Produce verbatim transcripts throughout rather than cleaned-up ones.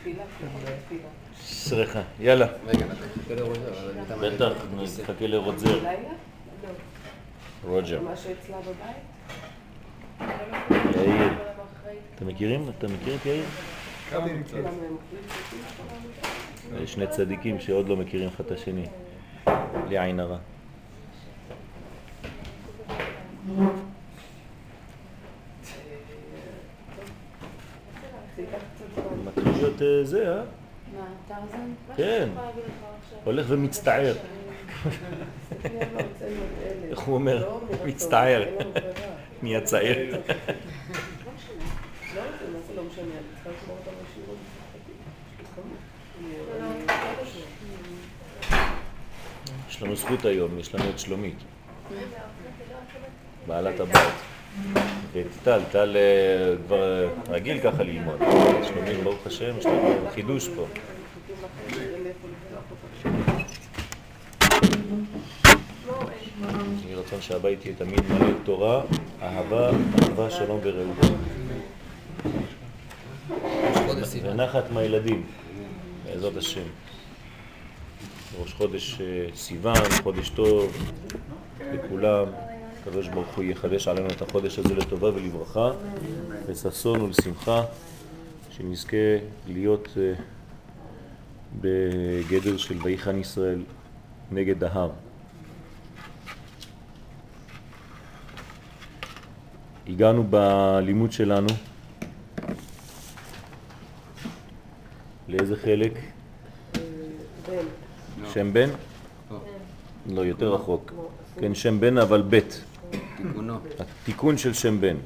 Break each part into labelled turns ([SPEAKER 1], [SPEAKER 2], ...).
[SPEAKER 1] סליחה, יאללה. בטח, נחכה לרוג'ר. רוג'ר.
[SPEAKER 2] מה שאצלה בבית?
[SPEAKER 1] יאיר. אתה מכירים? אתה מכיר את יאיר? שני צדיקים שעוד לא מכירים אחד את השני. בלי עין הרע. מתחיל להיות זה, אה?
[SPEAKER 3] מה, טרזן?
[SPEAKER 1] כן. הולך ומצטער. איך הוא אומר? מצטער. נהיה צעיר.
[SPEAKER 2] לא משנה, מה זה לא משנה, אני צריכה לשמור אותם בשירות.
[SPEAKER 1] יש לנו זכות היום, יש לנו את שלומית. בעלת הבית. ואת טל, טל כבר רגיל ככה ללמוד. שלומית, ברוך השם, יש לנו חידוש פה. אני רצון שהבית יהיה תמיד מלא תורה, אהבה, אהבה, שלום ורעות. ונחת מהילדים, בעזרת השם. ראש חודש סיוון, חודש טוב לכולם. הקדוש ברוך הוא יחדש עלינו את החודש הזה לטובה ולברכה, לששון ולשמחה, שנזכה להיות בגדר של ויחן ישראל נגד ההר. הגענו בלימוד שלנו לאיזה חלק?
[SPEAKER 2] בן.
[SPEAKER 1] שם בן? לא, יותר רחוק. כן, שם בן אבל בית.
[SPEAKER 4] תיקונו.
[SPEAKER 1] התיקון של שם בן.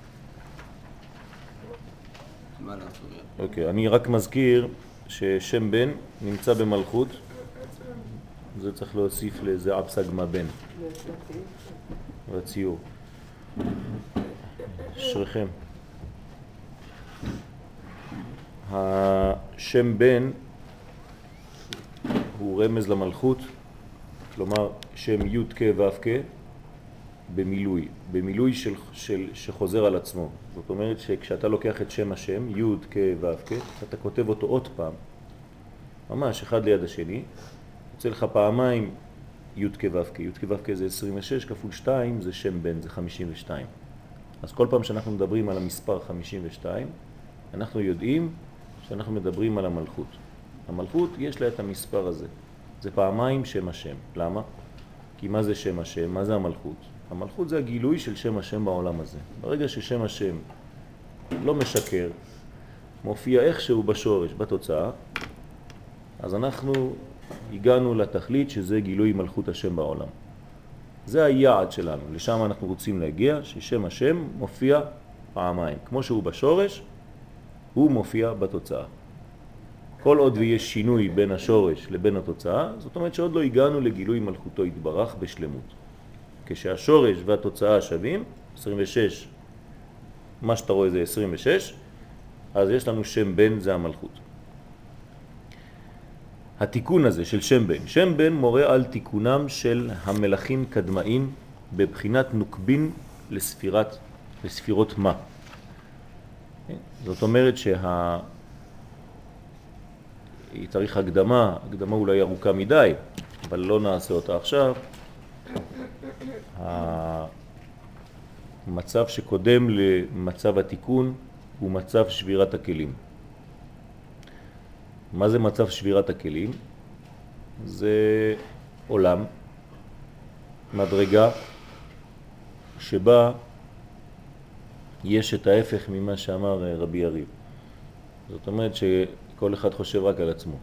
[SPEAKER 1] אוקיי, אני רק מזכיר ששם בן נמצא במלכות. זה צריך להוסיף לזה אבסגמה בן. בציור. אשריכם. השם בן הוא רמז למלכות, כלומר שם י' כ' ו' כ' במילוי, במילוי של, של, שחוזר על עצמו. זאת אומרת שכשאתה לוקח את שם השם, י' כ' ו' כ', אתה כותב אותו עוד פעם, ממש אחד ליד השני, יוצא לך פעמיים י' כ' ו' כ', י' כ' ו' כ' זה עשרים ושש, כפול שתיים זה שם בן, זה חמישים ושתיים. אז כל פעם שאנחנו מדברים על המספר חמישים ושתיים, אנחנו יודעים שאנחנו מדברים על המלכות. המלכות יש לה את המספר הזה. זה פעמיים שם השם. למה? כי מה זה שם השם? מה זה המלכות? המלכות זה הגילוי של שם השם בעולם הזה. ברגע ששם השם לא משקר, מופיע איכשהו בשורש, בתוצאה, אז אנחנו הגענו לתכלית שזה גילוי מלכות השם בעולם. זה היעד שלנו, לשם אנחנו רוצים להגיע, ששם השם מופיע פעמיים. כמו שהוא בשורש, הוא מופיע בתוצאה. כל עוד ויש שינוי בין השורש לבין התוצאה, זאת אומרת שעוד לא הגענו לגילוי מלכותו יתברך בשלמות. כשהשורש והתוצאה שווים, עשרים ושש, מה שאתה רואה זה עשרים ושש, אז יש לנו שם בן, זה המלכות. התיקון הזה של שם בן, שם בן מורה על תיקונם של המלכים קדמאים בבחינת נוקבין לספירת, לספירות מה. זאת אומרת שה... היא צריך הקדמה, הקדמה אולי ארוכה מדי, אבל לא נעשה אותה עכשיו. המצב שקודם למצב התיקון הוא מצב שבירת הכלים. מה זה מצב שבירת הכלים? זה עולם, מדרגה, שבה יש את ההפך ממה שאמר רבי יריב. זאת אומרת שכל אחד חושב רק על עצמו.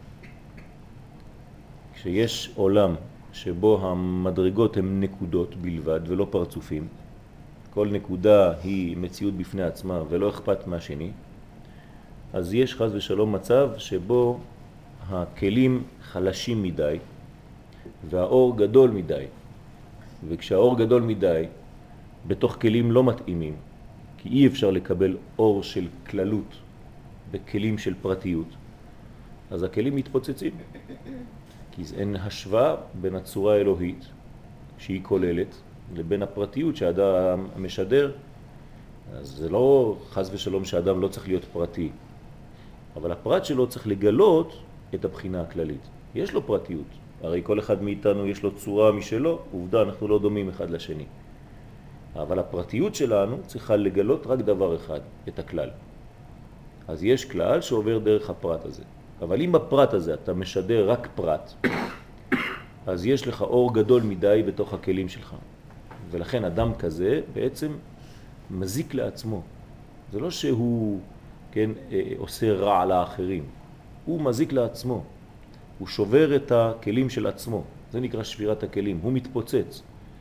[SPEAKER 1] כשיש עולם שבו המדרגות הן נקודות בלבד ולא פרצופים, כל נקודה היא מציאות בפני עצמה ולא אכפת מהשני, אז יש חס ושלום מצב שבו הכלים חלשים מדי והאור גדול מדי. וכשהאור גדול מדי, בתוך כלים לא מתאימים, כי אי אפשר לקבל אור של כללות בכלים של פרטיות, אז הכלים מתפוצצים. כי אין השוואה בין הצורה האלוהית שהיא כוללת לבין הפרטיות שהאדם משדר. אז זה לא חס ושלום שהאדם לא צריך להיות פרטי, אבל הפרט שלו צריך לגלות את הבחינה הכללית. יש לו פרטיות, הרי כל אחד מאיתנו יש לו צורה משלו, עובדה, אנחנו לא דומים אחד לשני. אבל הפרטיות שלנו צריכה לגלות רק דבר אחד, את הכלל. אז יש כלל שעובר דרך הפרט הזה. אבל אם בפרט הזה אתה משדר רק פרט, אז יש לך אור גדול מדי בתוך הכלים שלך. ולכן אדם כזה בעצם מזיק לעצמו. זה לא שהוא, כן, עושה רע לאחרים. הוא מזיק לעצמו. הוא שובר את הכלים של עצמו. זה נקרא שבירת הכלים. הוא מתפוצץ.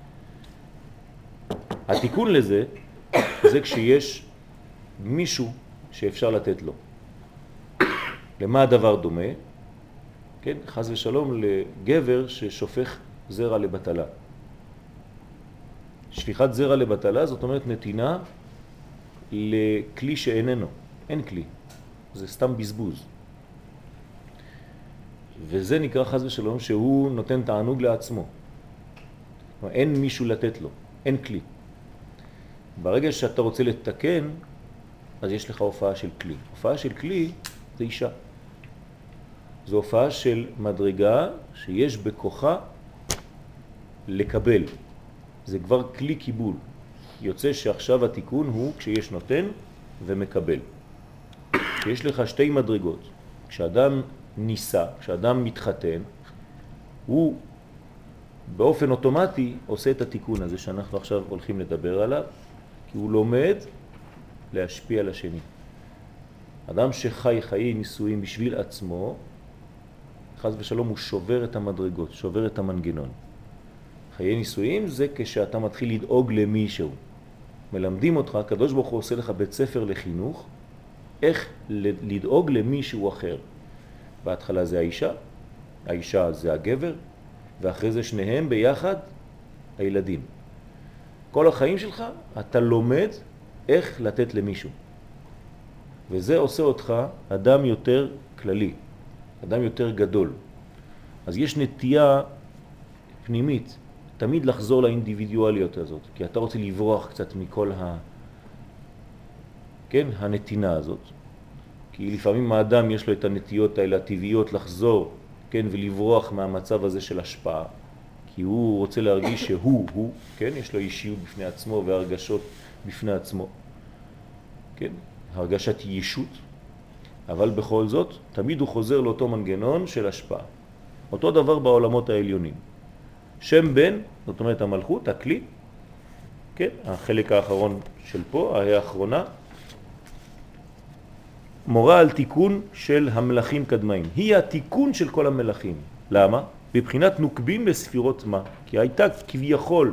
[SPEAKER 1] התיקון לזה זה כשיש מישהו שאפשר לתת לו. למה הדבר דומה? כן, חס ושלום לגבר ששופך זרע לבטלה. שפיכת זרע לבטלה זאת אומרת נתינה לכלי שאיננו. אין כלי. זה סתם בזבוז. וזה נקרא חס ושלום שהוא נותן תענוג לעצמו. אין מישהו לתת לו. אין כלי. ברגע שאתה רוצה לתקן, אז יש לך הופעה של כלי. הופעה של כלי זה אישה. זו הופעה של מדרגה שיש בכוחה לקבל. זה כבר כלי קיבול. יוצא שעכשיו התיקון הוא כשיש נותן ומקבל. יש לך שתי מדרגות. כשאדם ניסה, כשאדם מתחתן, הוא באופן אוטומטי עושה את התיקון הזה שאנחנו עכשיו הולכים לדבר עליו, כי הוא לומד להשפיע על השני. אדם שחי חיי נישואים בשביל עצמו, חס ושלום הוא שובר את המדרגות, שובר את המנגנון. חיי נישואים זה כשאתה מתחיל לדאוג למישהו. מלמדים אותך, הקדוש ברוך הוא עושה לך בית ספר לחינוך, איך לדאוג למישהו אחר. בהתחלה זה האישה, האישה זה הגבר, ואחרי זה שניהם ביחד הילדים. כל החיים שלך אתה לומד איך לתת למישהו. וזה עושה אותך אדם יותר כללי, אדם יותר גדול. אז יש נטייה פנימית תמיד לחזור לאינדיבידואליות הזאת, כי אתה רוצה לברוח קצת מכל ה... כן, הנתינה הזאת. כי לפעמים האדם יש לו את הנטיות האלה הטבעיות לחזור, כן, ולברוח מהמצב הזה של השפעה. כי הוא רוצה להרגיש שהוא, הוא, כן, יש לו אישיות בפני עצמו והרגשות בפני עצמו. כן, הרגשת ישות. אבל בכל זאת, תמיד הוא חוזר לאותו מנגנון של השפעה. אותו דבר בעולמות העליונים. שם בן, זאת אומרת המלכות, הכלי, כן, החלק האחרון של פה, האחרונה, מורה על תיקון של המלכים קדמאים. היא התיקון של כל המלכים. למה? בבחינת נוקבים בספירות מה? כי הייתה כביכול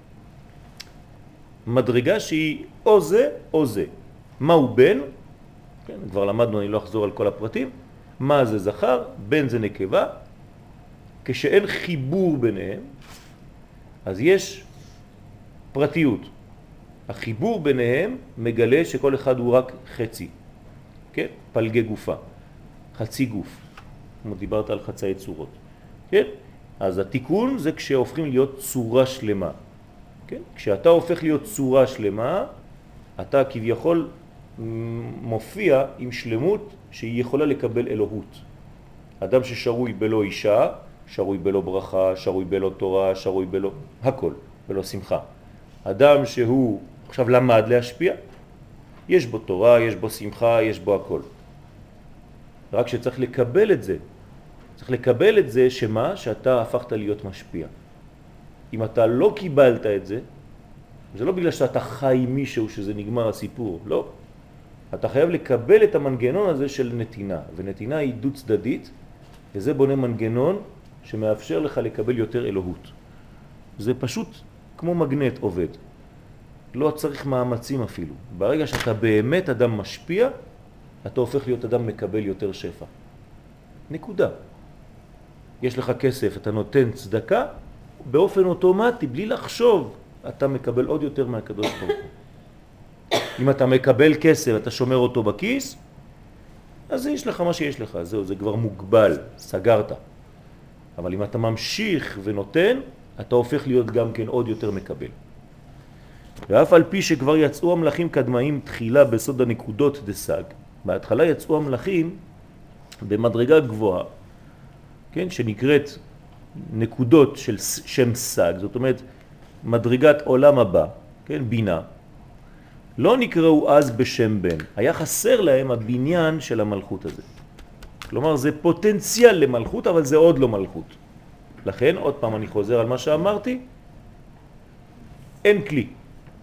[SPEAKER 1] מדרגה שהיא או זה או זה. מה הוא בן? כן, כבר למדנו, אני לא אחזור על כל הפרטים. מה זה זכר? בן זה נקבה. כשאין חיבור ביניהם, אז יש פרטיות. החיבור ביניהם מגלה שכל אחד הוא רק חצי. כן? פלגי גופה. חצי גוף. כמו דיברת על חצאי צורות. כן? אז התיקון זה כשהופכים להיות צורה שלמה. כן? כשאתה הופך להיות צורה שלמה, אתה כביכול מופיע עם שלמות שהיא יכולה לקבל אלוהות. אדם ששרוי בלא אישה, שרוי בלא ברכה, שרוי בלא תורה, שרוי בלא הכל, בלא שמחה. אדם שהוא עכשיו למד להשפיע, יש בו תורה, יש בו שמחה, יש בו הכל. רק שצריך לקבל את זה. צריך לקבל את זה שמה? שאתה הפכת להיות משפיע. אם אתה לא קיבלת את זה, זה לא בגלל שאתה חי מישהו שזה נגמר הסיפור, לא. אתה חייב לקבל את המנגנון הזה של נתינה, ונתינה היא דו צדדית, וזה בונה מנגנון שמאפשר לך לקבל יותר אלוהות. זה פשוט כמו מגנט עובד. לא צריך מאמצים אפילו. ברגע שאתה באמת אדם משפיע, אתה הופך להיות אדם מקבל יותר שפע. נקודה. יש לך כסף, אתה נותן צדקה, באופן אוטומטי, בלי לחשוב, אתה מקבל עוד יותר מהקדוש ברוך הוא. אם אתה מקבל כסף, אתה שומר אותו בכיס, אז יש לך מה שיש לך, זהו, זה כבר מוגבל, סגרת. אבל אם אתה ממשיך ונותן, אתה הופך להיות גם כן עוד יותר מקבל. ואף על פי שכבר יצאו המלאכים קדמאים תחילה בסוד הנקודות דסג, בהתחלה יצאו המלאכים במדרגה גבוהה, כן, שנקראת נקודות של שם סג, זאת אומרת מדרגת עולם הבא, כן, בינה, לא נקראו אז בשם בן, היה חסר להם הבניין של המלכות הזה. כלומר זה פוטנציאל למלכות, אבל זה עוד לא מלכות. לכן, עוד פעם אני חוזר על מה שאמרתי, אין כלי,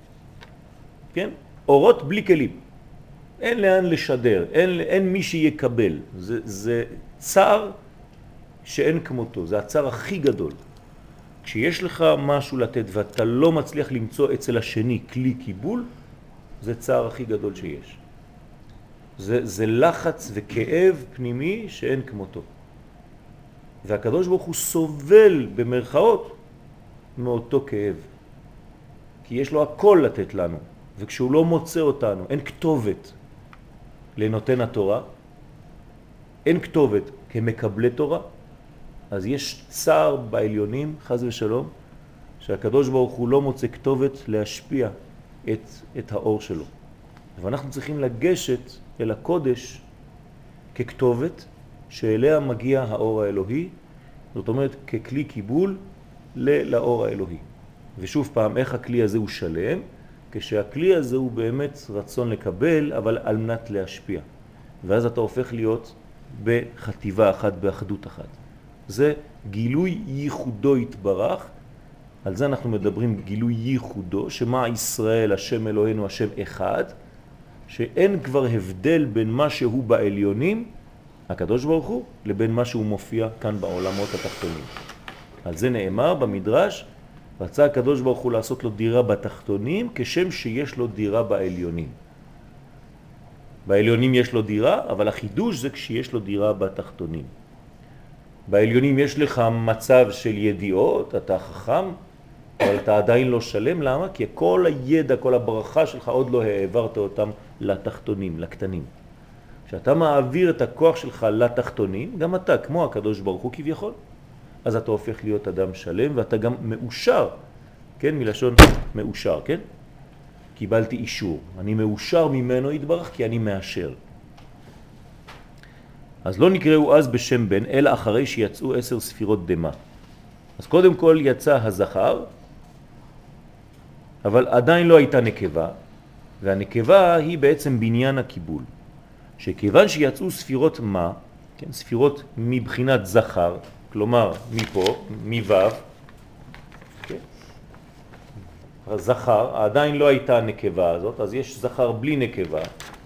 [SPEAKER 1] כן? אורות בלי כלים. אין לאן לשדר, אין, אין מי שיקבל. זה, זה צער שאין כמותו, זה הצער הכי גדול. כשיש לך משהו לתת ואתה לא מצליח למצוא אצל השני כלי קיבול, זה צער הכי גדול שיש. זה, זה לחץ וכאב פנימי שאין כמותו. והקדוש ברוך הוא סובל במרכאות מאותו כאב. כי יש לו הכל לתת לנו, וכשהוא לא מוצא אותנו, אין כתובת לנותן התורה, אין כתובת כמקבלי תורה, אז יש צער בעליונים, חז ושלום, שהקדוש ברוך הוא לא מוצא כתובת להשפיע את, את האור שלו. ואנחנו צריכים לגשת אל הקודש ככתובת שאליה מגיע האור האלוהי, זאת אומרת ככלי קיבול לאור האלוהי. ושוב פעם, איך הכלי הזה הוא שלם? כשהכלי הזה הוא באמת רצון לקבל, אבל על מנת להשפיע. ואז אתה הופך להיות בחטיבה אחת, באחדות אחת. זה גילוי ייחודו התברך, על זה אנחנו מדברים גילוי ייחודו, שמה ישראל, השם אלוהינו, השם אחד, שאין כבר הבדל בין מה שהוא בעליונים, הקדוש ברוך הוא, לבין מה שהוא מופיע כאן בעולמות התחתונים. על זה נאמר במדרש, רצה הקדוש ברוך הוא לעשות לו דירה בתחתונים, כשם שיש לו דירה בעליונים. בעליונים יש לו דירה, אבל החידוש זה כשיש לו דירה בתחתונים. בעליונים יש לך מצב של ידיעות, אתה חכם, אבל אתה עדיין לא שלם. למה? כי כל הידע, כל הברכה שלך עוד לא העברת אותם לתחתונים, לקטנים. כשאתה מעביר את הכוח שלך לתחתונים, גם אתה, כמו הקדוש ברוך הוא כביכול, אז אתה הופך להיות אדם שלם, ואתה גם מאושר, כן? מלשון מאושר, כן? קיבלתי אישור. אני מאושר ממנו יתברך כי אני מאשר. אז לא נקראו אז בשם בן, אלא אחרי שיצאו עשר ספירות דמה. אז קודם כל יצא הזכר, אבל עדיין לא הייתה נקבה, והנקבה היא בעצם בניין הקיבול. שכיוון שיצאו ספירות מה, כן, ספירות מבחינת זכר, כלומר מפה, מוו, כן? הזכר, עדיין לא הייתה הנקבה הזאת, אז יש זכר בלי נקבה.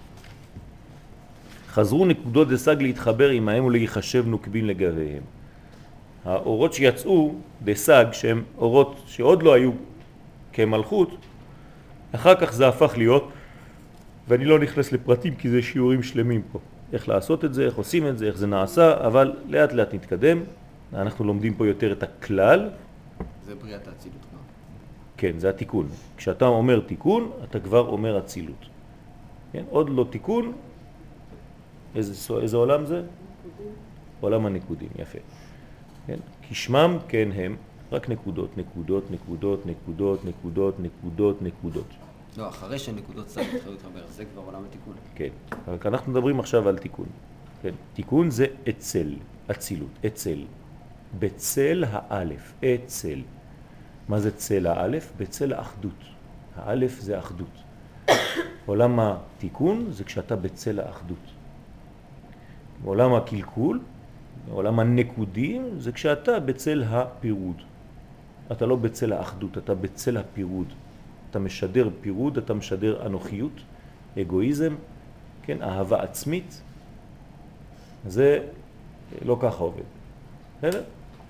[SPEAKER 1] חזרו נקודות דסג להתחבר עמהם ולהיחשב נוקבין לגביהם. האורות שיצאו דסג, שהם אורות שעוד לא היו כמלכות, אחר כך זה הפך להיות, ואני לא נכנס לפרטים כי זה שיעורים שלמים פה. איך לעשות את זה, איך עושים את זה, איך זה נעשה, אבל לאט לאט נתקדם. אנחנו לומדים פה יותר את הכלל.
[SPEAKER 3] זה בריאת האצילות כבר.
[SPEAKER 1] כן, זה התיקון. כשאתה אומר תיקון, אתה כבר אומר אצילות. כן? עוד לא תיקון. איזה, איזה עולם זה?
[SPEAKER 2] נקודים.
[SPEAKER 1] עולם הנקודים, יפה. כן? כי שמם כן הם רק נקודות, נקודות, נקודות, נקודות, נקודות, נקודות, נקודות.
[SPEAKER 3] לא, אחרי שהנקודות סג התחילו להתחבר, זה כבר עולם התיקון.
[SPEAKER 1] כן, רק אנחנו מדברים עכשיו על תיקון. כן? תיקון זה אצל, אצילות, אצל. בצל האלף, אצל. מה זה צל האלף? בצל האחדות. האלף זה האחדות. עולם התיקון זה כשאתה בצל האחדות. עולם הקלקול, עולם הנקודים, זה כשאתה בצל הפירוד. אתה לא בצל האחדות, אתה בצל הפירוד. אתה משדר פירוד, אתה משדר אנוכיות, אגואיזם, כן, אהבה עצמית. זה לא ככה עובד. בסדר?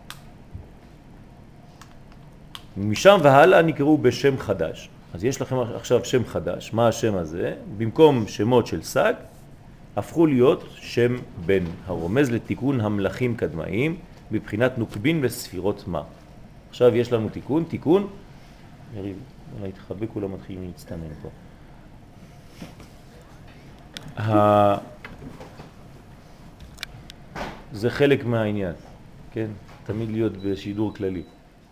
[SPEAKER 1] משם והלאה נקראו בשם חדש. אז יש לכם עכשיו שם חדש. מה השם הזה? במקום שמות של סג, הפכו להיות שם בן, הרומז לתיקון המלאכים קדמאים, בבחינת נוקבין בספירות מה. עכשיו יש לנו תיקון, תיקון, יריב, אולי תחבק, כולם מתחילים להצטנן פה. ה... זה חלק מהעניין, כן? תמיד להיות בשידור כללי.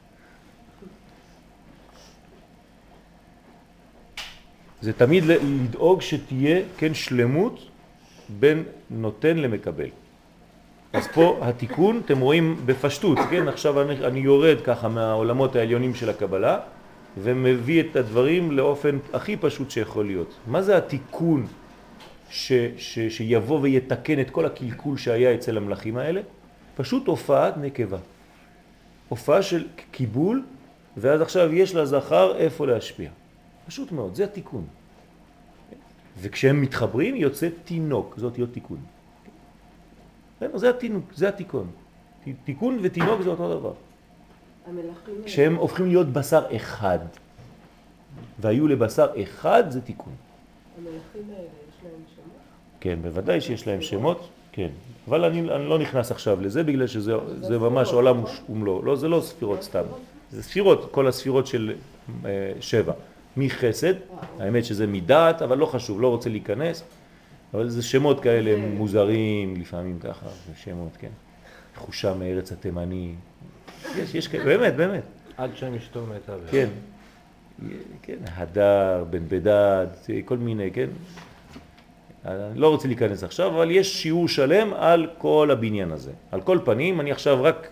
[SPEAKER 1] זה תמיד לדאוג שתהיה, כן, שלמות בין נותן למקבל. אז פה התיקון, אתם רואים בפשטות, כן? עכשיו אני, אני יורד ככה מהעולמות העליונים של הקבלה, ומביא את הדברים לאופן הכי פשוט שיכול להיות. מה זה התיקון ש, ש, שיבוא ויתקן את כל הקלקול שהיה אצל המלאכים האלה? פשוט הופעת נקבה. הופעה של קיבול, ואז עכשיו יש לזכר איפה להשפיע. פשוט מאוד, זה התיקון. וכשהם מתחברים יוצא תינוק, זאת להיות תיקון. זה התינוק, זה התיקון. תיקון ותינוק זה אותו דבר. כשהם הופכים להיות בשר אחד, והיו לבשר אחד, זה תיקון.
[SPEAKER 2] המלאכים האלה, יש להם שמות?
[SPEAKER 1] כן, בוודאי שיש להם שמות, כן. אבל אני, אני לא נכנס עכשיו לזה, בגלל שזה זה ממש עולם ומלואו. לא, זה לא ספירות סתם. זה ספירות, כל הספירות של אה, שבע. מחסד, האמת שזה מדעת, אבל לא חשוב, לא רוצה להיכנס. אבל זה שמות כאלה מוזרים, לפעמים ככה, זה שמות, כן. חושה מארץ התימני. יש, יש כאלה, באמת, באמת.
[SPEAKER 4] עד שם אשתו מתה.
[SPEAKER 1] כן. כן, הדר, בן בדד, כל מיני, כן. אני לא רוצה להיכנס עכשיו, אבל יש שיעור שלם על כל הבניין הזה. על כל פנים, אני עכשיו רק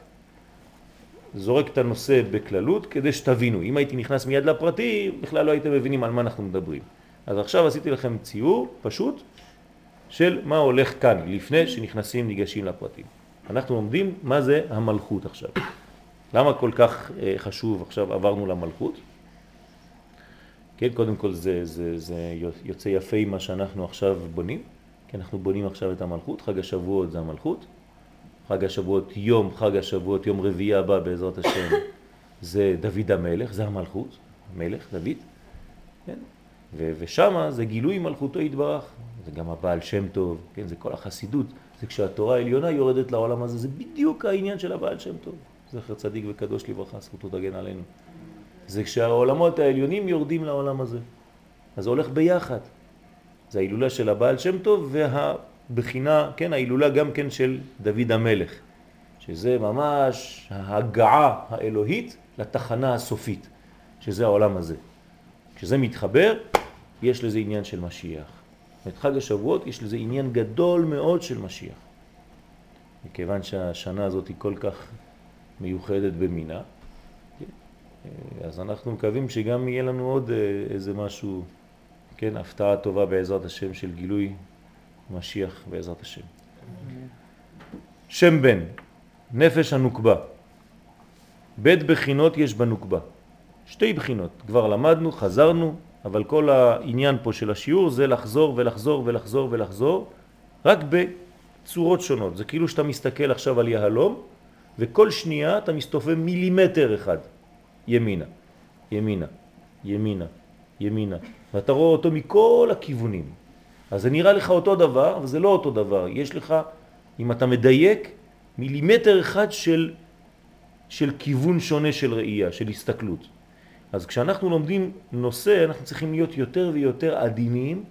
[SPEAKER 1] זורק את הנושא בכללות כדי שתבינו. אם הייתי נכנס מיד לפרטי, בכלל לא הייתם מבינים על מה אנחנו מדברים. אז עכשיו עשיתי לכם ציור פשוט של מה הולך כאן, לפני שנכנסים, ניגשים לפרטים. אנחנו לומדים מה זה המלכות עכשיו. למה כל כך חשוב עכשיו עברנו למלכות? כן, קודם כל זה, זה, זה יוצא יפה מה שאנחנו עכשיו בונים, כי אנחנו בונים עכשיו את המלכות, חג השבועות זה המלכות, חג השבועות יום, חג השבועות יום רביעי הבא בעזרת השם, זה דוד המלך, זה המלכות, המלך דוד, כן? ו- ושם זה גילוי מלכותו יתברך, זה גם הבעל שם טוב, כן? זה כל החסידות, זה כשהתורה העליונה יורדת לעולם הזה, זה בדיוק העניין של הבעל שם טוב, זכר צדיק וקדוש לברכה, זכותו תגן עלינו. זה כשהעולמות העליונים יורדים לעולם הזה. אז זה הולך ביחד. זה ההילולה של הבעל שם טוב והבחינה, כן, ההילולה גם כן של דוד המלך. שזה ממש ההגעה האלוהית לתחנה הסופית, שזה העולם הזה. כשזה מתחבר, יש לזה עניין של משיח. את חג השבועות יש לזה עניין גדול מאוד של משיח. מכיוון שהשנה הזאת היא כל כך מיוחדת במינה, אז אנחנו מקווים שגם יהיה לנו עוד איזה משהו, כן, הפתעה טובה בעזרת השם של גילוי משיח בעזרת השם. שם בן, נפש הנוקבה. בית בחינות יש בנוקבה. שתי בחינות, כבר למדנו, חזרנו, אבל כל העניין פה של השיעור זה לחזור ולחזור ולחזור ולחזור, רק בצורות שונות. זה כאילו שאתה מסתכל עכשיו על יהלום, וכל שנייה אתה מסתובב מילימטר אחד. ימינה, ימינה, ימינה, ימינה. ואתה רואה אותו מכל הכיוונים. אז זה נראה לך אותו דבר, אבל זה לא אותו דבר. יש לך, אם אתה מדייק, מילימטר אחד של, של כיוון שונה של ראייה, של הסתכלות. אז כשאנחנו לומדים נושא, אנחנו צריכים להיות יותר ויותר עדינים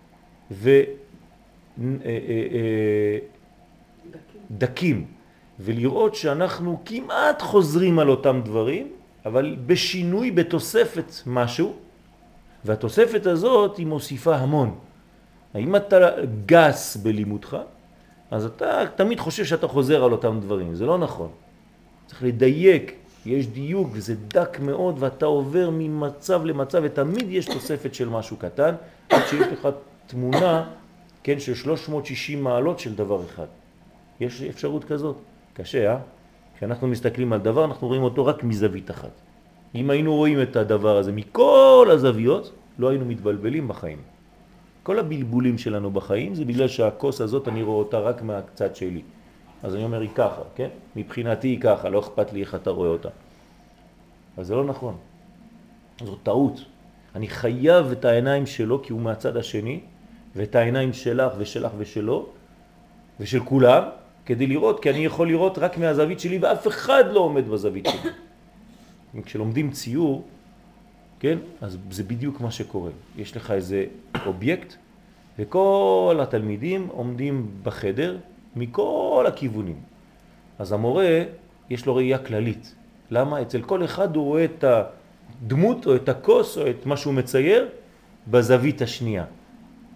[SPEAKER 1] ודקים. ולראות שאנחנו כמעט חוזרים על אותם דברים, אבל בשינוי, בתוספת משהו, והתוספת הזאת היא מוסיפה המון. אם אתה גס בלימודך, אז אתה תמיד חושב שאתה חוזר על אותם דברים. זה לא נכון. צריך לדייק, יש דיוק וזה דק מאוד, ואתה עובר ממצב למצב, ותמיד יש תוספת של משהו קטן, עד שיש לך תמונה, כן, של שלוש מאות ושישים מעלות של דבר אחד. יש אפשרות כזאת. קשה, אה? כשאנחנו מסתכלים על דבר, אנחנו רואים אותו רק מזווית אחת. אם היינו רואים את הדבר הזה מכל הזוויות, לא היינו מתבלבלים בחיים. כל הבלבולים שלנו בחיים זה בגלל שהכוס הזאת אני רואה אותה רק מהצד שלי. אז אני אומר היא ככה, כן? מבחינתי היא ככה, לא אכפת לי איך אתה רואה אותה. אבל זה לא נכון. זו טעות. אני חייב את העיניים שלו כי הוא מהצד השני, ואת העיניים שלך ושלך ושלו, ושל כולם, כדי לראות, כי אני יכול לראות רק מהזווית שלי, ואף אחד לא עומד בזווית שלי. כשלומדים ציור, כן, אז זה בדיוק מה שקורה. יש לך איזה אובייקט, וכל התלמידים עומדים בחדר מכל הכיוונים. אז המורה, יש לו ראייה כללית. למה? אצל כל אחד הוא רואה את הדמות או את הכוס או את מה שהוא מצייר בזווית השנייה.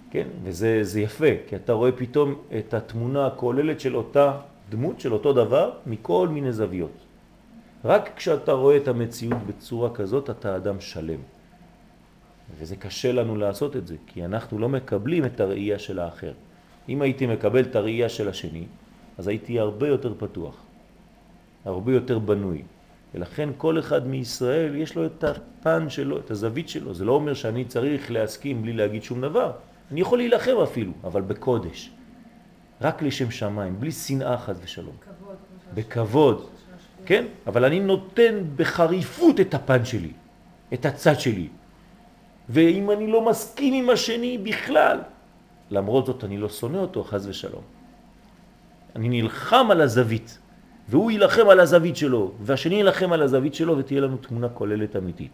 [SPEAKER 1] כן? וזה זה יפה, כי אתה רואה פתאום את התמונה הכוללת של אותה דמות, של אותו דבר, מכל מיני זוויות. רק כשאתה רואה את המציאות בצורה כזאת, אתה אדם שלם. וזה קשה לנו לעשות את זה, כי אנחנו לא מקבלים את הראייה של האחר. אם הייתי מקבל את הראייה של השני, אז הייתי הרבה יותר פתוח, הרבה יותר בנוי. ולכן כל אחד מישראל יש לו את הפן שלו, את הזווית שלו. זה לא אומר שאני צריך להסכים בלי להגיד שום דבר. אני יכול להילחם אפילו, אבל בקודש. רק לשם שמיים, בלי שנאה חס ושלום.
[SPEAKER 2] כבוד.
[SPEAKER 1] בכבוד. כן? אבל אני נותן בחריפות את הפן שלי, את הצד שלי. ואם אני לא מסכים עם השני בכלל, למרות זאת אני לא שונא אותו חס ושלום. אני נלחם על הזווית. והוא ילחם על הזווית שלו, והשני ילחם על הזווית שלו, ותהיה לנו תמונה כוללת אמיתית.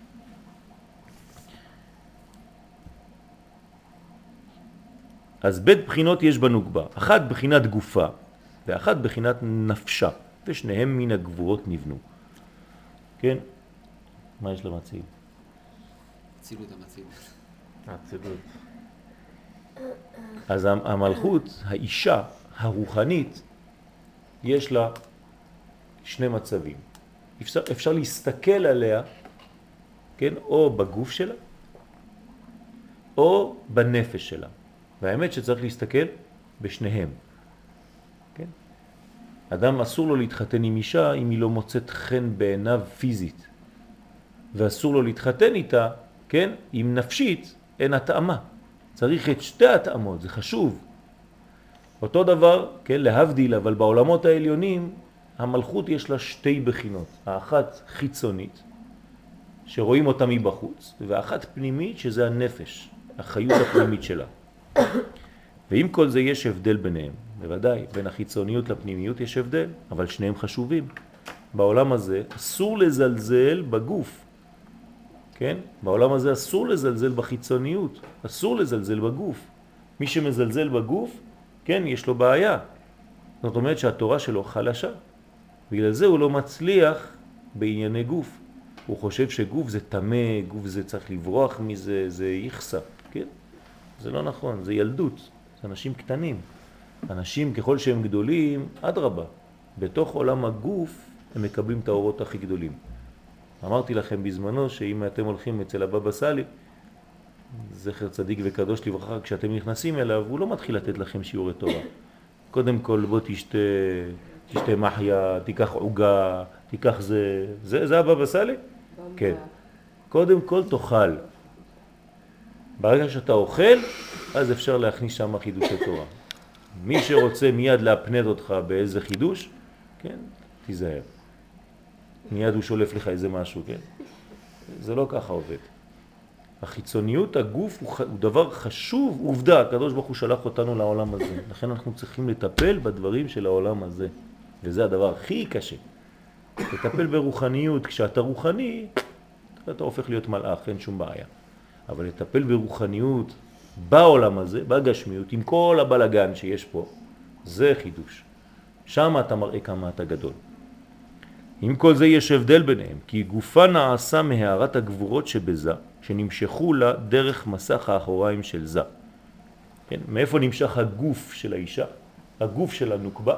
[SPEAKER 1] אז בית בחינות יש בנוקבה, אחת בחינת גופה, ואחת בחינת נפשה, ושניהם מן הגבורות נבנו. כן? מה יש למציל?
[SPEAKER 3] הצילות המציל.
[SPEAKER 1] הצילות. אז המלכות, האישה, הרוחנית, יש לה שני מצבים. אפשר, אפשר להסתכל עליה, כן, או בגוף שלה, או בנפש שלה. והאמת שצריך להסתכל בשניהם. כן? אדם אסור לו להתחתן עם אישה אם היא לא מוצאת חן בעיניו פיזית. ואסור לו להתחתן איתה, כן, אם נפשית אין התאמה. צריך את שתי התאמות, זה חשוב. אותו דבר, כן, להבדיל, אבל בעולמות העליונים, המלכות יש לה שתי בחינות. האחת חיצונית, שרואים אותה מבחוץ, ואחת פנימית, שזה הנפש, החיות הפנימית שלה. ועם כל זה יש הבדל ביניהם. בוודאי, בין החיצוניות לפנימיות יש הבדל, אבל שניהם חשובים. בעולם הזה אסור לזלזל בגוף. כן? בעולם הזה אסור לזלזל בחיצוניות, אסור לזלזל בגוף. מי שמזלזל בגוף, כן, יש לו בעיה. זאת אומרת שהתורה שלו חלשה. בגלל זה הוא לא מצליח בענייני גוף. הוא חושב שגוף זה תמה, גוף זה צריך לברוח מזה, זה יחסה. כן? זה לא נכון, זה ילדות. זה אנשים קטנים. אנשים ככל שהם גדולים, עד רבה. בתוך עולם הגוף הם מקבלים את האורות הכי גדולים. אמרתי לכם בזמנו שאם אתם הולכים אצל הבבא סאלי, זכר צדיק וקדוש לברכה, כשאתם נכנסים אליו, הוא לא מתחיל לתת לכם שיעורי תורה. קודם כל בוא תשתה, תשתה מחיה, תיקח עוגה, תיקח זה, זה, זה הבבא סאלי? כן. קודם כל תאכל. ברגע שאתה אוכל, אז אפשר להכניס שם חידושי תורה. מי שרוצה מיד להפנד אותך באיזה חידוש, כן, תיזהר. מיד הוא שולף לך איזה משהו, כן? זה לא ככה עובד. החיצוניות, הגוף הוא, הוא דבר חשוב, עובדה, הקדוש ברוך הוא שלח אותנו לעולם הזה. לכן אנחנו צריכים לטפל בדברים של העולם הזה. וזה הדבר הכי קשה. לטפל ברוחניות, כשאתה רוחני, אתה הופך להיות מלאך, אין שום בעיה. אבל לטפל ברוחניות בעולם הזה, בגשמיות, עם כל הבלגן שיש פה, זה חידוש. שם אתה מראה כמה אתה גדול. עם כל זה יש הבדל ביניהם, כי גופה נעשה מהערת הגבורות שבזה, שנמשכו לה דרך מסך האחוריים של זה. כן? מאיפה נמשך הגוף של האישה? הגוף של הנוקבה?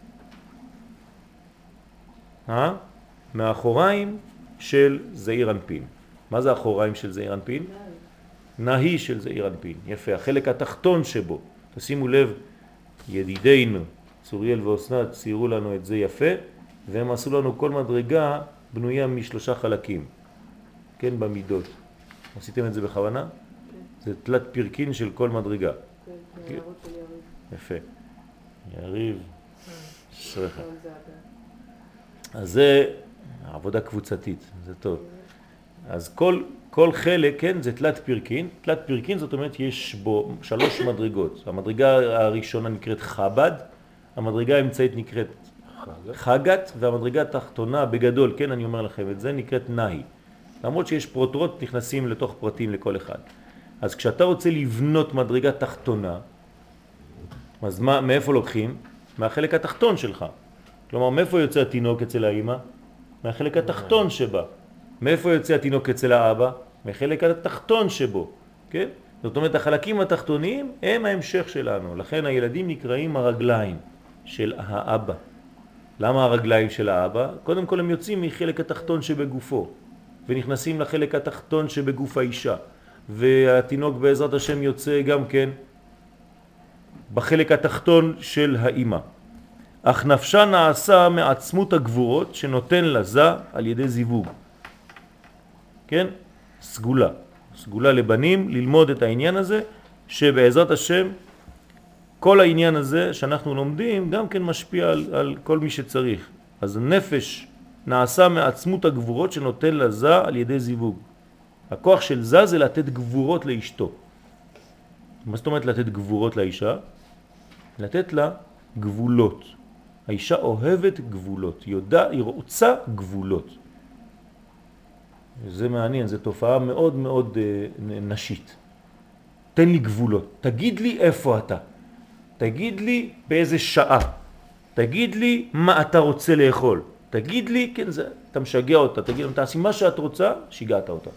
[SPEAKER 1] אה? מהאחוריים של זעיר אנפין. מה זה האחוריים של זעיר אנפין? נהי של זעיר אנפין. יפה, החלק התחתון שבו. תשימו לב, ידידינו, צוריאל ואוסנת, ציירו לנו את זה יפה, והם עשו לנו כל מדרגה בנויה משלושה חלקים, כן, במידות. עשיתם את זה בכוונה? כן. זה תלת פרקין של כל מדרגה.
[SPEAKER 2] כן, זה הערות של יריב.
[SPEAKER 1] יפה. יריב, שרחה. אז זה עבודה קבוצתית, זה טוב. אז כל, כל חלק, כן, זה תלת פרקין. תלת פרקין זאת אומרת יש בו שלוש מדרגות. המדרגה הראשונה נקראת חב"ד, המדרגה האמצעית נקראת חגת, והמדרגה התחתונה בגדול, כן, אני אומר לכם את זה, נקראת נהי. למרות שיש פרוטרות נכנסים לתוך פרטים לכל אחד. אז כשאתה רוצה לבנות מדרגה תחתונה, אז מה, מאיפה לוקחים? מהחלק התחתון שלך. כלומר, מאיפה יוצא התינוק אצל האמא? מהחלק התחתון שבה. מאיפה יוצא התינוק אצל האבא? מהחלק התחתון שבו. כן? זאת אומרת, החלקים התחתונים הם ההמשך שלנו. לכן הילדים נקראים הרגליים של האבא. למה הרגליים של האבא? קודם כל הם יוצאים מחלק התחתון שבגופו, ונכנסים לחלק התחתון שבגוף האישה. והתינוק בעזרת השם יוצא גם כן בחלק התחתון של האימא. אך נפשה נעשה מעצמות הגבורות שנותן לזה על ידי זיווג. כן? סגולה. סגולה לבנים, ללמוד את העניין הזה, שבעזרת השם כל העניין הזה שאנחנו לומדים גם כן משפיע על, על כל מי שצריך. אז נפש נעשה מעצמות הגבורות שנותן לזה על ידי זיווג. הכוח של זה זה לתת גבורות לאשתו. מה זאת אומרת לתת גבורות לאישה? לתת לה גבולות. האישה אוהבת גבולות, היא, יודע, היא רוצה גבולות. זה מעניין, זו תופעה מאוד מאוד אה, נשית. תן לי גבולות, תגיד לי איפה אתה, תגיד לי באיזה שעה, תגיד לי מה אתה רוצה לאכול, תגיד לי, כן, זה, אתה משגע אותה, תגיד לה, תעשי מה שאת רוצה, שיגעת אותה.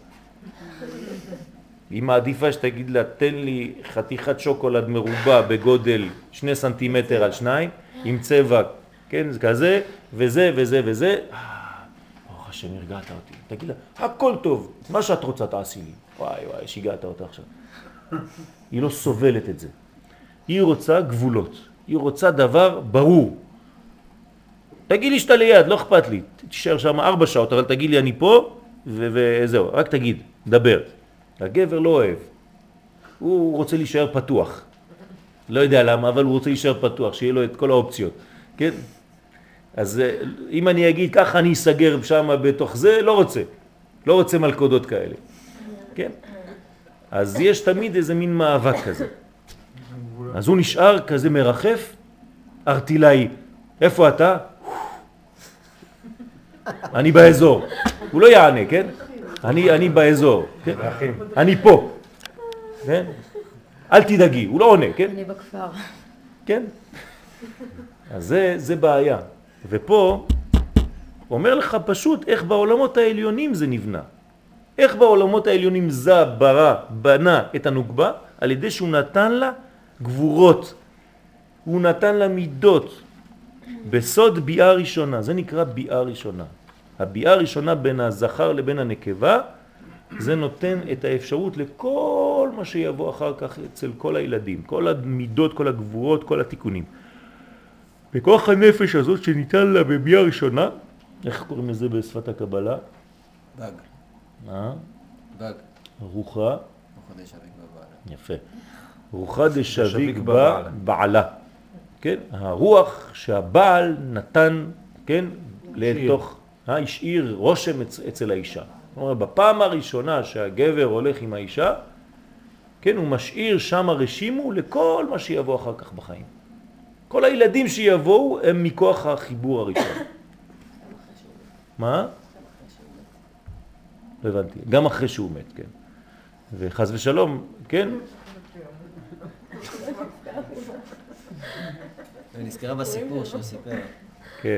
[SPEAKER 1] היא מעדיפה שתגיד לה, תן לי חתיכת שוקולד מרובע בגודל שני סנטימטר על שניים, עם צבע, כן, זה כזה, וזה וזה וזה. ברוך השם, הרגעת אותי. תגיד לה, הכל טוב, מה שאת רוצה תעשי לי. וואי וואי, שיגעת אותה עכשיו. היא לא סובלת את זה. היא רוצה גבולות. היא רוצה דבר ברור. תגיד לי שאתה ליד, לא אכפת לי. תישאר שם ארבע שעות, אבל תגיד לי אני פה, וזהו, רק תגיד, דבר. הגבר לא אוהב. הוא רוצה להישאר פתוח. לא יודע למה, אבל הוא רוצה להישאר פתוח, שיהיה לו את כל האופציות. כן? אז אם אני אגיד ככה אני אסגר שם בתוך זה, לא רוצה. לא רוצה מלכודות כאלה. כן? אז יש תמיד איזה מין מאבק כזה. אז הוא נשאר כזה מרחף, ארטילאי. איפה אתה? אני באזור. הוא לא יענה, כן? אני, אני באזור. כן? אני פה. כן? אל תדאגי, הוא לא עונה, כן?
[SPEAKER 2] אני בכפר.
[SPEAKER 1] כן? אז זה, זה בעיה. ופה אומר לך פשוט איך בעולמות העליונים זה נבנה. איך בעולמות העליונים זה ברא, בנה את הנוגבה, על ידי שהוא נתן לה גבורות. הוא נתן לה מידות. בסוד ביאה ראשונה, זה נקרא ביאה ראשונה. הביאה הראשונה בין הזכר לבין הנקבה, זה נותן את האפשרות לכל מה שיבוא אחר כך אצל כל הילדים, כל המידות, כל הגבורות, כל התיקונים. בכוח הנפש הזאת שניתן לה בביאה ראשונה, איך קוראים לזה בשפת הקבלה?
[SPEAKER 3] בג.
[SPEAKER 1] מה?
[SPEAKER 3] בג.
[SPEAKER 1] רוחה.
[SPEAKER 3] רוחה דשביק בבעלה.
[SPEAKER 1] יפה. רוחה דשביק בבעלה. כן? הרוח שהבעל נתן, כן? לתוך, השאיר רושם אצל האישה. זאת אומרת, בפעם הראשונה שהגבר הולך עם האישה, כן, הוא משאיר שם רשימו לכל מה שיבוא אחר כך בחיים. כל הילדים שיבואו הם מכוח החיבור הראשון. מה? לא הבנתי. גם אחרי שהוא מת, כן. וחס ושלום, כן?
[SPEAKER 3] ונזכרה בסיפור שהוא סיפר.
[SPEAKER 1] כן.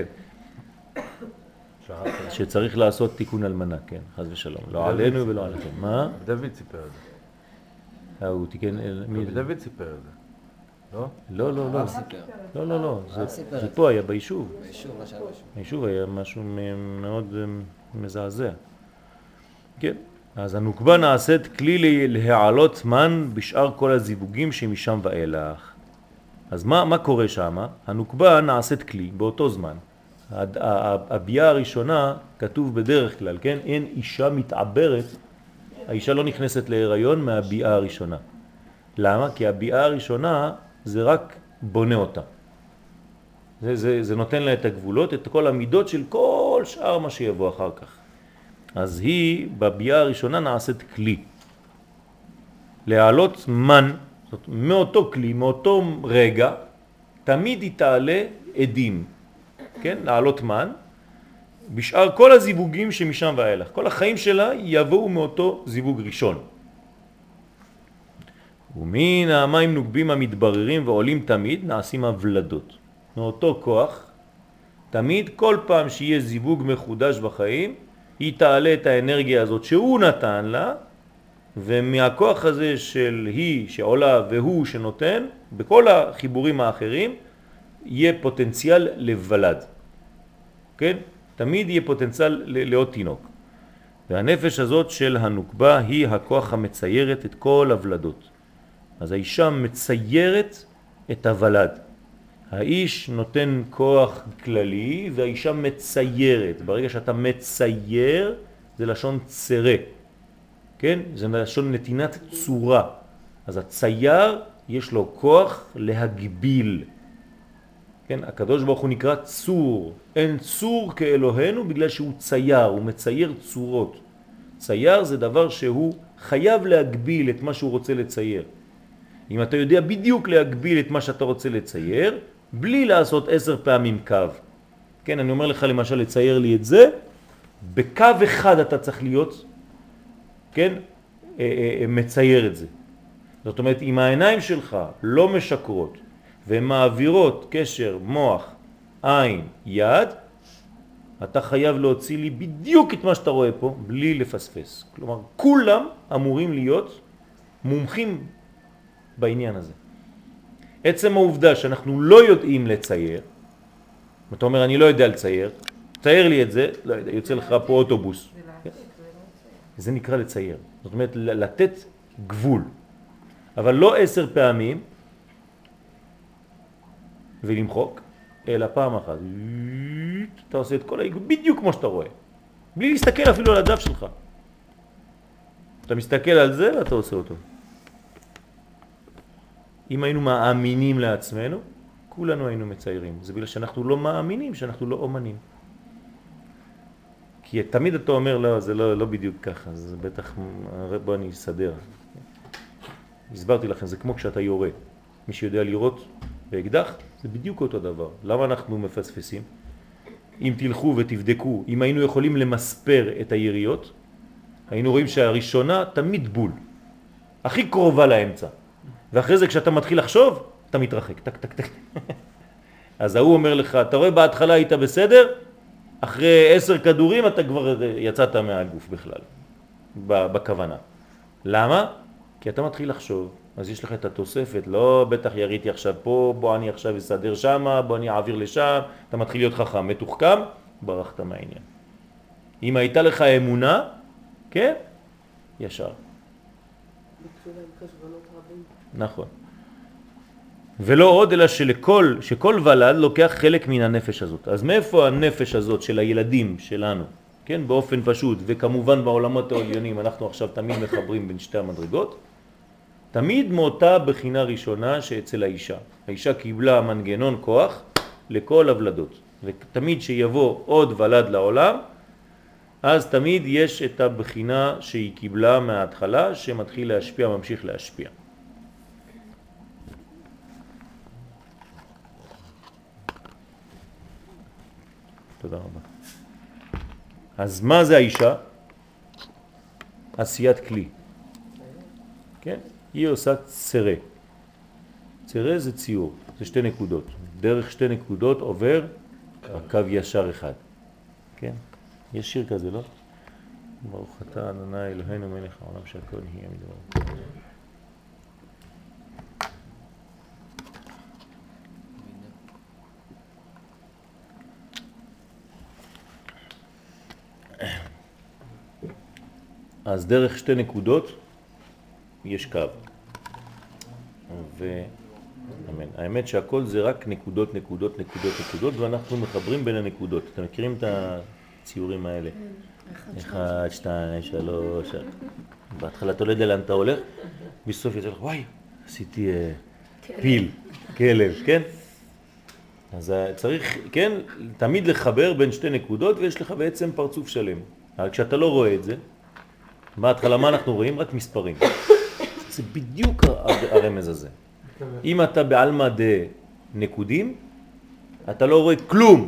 [SPEAKER 1] שצריך לעשות תיקון אלמנה, כן, חס ושלום. לא עלינו ולא עליכם. מה?
[SPEAKER 4] דוד סיפר את זה.
[SPEAKER 1] הוא תיקן...
[SPEAKER 4] דוד סיפר את זה. לא?
[SPEAKER 1] לא, לא, לא.
[SPEAKER 3] הרב סיפר.
[SPEAKER 1] לא, לא, לא.
[SPEAKER 3] הרב סיפר
[SPEAKER 1] זה
[SPEAKER 3] את
[SPEAKER 1] פה היה ביישוב.
[SPEAKER 3] ביישוב, מה שהיה ביישוב.
[SPEAKER 1] ביישוב היה משהו מאוד מזעזע. כן. אז הנוקבה נעשית כלי להעלות מן בשאר כל הזיווגים שמשם ואילך. אז מה, מה קורה שם? הנוקבה נעשית כלי באותו זמן. הביאה הראשונה כתוב בדרך כלל, כן? אין אישה מתעברת, האישה לא נכנסת להיריון מהביאה הראשונה. למה? כי הביאה הראשונה זה רק בונה אותה. זה, זה, זה נותן לה את הגבולות, את כל המידות של כל שאר מה שיבוא אחר כך. אז היא בביאה הראשונה נעשית כלי. להעלות מן, זאת, מאותו כלי, מאותו רגע, תמיד היא תעלה עדים. כן? להעלות מן, בשאר כל הזיווגים שמשם ואילך. כל החיים שלה יבואו מאותו זיווג ראשון. ומן המים נוגבים המתבררים ועולים תמיד נעשים הוולדות. מאותו כוח, תמיד כל פעם שיהיה זיווג מחודש בחיים, היא תעלה את האנרגיה הזאת שהוא נתן לה, ומהכוח הזה של היא שעולה והוא שנותן, בכל החיבורים האחרים, יהיה פוטנציאל לבלד. כן? תמיד יהיה פוטנציאל לעוד תינוק. והנפש הזאת של הנוקבה היא הכוח המציירת את כל הוולדות. אז האישה מציירת את הוולד. האיש נותן כוח כללי והאישה מציירת. ברגע שאתה מצייר זה לשון צרה. כן? זה לשון נתינת צורה. אז הצייר יש לו כוח להגביל. כן? הקדוש ברוך הוא נקרא צור. אין צור כאלוהינו בגלל שהוא צייר, הוא מצייר צורות. צייר זה דבר שהוא חייב להגביל את מה שהוא רוצה לצייר. אם אתה יודע בדיוק להגביל את מה שאתה רוצה לצייר, בלי לעשות עשר פעמים קו. כן, אני אומר לך למשל לצייר לי את זה, בקו אחד אתה צריך להיות, כן, מצייר את זה. זאת אומרת, אם העיניים שלך לא משקרות, והן מעבירות קשר מוח, עין, יד, אתה חייב להוציא לי בדיוק את מה שאתה רואה פה, בלי לפספס. כלומר, כולם אמורים להיות מומחים בעניין הזה. עצם העובדה שאנחנו לא יודעים לצייר, אתה אומר, אני לא יודע לצייר, צייר לי את זה, לא יודע, יוצא לך פה אוטובוס. זה נקרא לצייר. זאת אומרת, לתת גבול. אבל לא עשר פעמים, ולמחוק, אלא פעם אחת. אתה עושה את כל העיגול בדיוק כמו שאתה רואה. בלי להסתכל אפילו על הדף שלך. אתה מסתכל על זה ואתה עושה אותו. אם היינו מאמינים לעצמנו, כולנו היינו מציירים. זה בגלל שאנחנו לא מאמינים, שאנחנו לא אומנים. כי תמיד אתה אומר, לא, זה לא, לא בדיוק ככה, זה בטח, בוא אני אסדר. הסברתי לכם, זה כמו כשאתה יורה. מי שיודע לראות באקדח, זה בדיוק אותו דבר. למה אנחנו מפספסים? אם תלכו ותבדקו, אם היינו יכולים למספר את היריות, היינו רואים שהראשונה תמיד בול. הכי קרובה לאמצע. ואחרי זה כשאתה מתחיל לחשוב, אתה מתרחק. טק, טק, טק. אז הוא אומר לך, אתה רואה בהתחלה היית בסדר, אחרי עשר כדורים אתה כבר יצאת מהגוף בכלל, בכוונה. למה? כי אתה מתחיל לחשוב, אז יש לך את התוספת, לא בטח יריתי עכשיו פה, בוא אני עכשיו אסדר שם, בוא אני אעביר לשם, אתה מתחיל להיות חכם, מתוחכם, ברחת מהעניין. אם הייתה לך אמונה, כן, ישר.
[SPEAKER 2] ביקשו להם חשבונות רבים.
[SPEAKER 1] נכון. ולא עוד אלא שלכל, שכל ולד לוקח חלק מן הנפש הזאת. אז מאיפה הנפש הזאת של הילדים שלנו? כן, באופן פשוט, וכמובן בעולמות העליונים אנחנו עכשיו תמיד מחברים בין שתי המדרגות. תמיד מאותה בחינה ראשונה שאצל האישה. האישה קיבלה מנגנון כוח לכל הוולדות. ותמיד שיבוא עוד ולד לעולם, אז תמיד יש את הבחינה שהיא קיבלה מההתחלה, שמתחיל להשפיע, ממשיך להשפיע. תודה רבה. אז מה זה האישה? עשיית כלי. כן? היא עושה צרה. צרה זה ציור, זה שתי נקודות. דרך שתי נקודות עובר הקו ישר אחד. כן? יש שיר כזה, לא? ברוך אתה אדוני אלוהינו מלך העולם שהכל יהיה מדברו. אז דרך שתי נקודות יש קו. ו... אמן. האמת שהכל זה רק נקודות, נקודות, נקודות, נקודות, ואנחנו מחברים בין הנקודות. אתם מכירים את הציורים האלה? אחד, שתיים, שלוש. בהתחלה אתה לא יודע לאן אתה הולך, בסוף יצא לך, וואי, עשיתי פיל, כלב, כן? אז צריך, כן, תמיד לחבר בין שתי נקודות, ויש לך בעצם פרצוף שלם. אבל כשאתה לא רואה את זה, בהתחלה מה אנחנו רואים? רק מספרים. זה בדיוק הרמז הזה. אם אתה בעלמא דנקודים, אתה לא רואה כלום.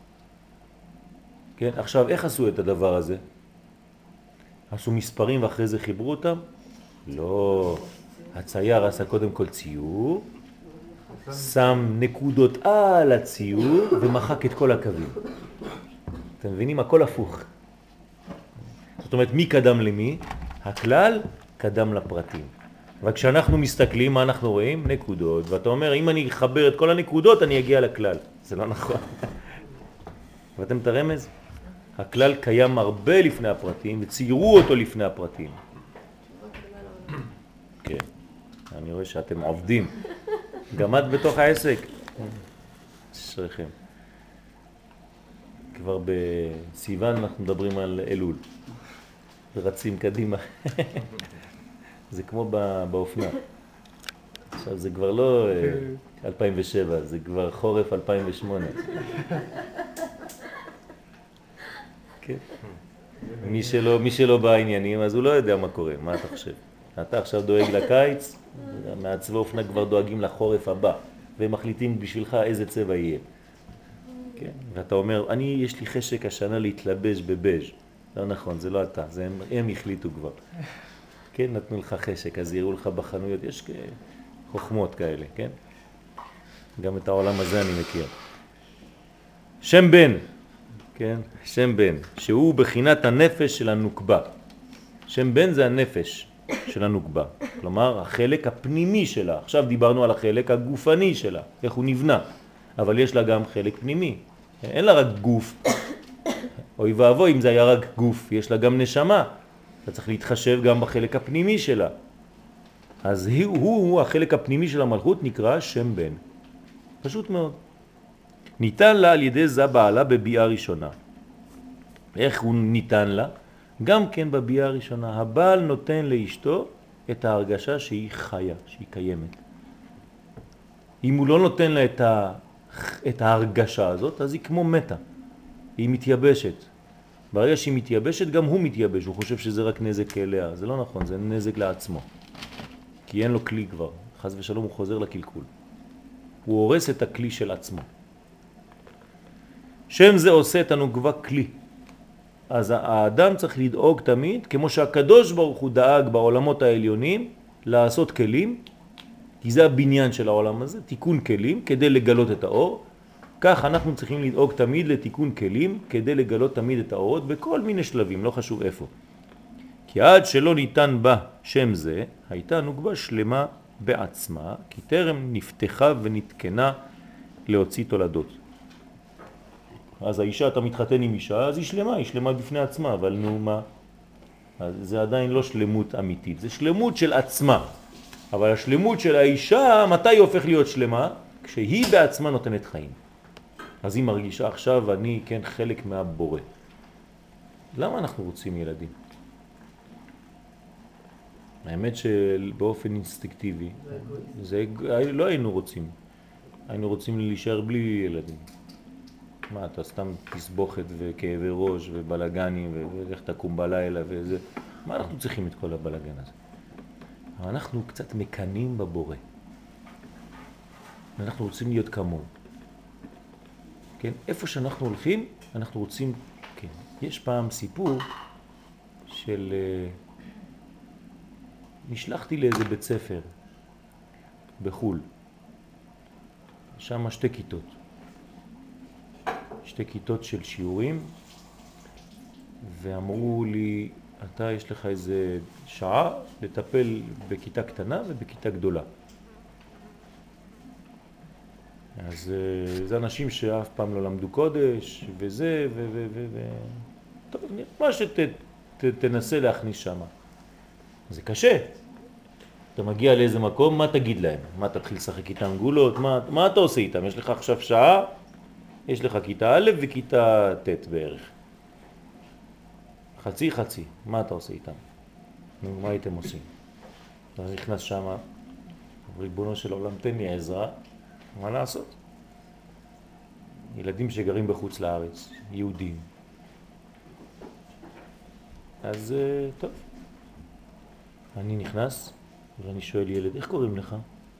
[SPEAKER 1] כן? עכשיו, איך עשו את הדבר הזה? עשו מספרים ואחרי זה חיברו אותם? לא. הצייר עשה קודם כל ציור, שם נקודות על הציור ומחק את כל הקווים. אתם מבינים? הכל הפוך. זאת אומרת, מי קדם למי? הכלל קדם לפרטים. וכשאנחנו מסתכלים, מה אנחנו רואים? נקודות. ואתה אומר, אם אני אחבר את כל הנקודות, אני אגיע לכלל. זה לא נכון. ואתם את הרמז? הכלל קיים הרבה לפני הפרטים, וציירו אותו לפני הפרטים. כן, אני רואה שאתם עובדים. גם את בתוך העסק. שריכם. כבר בסיוון אנחנו מדברים על אלול. ורצים קדימה. זה כמו באופנה. עכשיו זה כבר לא אלפיים ושבע, זה כבר חורף אלפיים ושמונה. כן. מי שלא, מי שלא בעניינים, אז הוא לא יודע מה קורה. מה אתה חושב? אתה עכשיו דואג לקיץ, מעצבי אופנה כבר דואגים לחורף הבא, והם מחליטים בשבילך איזה צבע יהיה. כן? ואתה אומר, אני, יש לי חשק השנה להתלבש בבז'. לא נכון, זה לא אתה, זה הם, הם החליטו כבר. כן, נתנו לך חשק, אז יראו לך בחנויות, יש חוכמות כאלה, כן? גם את העולם הזה אני מכיר. שם בן, כן? שם בן, שהוא בחינת הנפש של הנוקבה. שם בן זה הנפש של הנוקבה, כלומר החלק הפנימי שלה. עכשיו דיברנו על החלק הגופני שלה, איך הוא נבנה, אבל יש לה גם חלק פנימי. אין לה רק גוף, אוי ואבוי אם זה היה רק גוף, יש לה גם נשמה. אתה צריך להתחשב גם בחלק הפנימי שלה. אז הוא, הוא החלק הפנימי של המלכות נקרא שם בן. פשוט מאוד. ניתן לה על ידי זה בעלה בביאה ראשונה. איך הוא ניתן לה? גם כן בביאה ראשונה. הבעל נותן לאשתו את ההרגשה שהיא חיה, שהיא קיימת. אם הוא לא נותן לה את, ה, את ההרגשה הזאת, אז היא כמו מתה. היא מתייבשת. ברגע שהיא מתייבשת, גם הוא מתייבש. הוא חושב שזה רק נזק אליה. זה לא נכון, זה נזק לעצמו. כי אין לו כלי כבר. חס ושלום הוא חוזר לקלקול. הוא הורס את הכלי של עצמו. שם זה עושה את הנוקבה כלי. אז האדם צריך לדאוג תמיד, כמו שהקדוש ברוך הוא דאג בעולמות העליונים, לעשות כלים, כי זה הבניין של העולם הזה, תיקון כלים, כדי לגלות את האור. כך אנחנו צריכים לדאוג תמיד לתיקון כלים, כדי לגלות תמיד את האורות, בכל מיני שלבים, לא חשוב איפה. כי עד שלא ניתן בה שם זה, הייתה נוקבה שלמה בעצמה, כי טרם נפתחה ונתקנה להוציא תולדות. אז האישה, אתה מתחתן עם אישה, אז היא שלמה, היא שלמה בפני עצמה, אבל נו מה? אז זה עדיין לא שלמות אמיתית, זה שלמות של עצמה. אבל השלמות של האישה, מתי היא הופך להיות שלמה? כשהיא בעצמה נותנת חיים. אז היא מרגישה עכשיו, אני כן חלק מהבורא. למה אנחנו רוצים ילדים? האמת שבאופן אינסטינקטיבי, זה, לא היינו רוצים. היינו רוצים להישאר בלי ילדים. מה, אתה סתם תסבוכת וכאבי ראש ובלגנים ולך תקום בלילה וזה. מה אנחנו צריכים את כל הבלגן הזה? אבל אנחנו קצת מקנים בבורא. אנחנו רוצים להיות כמוהו. כן? איפה שאנחנו הולכים, אנחנו רוצים, כן. יש פעם סיפור של, נשלחתי לאיזה בית ספר בחול. שם שתי כיתות. שתי כיתות של שיעורים, ואמרו לי, אתה יש לך איזה שעה לטפל בכיתה קטנה ובכיתה גדולה. אז זה אנשים שאף פעם לא למדו קודש, וזה, ו... ו... ו... ו... טוב, מה שתנסה להכניס שם. זה קשה. אתה מגיע לאיזה מקום, מה תגיד להם? מה תתחיל לשחק איתם גולות? מה, מה אתה עושה איתם? יש לך עכשיו שעה, יש לך כיתה א' וכיתה ט' בערך. חצי חצי, מה אתה עושה איתם? מה הייתם עושים? אתה נכנס שם, ריבונו של עולם, תן לי עזרה, מה לעשות? ילדים שגרים בחוץ לארץ, יהודים. אז טוב, אני נכנס ואני שואל ילד, איך קוראים לך?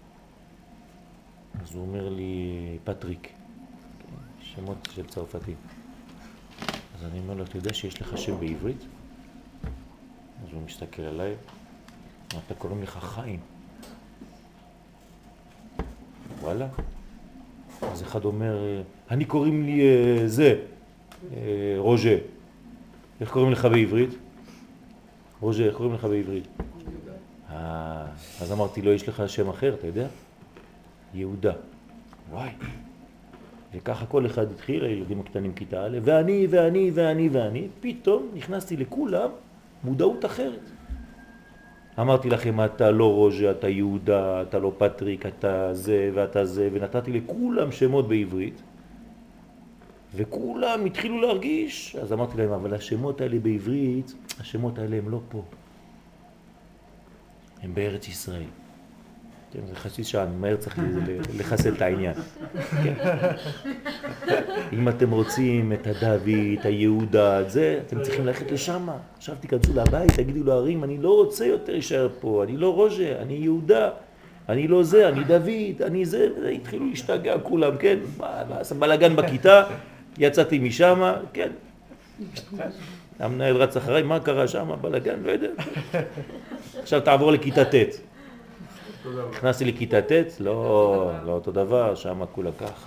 [SPEAKER 1] אז הוא אומר לי, פטריק, שמות של צרפתי. אז אני אומר לו, אתה יודע שיש לך שם בעברית? אז הוא מסתכל עליי, אתה קוראים לך חיים. וואלה. אז אחד אומר, אני קוראים לי זה, רוז'ה. איך קוראים לך בעברית? רוז'ה, איך קוראים לך בעברית? אה, אז אמרתי לו, יש לך שם אחר, אתה יודע? יהודה. וואי. וככה כל אחד התחיל, הילדים הקטנים כיתה א', ואני, ואני, ואני, ואני, פתאום נכנסתי לכולם מודעות אחרת. אמרתי לכם, אתה לא רוז'ה, אתה יהודה, אתה לא פטריק, אתה זה ואתה זה, ונתתי לכולם שמות בעברית, וכולם התחילו להרגיש. אז אמרתי להם, אבל השמות האלה בעברית, השמות האלה הם לא פה. הם בארץ ישראל. כן, זה חצי שעה, אני מהר צריך לחסל את העניין. כן. אם אתם רוצים את הדוד, את היהודה, את זה, אתם צריכים ללכת לשם. עכשיו תיכנסו לבית, תגידו להרים, אני לא רוצה יותר להישאר פה, אני לא רוז'ה, אני יהודה, אני לא זה, אני דוד, אני זה, התחילו להשתגע כולם, כן? בלגן בכיתה, יצאתי משם, כן. המנהל רץ אחריי, מה קרה שם? בלגן, לא יודע. עכשיו תעבור לכיתה ט'. נכנסתי לכיתה ט', לא, לא אותו דבר, שם כולה כך.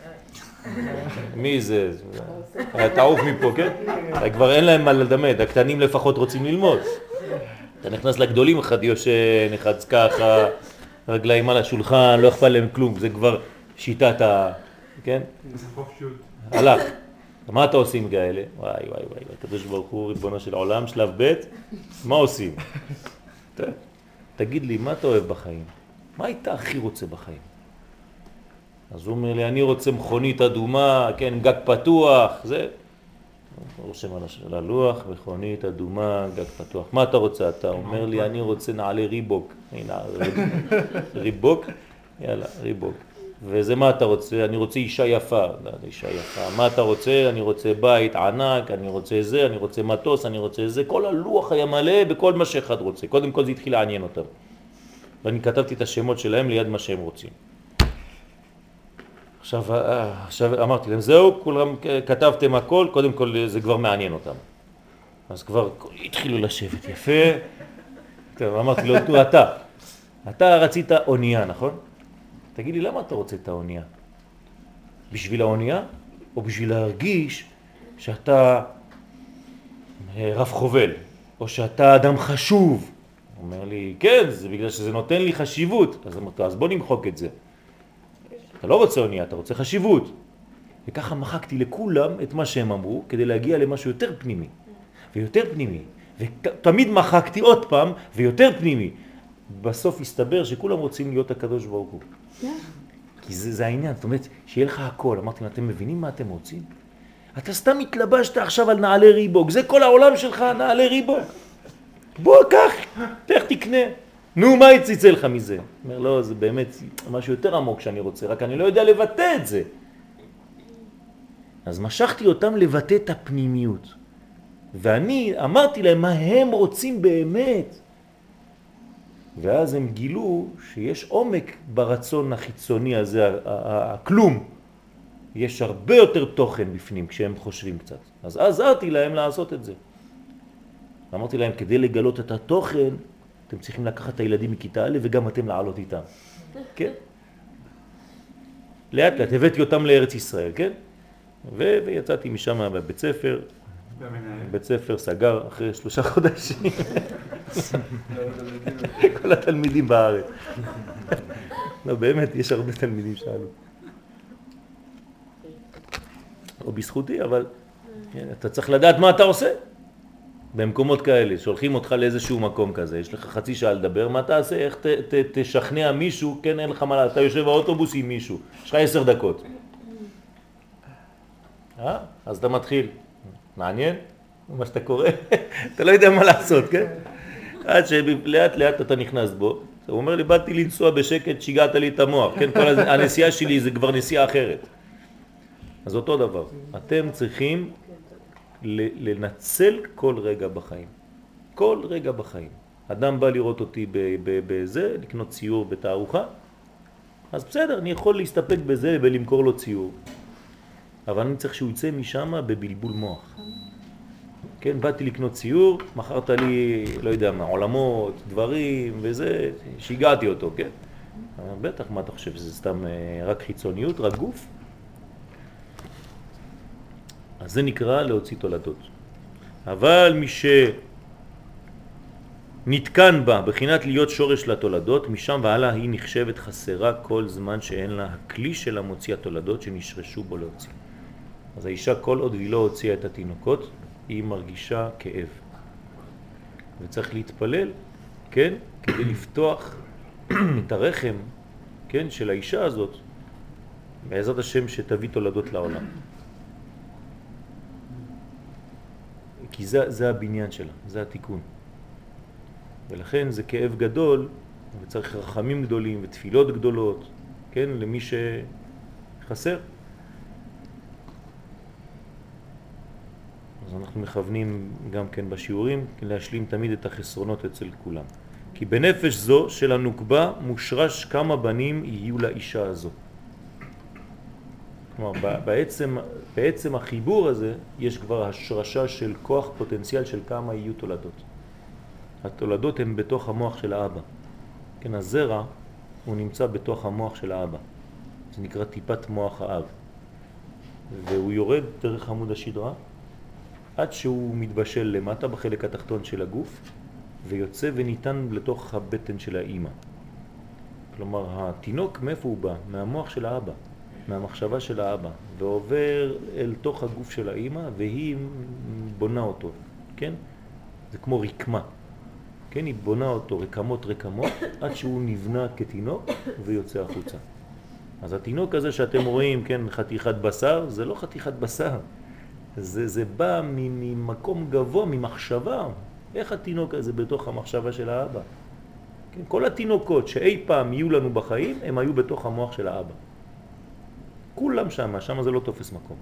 [SPEAKER 1] מי זה? תעוף מפה, כן? כבר אין להם מה לדמד, הקטנים לפחות רוצים ללמוד. אתה נכנס לגדולים, אחד יושן, אחד ככה, רגליים על השולחן, לא אכפת להם כלום, זה כבר שיטת ה... כן? הלך. מה אתה עושים כאלה? וואי וואי וואי, הקדוש ברוך הוא ריבונו של עולם, שלב ב', מה עושים? תגיד לי, מה אתה אוהב בחיים? מה היית הכי רוצה בחיים? אז הוא אומר לי, אני רוצה מכונית אדומה, כן, גג פתוח, זה. הוא רושם על הלוח, מכונית אדומה, גג פתוח. מה אתה רוצה? אתה אומר לי, אני רוצה נעלי ריבוק. הנה, ריבוק, יאללה, ריבוק. וזה מה אתה רוצה? אני רוצה אישה יפה. אישה יפה. מה אתה רוצה? אני רוצה בית ענק, אני רוצה זה, אני רוצה מטוס, אני רוצה זה. כל הלוח היה מלא בכל מה שאחד רוצה. קודם כל זה התחיל לעניין אותם. ואני כתבתי את השמות שלהם ליד מה שהם רוצים. עכשיו, עכשיו אמרתי להם, זהו, כולם כתבתם הכל, קודם כל זה כבר מעניין אותם. אז כבר התחילו לשבת יפה. טוב, אמרתי לו, תו, אתה, אתה רצית אונייה, נכון? תגיד לי, למה אתה רוצה את האונייה? בשביל האונייה או בשביל להרגיש שאתה רב חובל או שאתה אדם חשוב? הוא אומר לי, כן, זה בגלל שזה נותן לי חשיבות. אז אמרתי, אז בוא נמחוק את זה. אתה לא רוצה אונייה, אתה רוצה חשיבות. וככה מחקתי לכולם את מה שהם אמרו כדי להגיע למשהו יותר פנימי ויותר פנימי. ותמיד מחקתי עוד פעם ויותר פנימי. בסוף הסתבר שכולם רוצים להיות הקדוש ברוך הוא. כי זה, זה העניין, זאת אומרת, שיהיה לך הכל. אמרתי, אתם מבינים מה אתם רוצים? אתה סתם התלבשת עכשיו על נעלי ריבוק, זה כל העולם שלך, נעלי ריבוק. בוא, קח, תלך תקנה. נו, מה יציצא לך מזה? אומר, לא, זה באמת משהו יותר עמוק שאני רוצה, רק אני לא יודע לבטא את זה. אז משכתי אותם לבטא את הפנימיות. ואני אמרתי להם מה הם רוצים באמת. ואז הם גילו שיש עומק ברצון החיצוני הזה, הכלום. יש הרבה יותר תוכן בפנים כשהם חושבים קצת. אז עזרתי להם לעשות את זה. אמרתי להם, כדי לגלות את התוכן, אתם צריכים לקחת את הילדים מכיתה א' וגם אתם לעלות איתם. כן? לאט לאט, הבאתי אותם לארץ ישראל, כן? ו- ויצאתי משם בבית ספר. בית ספר סגר אחרי שלושה חודשים. כל התלמידים בארץ. לא, באמת, יש הרבה תלמידים שעלו. לא בזכותי, אבל אתה צריך לדעת מה אתה עושה. במקומות כאלה, שולחים אותך לאיזשהו מקום כזה, יש לך חצי שעה לדבר, מה אתה עושה? איך ת, ת, תשכנע מישהו? כן, אין לך מה, אתה יושב באוטובוס עם מישהו, יש לך עשר דקות. אה? אז אתה מתחיל. מעניין? מה שאתה קורא? אתה לא יודע מה לעשות, כן? עד שלאט לאט אתה נכנס בו, הוא אומר לי, באתי לנסוע בשקט, שיגעת לי את המוח, כן? כל הנסיעה שלי זה כבר נסיעה אחרת. אז אותו דבר, אתם צריכים לנצל כל רגע בחיים. כל רגע בחיים. אדם בא לראות אותי בזה, לקנות ציור בתערוכה, אז בסדר, אני יכול להסתפק בזה ולמכור לו ציור. אבל אני צריך שהוא יצא משם בבלבול מוח. כן, באתי לקנות ציור, מכרת לי, לא יודע מה, עולמות, דברים וזה, שיגעתי אותו, כן? בטח, מה אתה חושב, שזה סתם רק חיצוניות, רק גוף? אז זה נקרא להוציא תולדות. אבל מי נתקן בה, בחינת להיות שורש לתולדות, משם והלאה היא נחשבת חסרה כל זמן שאין לה הכלי של המוציא התולדות שנשרשו בו להוציא. אז האישה כל עוד היא לא הוציאה את התינוקות, היא מרגישה כאב. וצריך להתפלל, כן, כדי לפתוח את הרחם, כן, של האישה הזאת, בעזרת השם שתביא תולדות לעולם. כי זה, זה הבניין שלה, זה התיקון. ולכן זה כאב גדול, וצריך רחמים גדולים ותפילות גדולות, כן, למי שחסר. אז אנחנו מכוונים גם כן בשיעורים להשלים תמיד את החסרונות אצל כולם. כי בנפש זו של הנוקבה מושרש כמה בנים יהיו לאישה הזו. כלומר, בעצם, בעצם החיבור הזה יש כבר השרשה של כוח פוטנציאל של כמה יהיו תולדות. התולדות הן בתוך המוח של האבא. כן, הזרע הוא נמצא בתוך המוח של האבא. זה נקרא טיפת מוח האב. והוא יורד דרך עמוד השדרה עד שהוא מתבשל למטה בחלק התחתון של הגוף ויוצא וניתן לתוך הבטן של האמא. כלומר, התינוק מאיפה הוא בא? מהמוח של האבא, מהמחשבה של האבא, ועובר אל תוך הגוף של האמא והיא בונה אותו, כן? זה כמו רקמה. כן, היא בונה אותו רקמות רקמות עד שהוא נבנה כתינוק ויוצא החוצה. אז התינוק הזה שאתם רואים, כן, חתיכת בשר, זה לא חתיכת בשר. זה, זה בא ממקום גבוה, ממחשבה. איך התינוק הזה בתוך המחשבה של האבא? כן, כל התינוקות שאי פעם יהיו לנו בחיים, הם היו בתוך המוח של האבא. כולם שם, שם זה לא תופס מקום.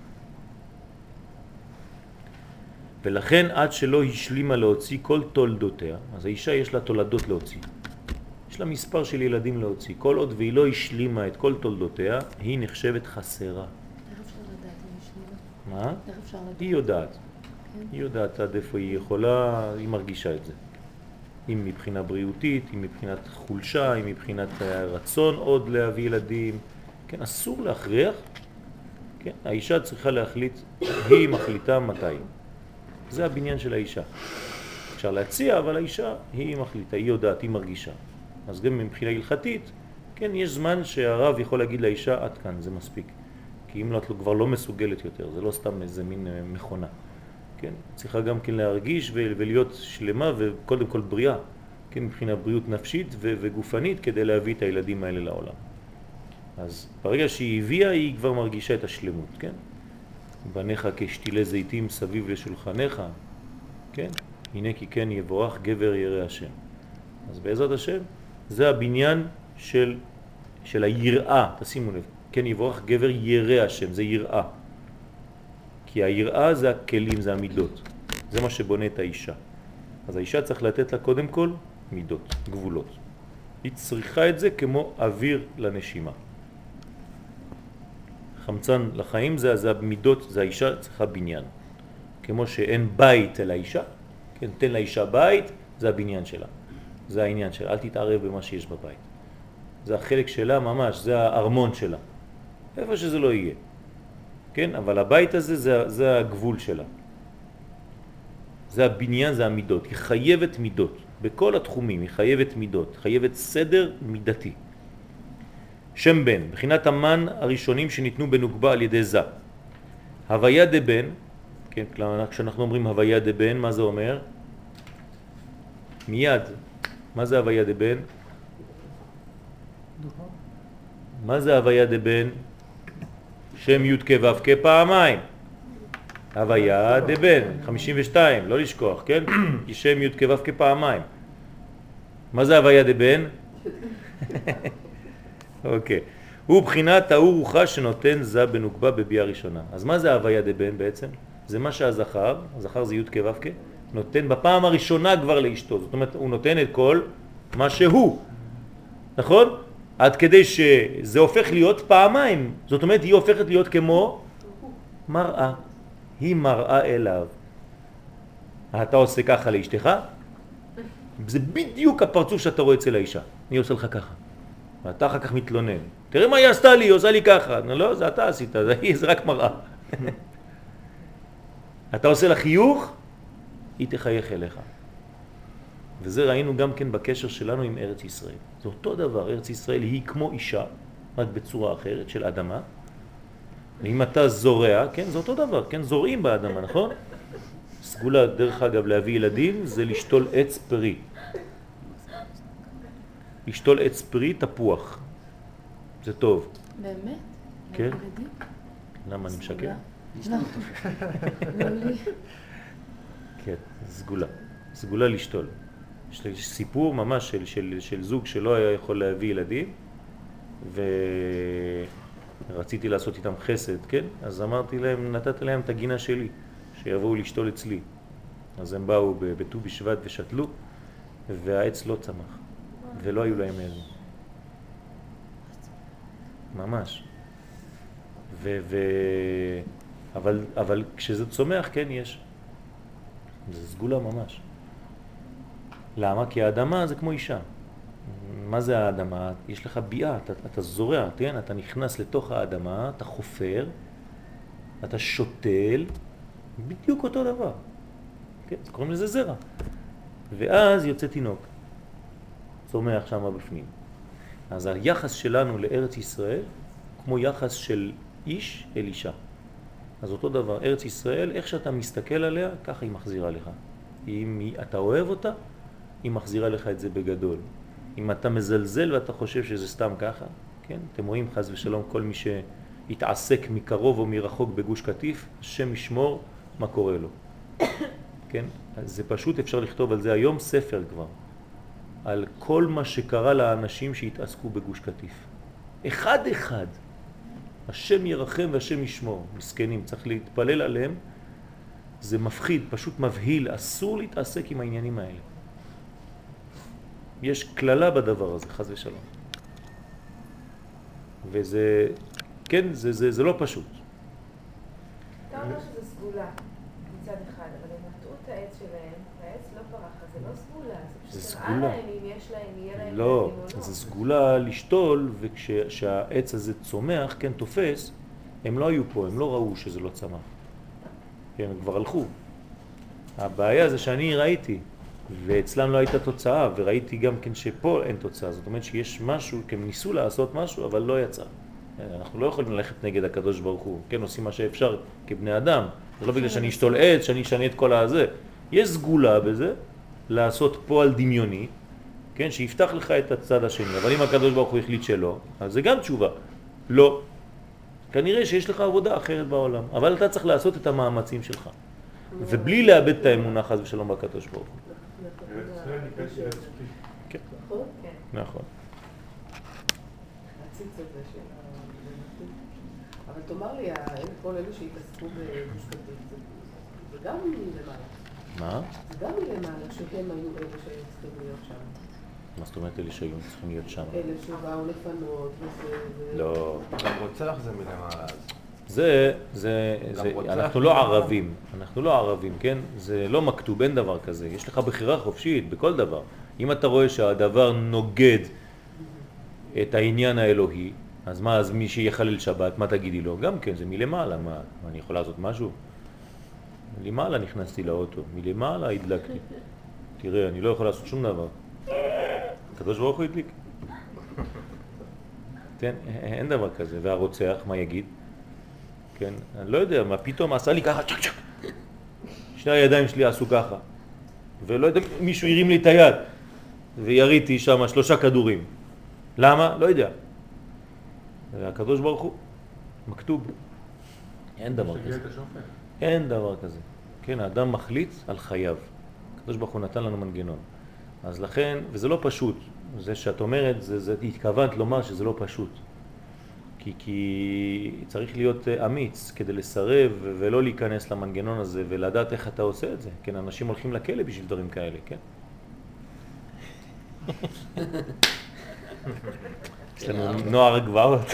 [SPEAKER 1] ולכן עד שלא השלימה להוציא כל תולדותיה, אז האישה יש לה תולדות להוציא. יש לה מספר של ילדים להוציא. כל עוד והיא לא השלימה את כל תולדותיה, היא נחשבת חסרה.
[SPEAKER 2] איך אפשר לדעת אם השלימה?
[SPEAKER 1] מה?
[SPEAKER 2] איך אפשר לדעת?
[SPEAKER 1] היא יודעת.
[SPEAKER 2] כן.
[SPEAKER 1] היא יודעת עד איפה היא יכולה, היא מרגישה את זה. אם מבחינה בריאותית, אם מבחינת חולשה, אם מבחינת רצון עוד להביא ילדים. כן, אסור להכריח. כן, האישה צריכה להחליט, היא מחליטה מתי. זה הבניין של האישה. אפשר להציע, אבל האישה היא מחליטה, היא יודעת, היא מרגישה. אז גם מבחינה הלכתית, כן, יש זמן שהרב יכול להגיד לאישה, עד כאן, זה מספיק. כי אם את כבר לא מסוגלת יותר, זה לא סתם איזה מין מכונה. כן, צריכה גם כן להרגיש ולהיות שלמה וקודם כל בריאה. כן, מבחינה בריאות נפשית וגופנית כדי להביא את הילדים האלה לעולם. אז ברגע שהיא הביאה, היא כבר מרגישה את השלמות, כן? בניך כשתילי זיתים סביב לשולחניך, כן? הנה כי כן יבורך גבר ירא השם. אז בעזרת השם, זה הבניין של, של היראה, תשימו לב, כן יבורך גבר ירא השם, זה יראה. כי היראה זה הכלים, זה המידות. זה מה שבונה את האישה. אז האישה צריך לתת לה קודם כל מידות, גבולות. היא צריכה את זה כמו אוויר לנשימה. חמצן לחיים זה, זה המידות, זה האישה צריכה בניין. כמו שאין בית אל האישה, כן, תן לאישה בית, זה הבניין שלה. זה העניין שלה, אל תתערב במה שיש בבית. זה החלק שלה ממש, זה הארמון שלה. איפה שזה לא יהיה. כן, אבל הבית הזה זה, זה הגבול שלה. זה הבניין, זה המידות. היא חייבת מידות. בכל התחומים היא חייבת מידות, חייבת סדר מידתי. שם בן, בחינת המן הראשונים שניתנו בנוקבה על ידי זה. הוויה דבן, כן, כשאנחנו אומרים הוויה דבן, מה זה אומר? מיד. מה זה הוויה דבן? מה זה הוויה דבן? שם י' כ' ו' כ' פעמיים. הוויה דבן, חמישים ושתיים, לא לשכוח, כן? כי שם י' כ' ו' כ' פעמיים. מה זה הוויה דבן? אוקיי. הוא בחינת האור רוחה שנותן זה בנוקבה בביאה ראשונה. אז מה זה הוויה דבן בעצם? זה מה שהזכר, הזכר זה י' כ' ו' כ', נותן בפעם הראשונה כבר לאשתו. זאת אומרת, הוא נותן את כל מה שהוא. נכון? עד כדי שזה הופך להיות פעמיים. זאת אומרת, היא הופכת להיות כמו מראה. היא מראה אליו. אתה עושה ככה לאשתך? זה בדיוק הפרצוף שאתה רואה אצל האישה. אני עושה לך ככה. ואתה אחר כך מתלונן. תראה מה היא עשתה לי, היא עושה לי ככה. לא, זה אתה עשית, זה, זה רק מראה. אתה עושה לה חיוך, היא תחייך אליך. וזה ראינו גם כן בקשר שלנו עם ארץ ישראל. זה אותו דבר, ארץ ישראל היא כמו אישה, רק בצורה אחרת של אדמה. ואם אתה זורע, כן, זה אותו דבר, כן, זורעים באדמה, נכון? סגולה, דרך אגב, להביא ילדים זה לשתול עץ פרי. לשתול עץ פרי, תפוח. זה טוב.
[SPEAKER 2] באמת?
[SPEAKER 1] כן.
[SPEAKER 2] ילדים?
[SPEAKER 1] למה אני משקר?
[SPEAKER 2] לא. לא לי.
[SPEAKER 1] כן, סגולה. סגולה לשתול. יש סיפור ממש של, של, של זוג שלא היה יכול להביא ילדים, ורציתי לעשות איתם חסד, כן? אז אמרתי להם, נתתי להם את הגינה שלי, שיבואו לשתול אצלי. אז הם באו בט"ו בשבט ושתלו, והעץ לא צמח, ולא היו להם ילדים. ממש. ו, ו... אבל, אבל כשזה צומח, כן, יש. זה סגולה ממש. למה? כי האדמה זה כמו אישה. מה זה האדמה? יש לך ביאה, אתה, אתה זורע, כן? אתה נכנס לתוך האדמה, אתה חופר, אתה שותל, בדיוק אותו דבר. כן? קוראים לזה זרע. ואז יוצא תינוק. צומח שם בפנים. אז היחס שלנו לארץ ישראל, כמו יחס של איש אל אישה. אז אותו דבר, ארץ ישראל, איך שאתה מסתכל עליה, ככה היא מחזירה לך. אם אתה אוהב אותה, היא מחזירה לך את זה בגדול. אם אתה מזלזל ואתה חושב שזה סתם ככה, כן? אתם רואים חס ושלום כל מי שהתעסק מקרוב או מרחוק בגוש קטיף, השם ישמור מה קורה לו. כן? אז זה פשוט, אפשר לכתוב על זה היום ספר כבר, על כל מה שקרה לאנשים שהתעסקו בגוש קטיף. אחד אחד. השם ירחם והשם ישמור. מסכנים, צריך להתפלל עליהם. זה מפחיד, פשוט מבהיל, אסור להתעסק עם העניינים האלה. יש כללה בדבר הזה, חס ושלום. וזה, כן, זה, זה, זה לא פשוט.
[SPEAKER 5] אתה אומר שזה סגולה מצד אחד, אבל הם נטעו את העץ שלהם, והעץ לא פרח, אז זה לא סגולה, זה פשוט הראה להם אם יש להם, יהיה להם
[SPEAKER 1] לא,
[SPEAKER 5] ילדים או לא.
[SPEAKER 1] זה סגולה לשתול, וכשהעץ הזה צומח, כן, תופס, הם לא היו פה, הם לא ראו שזה לא צמח. כן, הם כבר הלכו. הבעיה זה שאני ראיתי, ואצלם לא הייתה תוצאה, וראיתי גם כן שפה אין תוצאה. זאת אומרת שיש משהו, כי הם ניסו לעשות משהו, אבל לא יצא. אנחנו לא יכולים ללכת נגד הקדוש ברוך הוא. כן, עושים מה שאפשר כבני אדם. זה לא בגלל שאני אשתול עץ, שאני אשנה את כל הזה. יש סגולה בזה, לעשות פועל דמיוני, כן, שיפתח לך את הצד השני. אבל אם הקדוש ברוך הוא החליט שלא, אז זה גם תשובה. לא. כנראה שיש לך עבודה אחרת בעולם. אבל אתה צריך לעשות את המאמצים שלך. ובלי לאבד את האמונה חס ושלום בקדוש ברוך הוא. כן. נכון.
[SPEAKER 6] הציץ הזה של המנתים. אבל תאמר לי, כל אלו שהתעסקו בגוש קטיף, זה גם מלמעלה.
[SPEAKER 1] מה?
[SPEAKER 6] זה גם מלמעלה שהם היו אלו שצריכים להיות שם.
[SPEAKER 1] מה זאת אומרת אלה שהיו צריכים להיות שם?
[SPEAKER 6] אלה שבאו לפנות וזה...
[SPEAKER 1] לא.
[SPEAKER 4] גם רוצח זה מלמעלה.
[SPEAKER 1] זה, זה, זה, אנחנו לא ערבים, אנחנו לא ערבים, כן? זה לא מכתוב, אין דבר כזה. יש לך בחירה חופשית בכל דבר. אם אתה רואה שהדבר נוגד את העניין האלוהי, אז מה, אז מי שיחלל שבת, מה תגידי לו? גם כן, זה מלמעלה, מה, אני יכול לעשות משהו? מלמעלה נכנסתי לאוטו, מלמעלה הדלקתי. תראה, אני לא יכול לעשות שום דבר. הקדוש ברוך הוא הדליק. כן, אין דבר כזה. והרוצח, מה יגיד? כן, אני לא יודע, מה פתאום עשה לי ככה, צ'ק צ'ק. שני הידיים שלי עשו ככה. ולא יודע, מישהו הרים לי את היד. ויריתי שם שלושה כדורים. למה? לא יודע. הקדוש ברוך הוא, מכתוב. אין דבר כזה. אין דבר כזה. כן, האדם מחליט על חייו. הקדוש ברוך הוא נתן לנו מנגנון. אז לכן, וזה לא פשוט. זה שאת אומרת, זה, זה התכוונת לומר שזה לא פשוט. כי, כי צריך להיות אמיץ כדי לסרב ולא להיכנס למנגנון הזה ולדעת איך אתה עושה את זה. כן, אנשים הולכים לכלא בשביל דברים כאלה, כן? יש לנו נוער גבעות.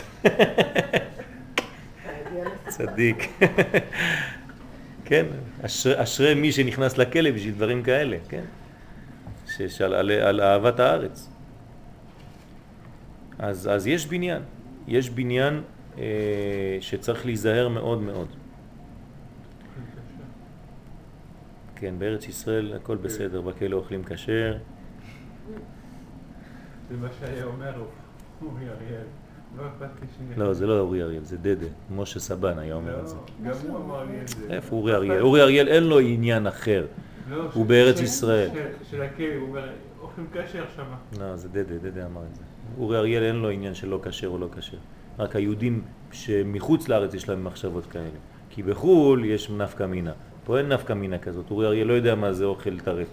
[SPEAKER 1] צדיק. כן, אשרי, אשרי מי שנכנס לכלא בשביל דברים כאלה, כן? שעל על, על אהבת הארץ. אז, אז יש בניין. יש בניין אה, שצריך להיזהר מאוד מאוד. כן, בארץ ישראל הכל בסדר, בכלא אוכלים כשר.
[SPEAKER 4] זה מה שהיה אומר אורי אריאל. לא אכפת לי שאני...
[SPEAKER 1] לא, זה לא אורי אריאל, זה דדה. משה סבן היה אומר את זה.
[SPEAKER 4] גם הוא אמר לי את זה.
[SPEAKER 1] איפה אורי אריאל? אורי אריאל אין לו עניין אחר.
[SPEAKER 4] לא,
[SPEAKER 1] הוא
[SPEAKER 4] ש-
[SPEAKER 1] בארץ
[SPEAKER 4] ש-
[SPEAKER 1] ישראל.
[SPEAKER 4] ש- של הכלא, הוא אומר, אוכלים כשר שמה.
[SPEAKER 1] לא, זה דדה, דדה אמר את זה. אורי אריאל אין לו עניין של לא כשר או לא כשר. רק היהודים שמחוץ לארץ יש להם מחשבות כאלה. כי בחול יש נפקא מינה. פה אין נפקא מינה כזאת. אורי אריאל לא יודע מה זה אוכל טרף.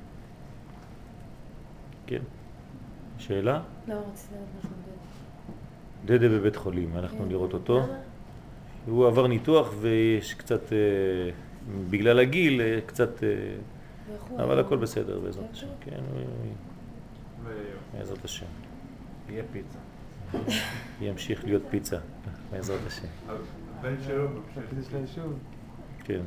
[SPEAKER 1] כן. שאלה?
[SPEAKER 2] לא, רציתי לדעת משהו דד.
[SPEAKER 1] דדה בבית חולים, הלכנו
[SPEAKER 2] כן.
[SPEAKER 1] לראות אותו.
[SPEAKER 2] למה?
[SPEAKER 1] הוא עבר ניתוח ויש קצת, אה, בגלל הגיל, אה, קצת, אה,
[SPEAKER 2] ואיך הוא
[SPEAKER 1] אבל
[SPEAKER 2] היה?
[SPEAKER 1] הכל בסדר בעזרת
[SPEAKER 2] כן,
[SPEAKER 1] השם.
[SPEAKER 2] טוב.
[SPEAKER 1] כן, הוא- הוא-
[SPEAKER 4] ו-
[SPEAKER 1] בעזרת השם.
[SPEAKER 4] יהיה פיצה.
[SPEAKER 1] ימשיך להיות פיצה, בעזרת השם.
[SPEAKER 4] הבן שלו בפשט.
[SPEAKER 1] כן.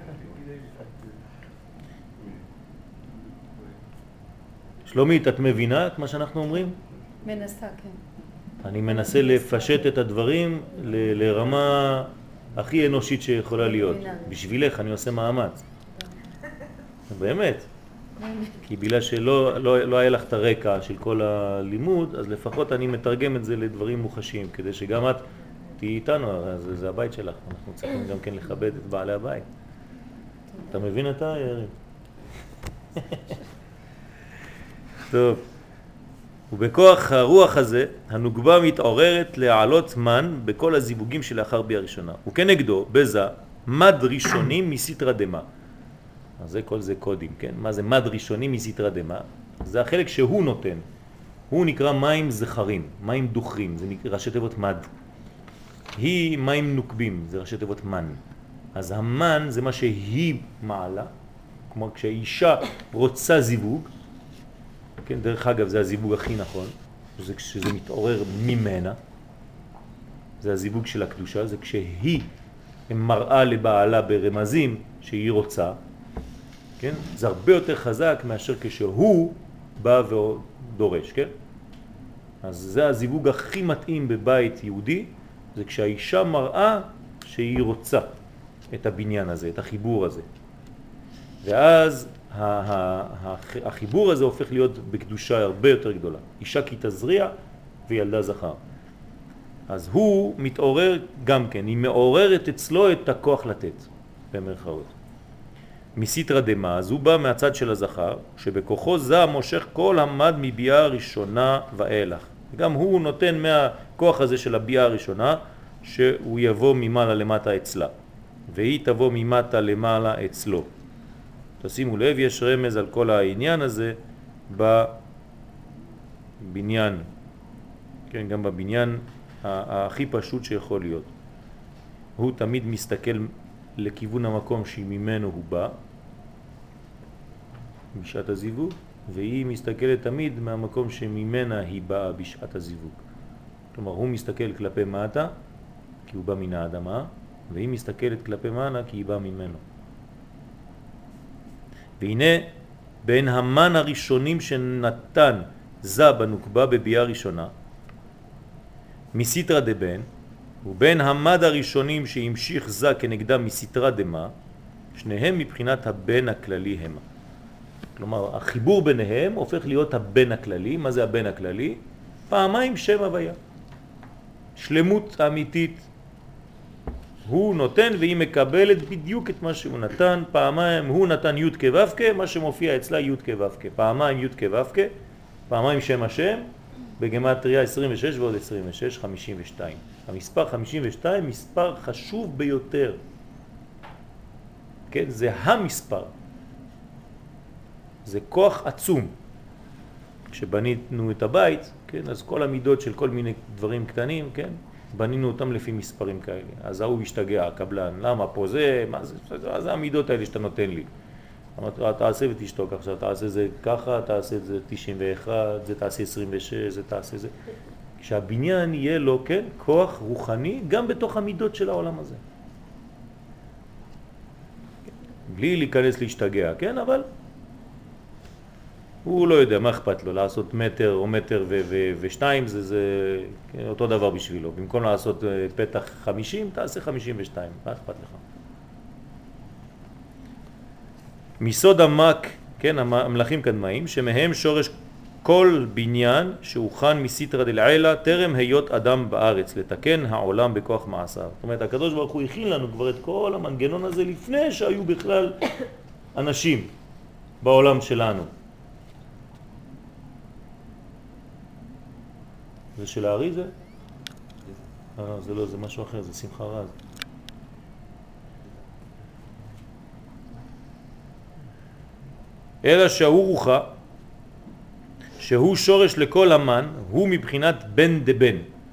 [SPEAKER 1] שלומית, את מבינה את מה שאנחנו אומרים?
[SPEAKER 2] מנסה, כן.
[SPEAKER 1] אני מנסה לפשט את הדברים ל- לרמה הכי אנושית שיכולה להיות. בשבילך אני עושה מאמץ. באמת. כי בגלל שלא לא, לא היה לך את הרקע של כל הלימוד, אז לפחות אני מתרגם את זה לדברים מוחשיים, כדי שגם את תהיי איתנו, זה, זה הבית שלך. אנחנו צריכים גם כן לכבד את בעלי הבית. אתה מבין אתה, יריב? טוב. ובכוח הרוח הזה, הנוגבה מתעוררת להעלות מן בכל הזיווגים שלאחר ביאה ראשונה. וכנגדו, בזה, מד ראשונים מסתרא דמה. אז זה כל זה קודים, כן? מה זה מד ראשונים מסתרא דמה? זה החלק שהוא נותן. הוא נקרא מים זכרים, מים דוחרים, זה נקרא ראשי תיבות מד. היא מים נוקבים, זה ראשי תיבות מן. אז המן זה מה שהיא מעלה, כמו כשהאישה רוצה זיווג, כן, דרך אגב זה הזיווג הכי נכון, זה כשזה מתעורר ממנה, זה הזיווג של הקדושה, זה כשהיא מראה לבעלה ברמזים שהיא רוצה, כן? זה הרבה יותר חזק מאשר כשהוא בא ודורש, כן? אז זה הזיווג הכי מתאים בבית יהודי, זה כשהאישה מראה שהיא רוצה את הבניין הזה, את החיבור הזה. ואז החיבור הזה הופך להיות בקדושה הרבה יותר גדולה. אישה כי תזריע וילדה זכר. אז הוא מתעורר גם כן, היא מעוררת אצלו את הכוח לתת, במרכאות. מסיטרא דמה, אז הוא בא מהצד של הזכר, שבכוחו זה מושך כל המד מביאה הראשונה ואילך. גם הוא נותן מהכוח הזה של הביאה הראשונה, שהוא יבוא ממעלה למטה אצלה, והיא תבוא ממטה למעלה אצלו. תשימו לב, יש רמז על כל העניין הזה בבניין, כן, גם בבניין הכי פשוט שיכול להיות. הוא תמיד מסתכל לכיוון המקום שממנו הוא בא, בשעת הזיווג, והיא מסתכלת תמיד מהמקום שממנה היא באה בשעת הזיווג. כלומר, הוא מסתכל כלפי מטה, כי הוא בא מן האדמה, והיא מסתכלת כלפי מעלה, כי היא באה ממנו. והנה, בין המן הראשונים שנתן זה בנוקבה בביאה ראשונה, מסיטרא דבן, ובין המד הראשונים שהמשיך זה כנגדה מסיטרא דמה, שניהם מבחינת הבן הכללי המה. כלומר, החיבור ביניהם הופך להיות הבן הכללי. מה זה הבן הכללי? פעמיים שם הוויה. שלמות אמיתית. הוא נותן והיא מקבלת בדיוק את מה שהוא נתן. פעמיים הוא נתן י' כו' מה שמופיע אצלה י' כו' פעמיים י' כו' פעמיים שם השם, בגמטריה עשרים ושש ועוד עשרים ושש, חמישים ושתיים. המספר חמישים ושתיים מספר חשוב ביותר. כן, זה המספר. זה כוח עצום. כשבנינו את הבית, כן, אז כל המידות של כל מיני דברים קטנים, כן, בנינו אותם לפי מספרים כאלה. אז הוא השתגע, הקבלן, למה פה זה, מה זה, אז זה המידות האלה שאתה נותן לי. אמרתי, תעשה ותשתוק עכשיו, תעשה זה ככה, תעשה זה תשעים ואחת, זה תעשה עשרים ושש, זה תעשה זה. כשהבניין יהיה לו, כן, כוח רוחני, גם בתוך המידות של העולם הזה. בלי להיכנס להשתגע, כן, אבל הוא לא יודע מה אכפת לו, לעשות מטר או מטר ו- ו- ושתיים, זה, זה כן, אותו דבר בשבילו. במקום לעשות פתח חמישים, תעשה חמישים ושתיים, מה אכפת לך? מסוד עמק, כן, המלאכים קדמאים, שמהם שורש כל בניין שהוכן מסיטרא דלעילא טרם היות אדם בארץ, לתקן העולם בכוח מעשיו. זאת אומרת, הקדוש ברוך הוא הכין לנו כבר את כל המנגנון הזה לפני שהיו בכלל אנשים בעולם שלנו. זה של הארי זה? אה, זה לא, זה משהו אחר, זה שמחה רז. אלא שהוא רוחה, שהוא שורש לכל המן, הוא מבחינת בן דבן.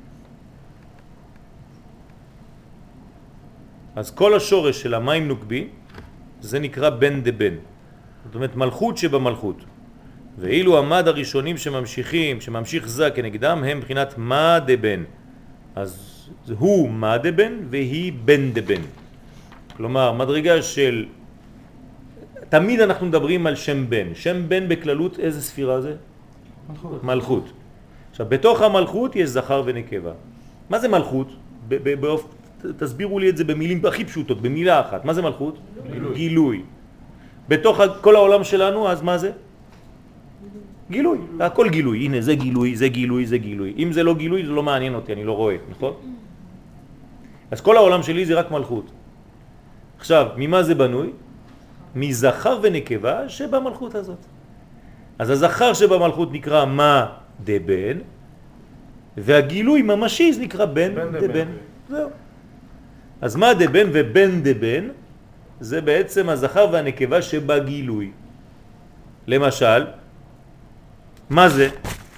[SPEAKER 1] אז כל השורש של המים נוקבי, זה נקרא בן דבן. זאת אומרת מלכות שבמלכות. ואילו המד הראשונים שממשיכים, שממשיך זה כנגדם, הם מבחינת מה דבן. אז הוא מה דבן והיא בן דבן. כלומר, מדרגה של... תמיד אנחנו מדברים על שם בן. שם בן בכללות איזה ספירה זה? מלכות. מלכות. עכשיו, בתוך המלכות יש זכר ונקבה. מה זה מלכות? באופ... תסבירו לי את זה במילים הכי פשוטות, במילה אחת. מה זה מלכות? גילוי. גילוי. בתוך כל העולם שלנו, אז מה זה? גילוי. הכל גילוי. הנה, זה גילוי, זה גילוי, זה גילוי. אם זה לא גילוי, זה לא מעניין אותי, אני לא רואה, נכון? אז כל העולם שלי זה רק מלכות. עכשיו, ממה זה בנוי? מזכר ונקבה שבמלכות הזאת. אז הזכר שבמלכות נקרא מה דבן, והגילוי ממשי זה נקרא בן דבן. זהו. אז מה דבן ובן דבן זה בעצם הזכר והנקבה שבגילוי. למשל, מה זה?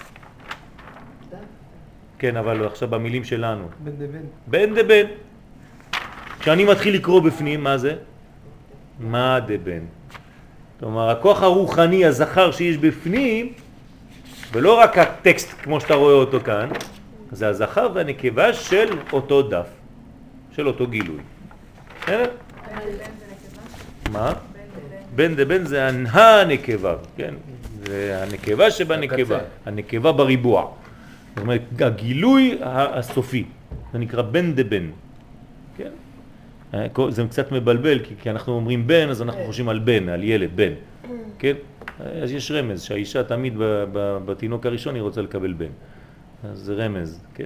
[SPEAKER 1] כן, אבל עכשיו במילים שלנו.
[SPEAKER 7] בן דבן.
[SPEAKER 1] בן דבן. כשאני מתחיל לקרוא בפנים, מה זה? מה דבן. כלומר, הכוח הרוחני, הזכר שיש בפנים, ולא רק הטקסט כמו שאתה רואה אותו כאן, זה הזכר והנקבה של אותו דף, של אותו גילוי. בסדר? מה? בן דבן זה הנקבה, כן? זה הנקבה שבנקבה, הנקבה בריבוע. זאת אומרת, הגילוי הסופי, זה נקרא בן דבן. כן? זה קצת מבלבל, כי, כי אנחנו אומרים בן, אז אנחנו חושבים על בן, על ילד, בן. כן? אז יש רמז, שהאישה תמיד בתינוק הראשון היא רוצה לקבל בן. אז זה רמז, כן?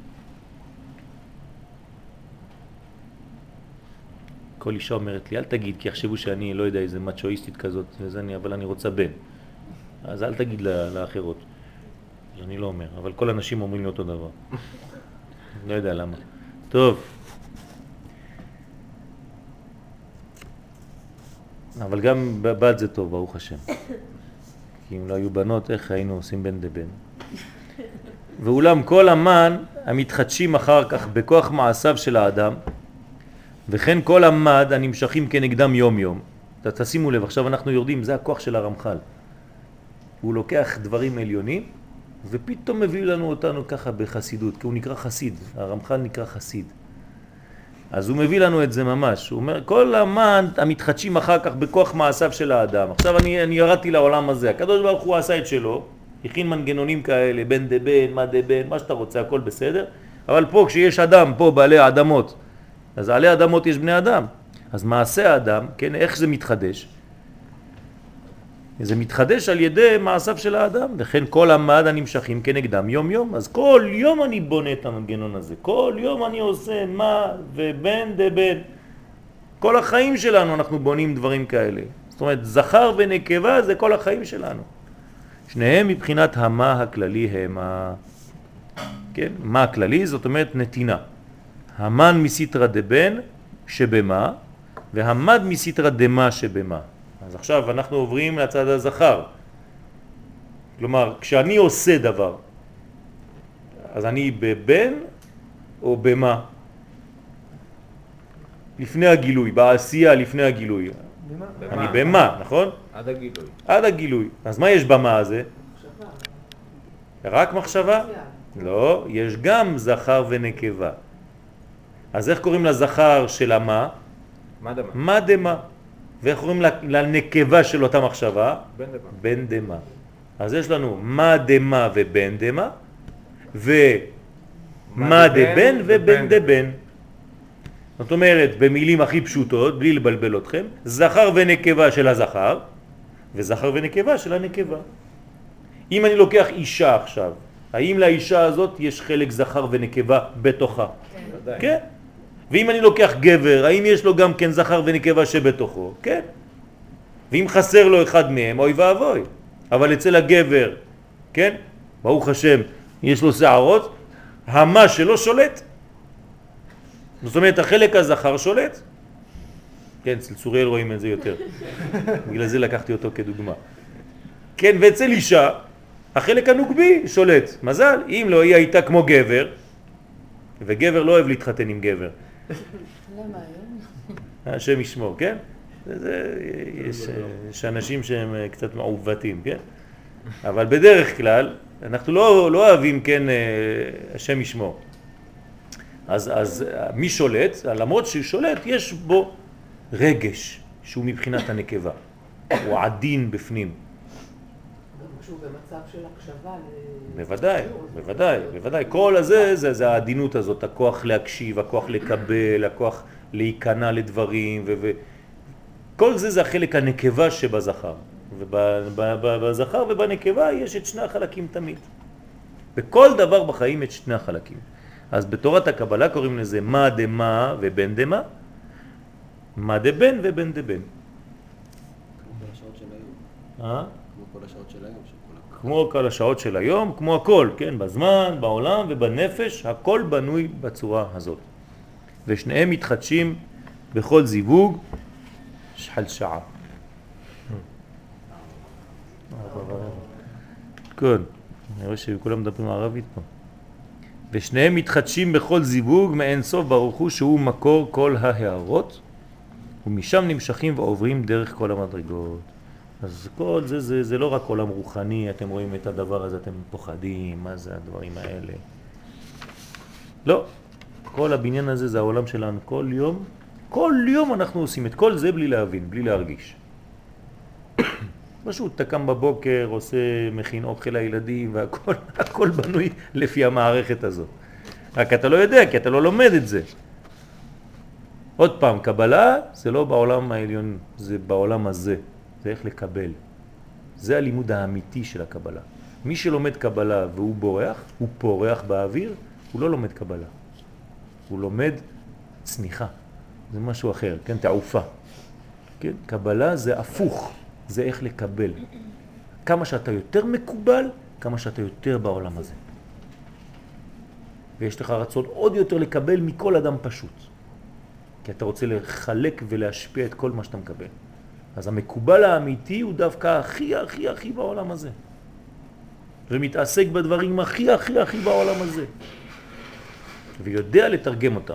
[SPEAKER 1] כל אישה אומרת לי, אל תגיד, כי יחשבו שאני לא יודע איזה מצ'ואיסטית כזאת, אני, אבל אני רוצה בן. אז אל תגיד לאחרות. אני לא אומר, אבל כל אנשים אומרים לי אותו דבר. לא יודע למה. טוב. אבל גם בת זה טוב, ברוך השם. כי אם לא היו בנות, איך היינו עושים בן דבן? ואולם כל המן המתחדשים אחר כך בכוח מעשיו של האדם, וכן כל המד הנמשכים כנגדם יום יום. תשימו לב, עכשיו אנחנו יורדים, זה הכוח של הרמח"ל. הוא לוקח דברים עליונים, ופתאום מביא לנו אותנו ככה בחסידות, כי הוא נקרא חסיד, הרמח"ל נקרא חסיד. אז הוא מביא לנו את זה ממש, הוא אומר, כל המן המתחדשים אחר כך בכוח מעשיו של האדם. עכשיו אני, אני ירדתי לעולם הזה, הקדוש ברוך הוא עשה את שלו, הכין מנגנונים כאלה, בן דבן, מה דבן, מה שאתה רוצה, הכל בסדר, אבל פה כשיש אדם, פה בעלי אדמות, אז עלי אדמות יש בני אדם, אז מעשה האדם, כן, איך זה מתחדש? זה מתחדש על ידי מעשיו של האדם, וכן כל המד הנמשכים כנגדם יום יום. אז כל יום אני בונה את המנגנון הזה, כל יום אני עושה מה ובן דבן. כל החיים שלנו אנחנו בונים דברים כאלה. זאת אומרת, זכר ונקבה זה כל החיים שלנו. שניהם מבחינת המה הכללי הם ה... כן? מה הכללי? זאת אומרת נתינה. המן מסיטרא דבן שבמה, והמד מסיטרא דמה שבמה. אז עכשיו אנחנו עוברים לצד הזכר. כלומר, כשאני עושה דבר, אז אני בבן או במה? לפני הגילוי, בעשייה לפני הגילוי. במה? אני במה, נכון?
[SPEAKER 4] עד הגילוי.
[SPEAKER 1] עד הגילוי. אז מה יש במה הזה?
[SPEAKER 6] מחשבה.
[SPEAKER 1] רק מחשבה? לא, יש גם זכר ונקבה. אז איך קוראים לזכר של המה?
[SPEAKER 4] מה דמה?
[SPEAKER 1] מה דמה. ואיך קוראים לנקבה של אותה מחשבה?
[SPEAKER 4] בן דמה.
[SPEAKER 1] בן דמה. אז יש לנו מה דמה ובן דמה, ומה דבן ובן דבן. זאת אומרת, במילים הכי פשוטות, בלי לבלבל אתכם, זכר ונקבה של הזכר, וזכר ונקבה של הנקבה. אם אני לוקח אישה עכשיו, האם לאישה הזאת יש חלק זכר ונקבה בתוכה?
[SPEAKER 2] כן.
[SPEAKER 1] כן. ואם אני לוקח גבר, האם יש לו גם כן זכר ונקבה שבתוכו? כן. ואם חסר לו אחד מהם, אוי ואבוי. אבל אצל הגבר, כן? ברוך השם, יש לו שערות, המה שלו שולט. זאת אומרת, החלק הזכר שולט. כן, אצל צוריאל רואים את זה יותר. בגלל זה לקחתי אותו כדוגמה. כן, ואצל אישה, החלק הנוגבי שולט. מזל, אם לא, היא הייתה כמו גבר, וגבר לא אוהב להתחתן עם גבר.
[SPEAKER 2] למה היום?
[SPEAKER 1] השם ישמור, כן? זה, יש, יש אנשים שהם קצת מעוותים, כן? אבל בדרך כלל, אנחנו לא, לא אוהבים, כן, השם ישמור. אז, אז מי שולט? למרות שהוא שולט, יש בו רגש שהוא מבחינת הנקבה. הוא עדין בפנים.
[SPEAKER 6] גם כשהוא במצב של הקשבה.
[SPEAKER 1] בוודאי, בוודאי, בוודאי. כל הזה, זה, זה העדינות הזאת, הכוח להקשיב, הכוח לקבל, הכוח להיכנע לדברים, ו... ו... כל זה זה החלק הנקבה שבזכר. ובזכר ובנקבה יש את שני החלקים תמיד. בכל דבר בחיים את שני החלקים. אז בתורת הקבלה קוראים לזה מה דמה ובן דמה, מה דבן ובן דבן.
[SPEAKER 3] כמו כל השעות של היום.
[SPEAKER 1] אה?
[SPEAKER 3] כמו כל השעות של היום. שכולם-
[SPEAKER 1] כמו כל השעות של היום, כמו הכל, כן? בזמן, בעולם ובנפש, הכל בנוי בצורה הזאת. ושניהם מתחדשים בכל זיווג שחל שעה. כן, אני רואה שכולם מדברים ערבית פה. ושניהם מתחדשים בכל זיווג מאין סוף ברוך הוא שהוא מקור כל ההערות, ומשם נמשכים ועוברים דרך כל המדרגות. אז כל זה, זה, זה לא רק עולם רוחני, אתם רואים את הדבר הזה, אתם פוחדים, מה זה הדברים האלה. לא, כל הבניין הזה זה העולם שלנו, כל יום, כל יום אנחנו עושים את כל זה בלי להבין, בלי להרגיש. פשוט אתה קם בבוקר, עושה, מכין אוכל לילדים, והכל הכל בנוי לפי המערכת הזאת. רק אתה לא יודע, כי אתה לא לומד את זה. עוד פעם, קבלה זה לא בעולם העליון, זה בעולם הזה. זה איך לקבל. זה הלימוד האמיתי של הקבלה. מי שלומד קבלה והוא בורח, הוא פורח באוויר, הוא לא לומד קבלה. הוא לומד צניחה. זה משהו אחר, כן? תעופה. כן? קבלה זה הפוך. זה איך לקבל. כמה שאתה יותר מקובל, כמה שאתה יותר בעולם הזה. ויש לך רצון עוד יותר לקבל מכל אדם פשוט. כי אתה רוצה לחלק ולהשפיע את כל מה שאתה מקבל. אז המקובל האמיתי הוא דווקא הכי הכי הכי בעולם הזה. ומתעסק בדברים הכי הכי הכי בעולם הזה. ויודע לתרגם אותם.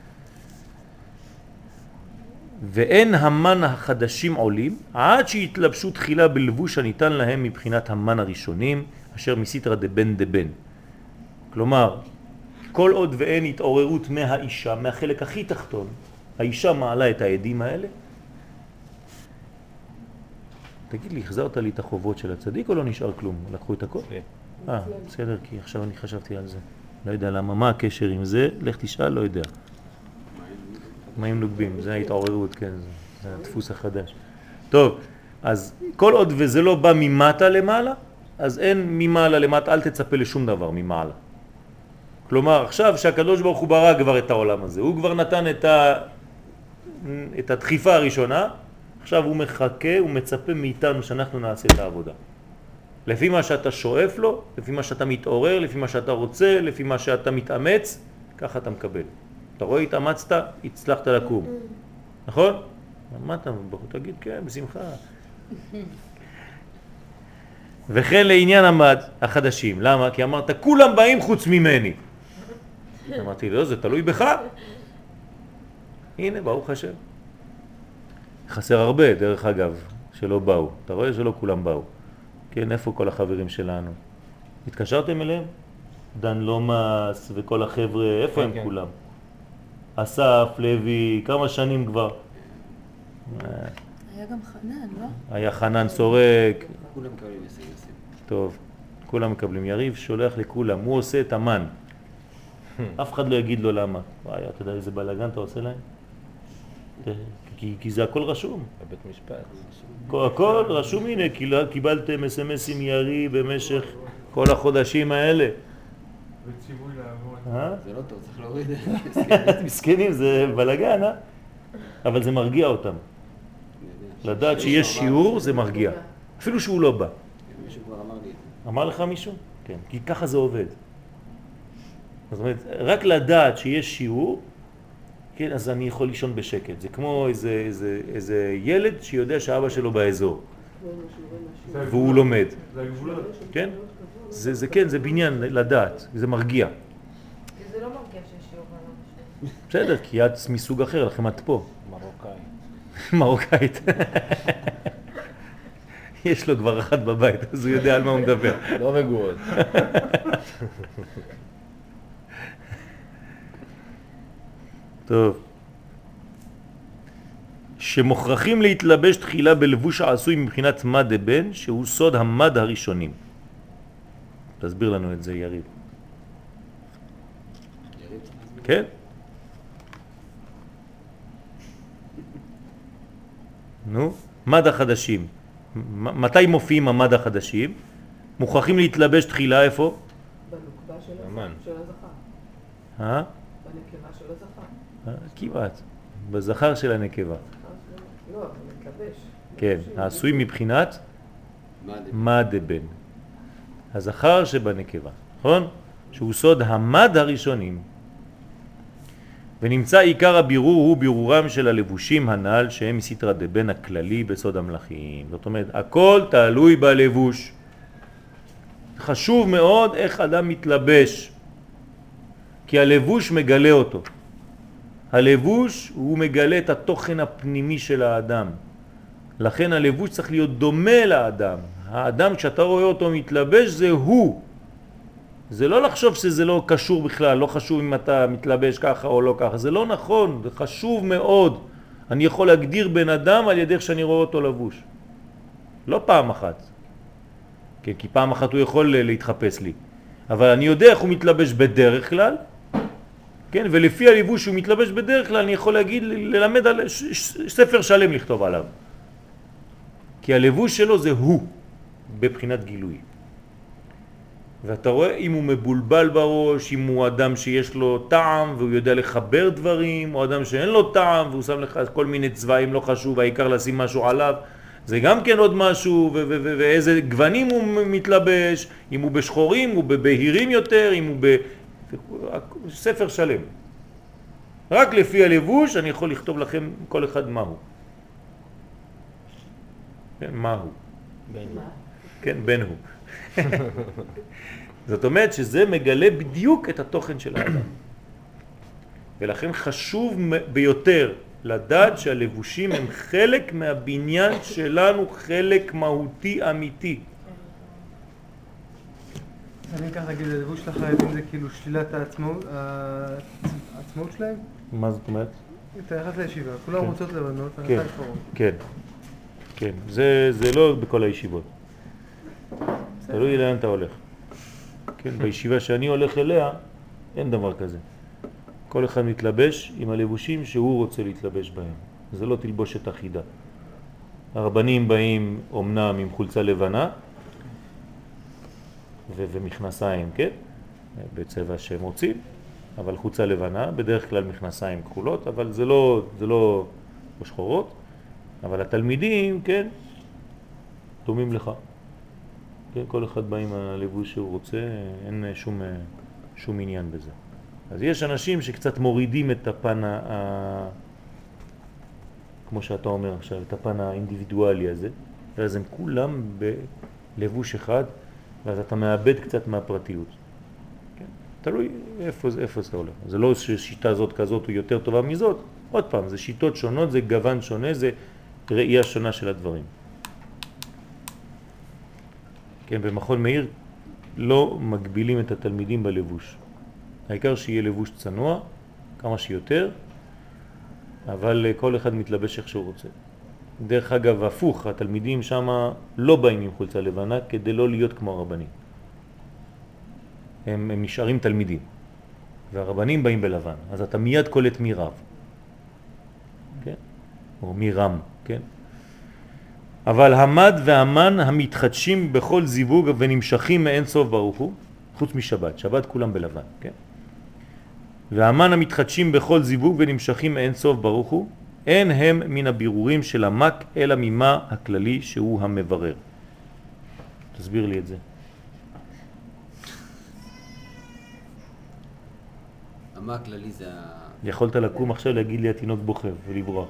[SPEAKER 1] ואין המן החדשים עולים עד שהתלבשו תחילה בלבוש הניתן להם מבחינת המן הראשונים אשר מסיתרא דבן דבן. כלומר, כל עוד ואין התעוררות מהאישה, מהחלק הכי תחתון, האישה מעלה את העדים האלה. תגיד לי, החזרת לי את החובות של הצדיק או לא נשאר כלום? לקחו את הכל? אה, בסדר, כי עכשיו אני חשבתי על זה. לא יודע למה, מה הקשר עם זה? לך תשאל, לא יודע. מים נוגבים, זה ההתעוררות, כן, זה, זה הדפוס החדש. טוב, אז כל עוד וזה לא בא ממטה למעלה, אז אין ממעלה למטה, אל תצפה לשום דבר ממעלה. כלומר, עכשיו שהקדוש ברוך הוא ברא כבר את העולם הזה, הוא כבר נתן את, ה, את הדחיפה הראשונה, עכשיו הוא מחכה, הוא מצפה מאיתנו שאנחנו נעשה את העבודה. לפי מה שאתה שואף לו, לפי מה שאתה מתעורר, לפי מה שאתה רוצה, לפי מה שאתה מתאמץ, ככה אתה מקבל. אתה רואה, התאמצת, הצלחת לקום. נכון? מה אתה בחור? תגיד, כן, בשמחה. וכן לעניין המד החדשים. למה? כי אמרת, כולם באים חוץ ממני. אמרתי, לא, זה תלוי בך. הנה, ברוך השם. חסר הרבה, דרך אגב, שלא באו. אתה רואה שלא כולם באו. כן, איפה כל החברים שלנו? התקשרתם אליהם? דן לומס וכל החבר'ה, איפה הם כולם? אסף, לוי, כמה שנים כבר.
[SPEAKER 2] היה גם חנן, לא?
[SPEAKER 1] היה חנן סורק.
[SPEAKER 3] כולם מקבלים יסים יסים.
[SPEAKER 1] טוב, כולם מקבלים. יריב שולח לכולם, הוא עושה את המן. אף אחד לא יגיד לו למה. וואי, אתה יודע איזה בלגן אתה עושה להם? כי, כי זה הכל רשום.
[SPEAKER 7] בבית משפט.
[SPEAKER 1] הכל, הכל רשום, הנה, קיבלתם אס-אם-אסים ירי במשך כל החודשים האלה.
[SPEAKER 4] וציווי לעבוד.
[SPEAKER 1] אה?
[SPEAKER 3] זה לא טוב, צריך להוריד את זה.
[SPEAKER 1] מסכנים, זה בלגן, אה? אבל זה מרגיע אותם. לדעת שיש שיעור זה מרגיע. אפילו שהוא לא בא.
[SPEAKER 3] מישהו כבר אמר לי את זה.
[SPEAKER 1] אמר לך מישהו? כן, כי ככה זה עובד. זאת אומרת, רק לדעת שיש שיעור, כן, אז אני יכול לישון בשקט. זה כמו איזה, איזה, איזה ילד שיודע שאבא שלו באזור, והוא לומד.
[SPEAKER 4] זה הגבולות.
[SPEAKER 1] כן? זה, זה כן, זה בניין לדעת, זה מרגיע.
[SPEAKER 5] כי זה לא מרגיע שיש שיעור בעולם.
[SPEAKER 1] בסדר, כי את מסוג אחר, לכם את פה.
[SPEAKER 7] מרוקאי.
[SPEAKER 1] מרוקאית. יש לו כבר אחת בבית, אז הוא יודע על מה הוא מדבר.
[SPEAKER 7] לא רגועות.
[SPEAKER 1] טוב. שמוכרחים להתלבש תחילה בלבוש העשוי מבחינת מד הבן, שהוא סוד המד הראשונים. תסביר לנו את זה, יריב.
[SPEAKER 3] יריב צריך להסביר.
[SPEAKER 1] כן? נו, מד החדשים. מ- מתי מופיעים המד החדשים? מוכרחים להתלבש תחילה איפה?
[SPEAKER 6] בנוקבה של
[SPEAKER 7] אמן.
[SPEAKER 6] הזכר. של הזכר.
[SPEAKER 1] אה?
[SPEAKER 6] בנקבה של הזכר.
[SPEAKER 1] אה, כמעט. בזכר של הנקבה.
[SPEAKER 6] לא, אבל מתלבש.
[SPEAKER 1] כן, העשוי מבחינת
[SPEAKER 3] מה זה?
[SPEAKER 1] מד הבן. הזכר שבנקבה, נכון? שהוא סוד המד הראשונים. ונמצא עיקר הבירור הוא בירורם של הלבושים הנ"ל שהם מסתרא דבן הכללי בסוד המלאכים. זאת אומרת, הכל תלוי בלבוש. חשוב מאוד איך אדם מתלבש, כי הלבוש מגלה אותו. הלבוש הוא מגלה את התוכן הפנימי של האדם. לכן הלבוש צריך להיות דומה לאדם. האדם כשאתה רואה אותו מתלבש זה הוא. זה לא לחשוב שזה לא קשור בכלל, לא חשוב אם אתה מתלבש ככה או לא ככה, זה לא נכון, זה חשוב מאוד. אני יכול להגדיר בן אדם על ידי איך שאני רואה אותו לבוש. לא פעם אחת. כן, כי פעם אחת הוא יכול להתחפש לי. אבל אני יודע איך הוא מתלבש בדרך כלל, כן, ולפי הלבוש שהוא מתלבש בדרך כלל, אני יכול להגיד, ללמד על ש- ש- ספר שלם לכתוב עליו. כי הלבוש שלו זה הוא, בבחינת גילוי. ואתה רואה אם הוא מבולבל בראש, אם הוא אדם שיש לו טעם והוא יודע לחבר דברים, או אדם שאין לו טעם והוא שם לך כל מיני צבעים, לא חשוב, העיקר לשים משהו עליו, זה גם כן עוד משהו, ו- ו- ו- ואיזה גוונים הוא מתלבש, אם הוא בשחורים, הוא בבהירים יותר, אם הוא ב... ספר שלם. רק לפי הלבוש אני יכול לכתוב לכם כל אחד מהו. כן, מהו. כן, בן הוא. זאת אומרת שזה מגלה בדיוק את התוכן של האדם. ולכן חשוב ביותר לדעת שהלבושים הם חלק מהבניין שלנו, חלק מהותי אמיתי.
[SPEAKER 8] אני אקח להגיד, הלבוש של החרדים זה כאילו שלילת העצמאות, העצמאות שלהם?
[SPEAKER 1] מה זאת אומרת?
[SPEAKER 8] אתה נכנס לישיבה, כולם רוצות לבנות, אתה
[SPEAKER 1] כן,
[SPEAKER 8] נכנס לפורום.
[SPEAKER 1] כן, כן. זה, זה לא בכל הישיבות. תלוי לאן אתה הולך. כן, בישיבה שאני הולך אליה, אין דבר כזה. כל אחד מתלבש עם הלבושים שהוא רוצה להתלבש בהם. זה לא תלבושת אחידה. הרבנים באים אומנם עם חולצה לבנה ו- ומכנסיים, כן? בצבע שהם רוצים, אבל חולצה לבנה, בדרך כלל מכנסיים כחולות, אבל זה לא, זה לא שחורות. אבל התלמידים, כן, דומים לך. כן, כל אחד בא עם הלבוש שהוא רוצה, אין שום, שום עניין בזה. אז יש אנשים שקצת מורידים את הפן, ה... כמו שאתה אומר עכשיו, את הפן האינדיבידואלי הזה, ואז הם כולם בלבוש אחד, ואז אתה מאבד קצת מהפרטיות. כן? תלוי איפה, איפה זה הולך. זה לא ששיטה זאת כזאת היא יותר טובה מזאת, עוד פעם, זה שיטות שונות, זה גוון שונה, זה ראייה שונה של הדברים. כן, במכון מאיר לא מגבילים את התלמידים בלבוש. העיקר שיהיה לבוש צנוע, כמה שיותר, אבל כל אחד מתלבש איך שהוא רוצה. דרך אגב, הפוך, התלמידים שם לא באים עם חולצה לבנה כדי לא להיות כמו הרבנים. הם, הם נשארים תלמידים, והרבנים באים בלבן, אז אתה מיד קולט מי רב. כן? או מרם, כן? אבל המד והמן המתחדשים בכל זיווג ונמשכים מאין סוף ברוך הוא, חוץ משבת, שבת כולם בלבן, כן? והמן המתחדשים בכל זיווג ונמשכים מאין סוף ברוך הוא, אין הם מן הבירורים של המק אלא ממה הכללי שהוא המברר. תסביר לי את זה.
[SPEAKER 3] המה הכללי זה ה...
[SPEAKER 1] יכולת לקום עכשיו להגיד לי התינוק בוכה ולברוח.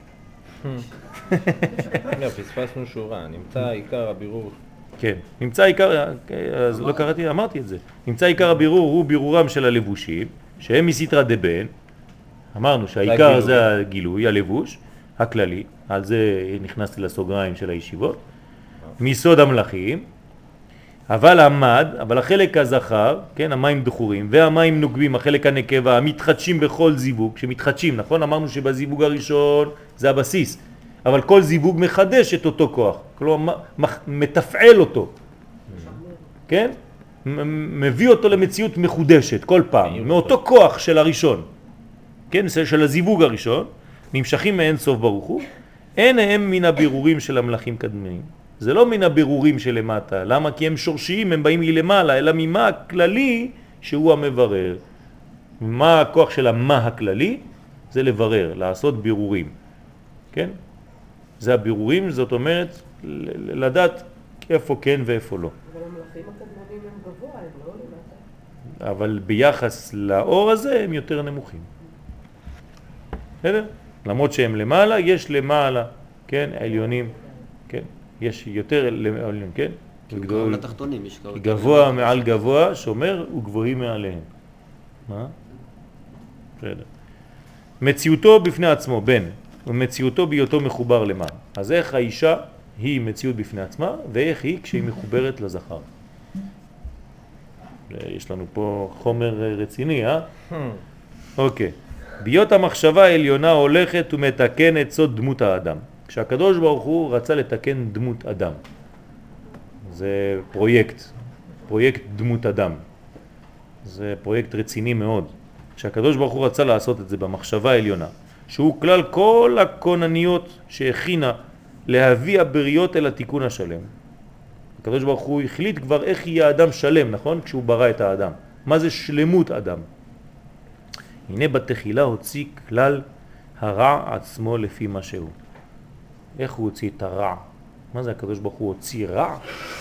[SPEAKER 7] לא, פספסנו שורה, נמצא עיקר הבירור.
[SPEAKER 1] כן, נמצא עיקר, אז לא קראתי, אמרתי את זה. נמצא עיקר הבירור הוא בירורם של הלבושים, שהם מסתרא דבן. אמרנו שהעיקר זה הגילוי, הלבוש, הכללי, על זה נכנסתי לסוגריים של הישיבות. מיסוד המלאכים, אבל המד, אבל החלק הזכר, כן, המים דחורים, והמים נוגבים, החלק הנקבה, המתחדשים בכל זיווג, שמתחדשים, נכון? אמרנו שבזיווג הראשון זה הבסיס, אבל כל זיווג מחדש את אותו כוח, כלומר מתפעל אותו, כן? מביא אותו למציאות מחודשת כל פעם, מאותו כוח של הראשון, כן? של הזיווג הראשון, נמשכים מאין סוף ברוך הוא, אין הם מן הבירורים של המלאכים קדמיים. זה לא מן הבירורים שלמטה, למה? כי הם שורשיים, הם באים מלמעלה, אלא ממה הכללי שהוא המברר. מה הכוח של המה הכללי? זה לברר, לעשות בירורים. כן? זה הבירורים, זאת אומרת, לדעת איפה כן ואיפה לא.
[SPEAKER 6] אבל המלאכים הקדמונים הם גבוה, הם לא למטה.
[SPEAKER 1] אבל ביחס לאור הזה הם יותר נמוכים. בסדר? למרות שהם למעלה, יש למעלה, כן? העליונים, כן? יש יותר לעליון, כן?
[SPEAKER 3] גבוה לתחתונים, יש גבוה.
[SPEAKER 1] גבוה מעל גבוה, שומר וגבוהים מעליהם. מה? בסדר. מציאותו בפני עצמו, בן, ומציאותו בהיותו מחובר למה. אז איך האישה היא מציאות בפני עצמה, ואיך היא כשהיא מחוברת לזכר. יש לנו פה חומר רציני, אה? אוקיי. ביות המחשבה העליונה הולכת ומתקנת סוד דמות האדם. כשהקדוש ברוך הוא רצה לתקן דמות אדם. זה פרויקט, פרויקט דמות אדם. זה פרויקט רציני מאוד. כשהקדוש ברוך הוא רצה לעשות את זה במחשבה העליונה, שהוא כלל כל הכונניות שהכינה להביא הבריות אל התיקון השלם. הקדוש ברוך הוא החליט כבר איך יהיה האדם שלם, נכון? כשהוא ברא את האדם. מה זה שלמות אדם? הנה בתחילה הוציא כלל הרע עצמו לפי מה שהוא. איך הוא הוציא את הרע? מה זה הקדוש ברוך הוא הוציא רע?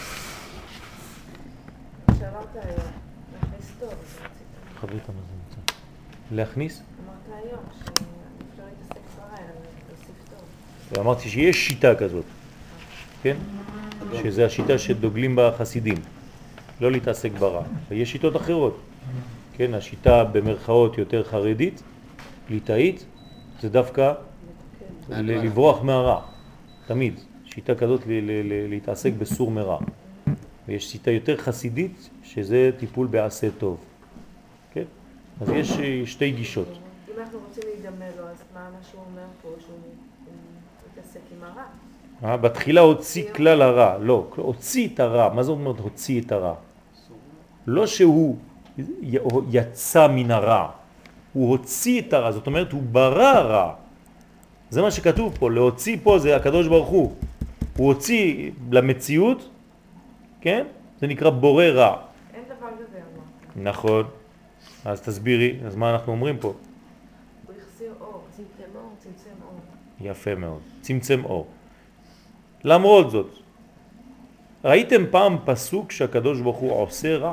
[SPEAKER 5] שאמרת היום, להכניס טוב,
[SPEAKER 1] חברית, מה זה נמצא? להכניס?
[SPEAKER 5] אמרת היום שאפשר להתעסק ברע, אלא להוסיף טוב.
[SPEAKER 1] ואמרתי שיש שיטה כזאת, כן? שזה השיטה שדוגלים בה חסידים, לא להתעסק ברע. ויש שיטות אחרות, כן? השיטה במרכאות יותר חרדית, ליטאית, זה דווקא לברוח מהרע. תמיד, שיטה כזאת להתעסק בסור מרע. ויש שיטה יותר חסידית, שזה טיפול בעשה טוב. כן? אז יש שתי גישות.
[SPEAKER 5] אם אנחנו רוצים להידמה לו, אז מה מה שהוא אומר פה, שהוא מתעסק עם הרע?
[SPEAKER 1] בתחילה הוציא כלל הרע. לא, הוציא את הרע. מה זאת אומרת הוציא את הרע? לא שהוא יצא מן הרע. הוא הוציא את הרע, זאת אומרת הוא ברא רע. זה מה שכתוב פה, להוציא פה זה הקדוש ברוך הוא. הוא הוציא למציאות, כן? זה נקרא בורא רע.
[SPEAKER 5] אין דבר כזה, אמרת.
[SPEAKER 1] נכון. אז תסבירי, אז מה אנחנו אומרים פה?
[SPEAKER 5] הוא החסיר אור, צמצם אור, צמצם אור.
[SPEAKER 1] יפה מאוד, צמצם אור. למרות זאת, ראיתם פעם פסוק שהקדוש ברוך הוא עושה רע?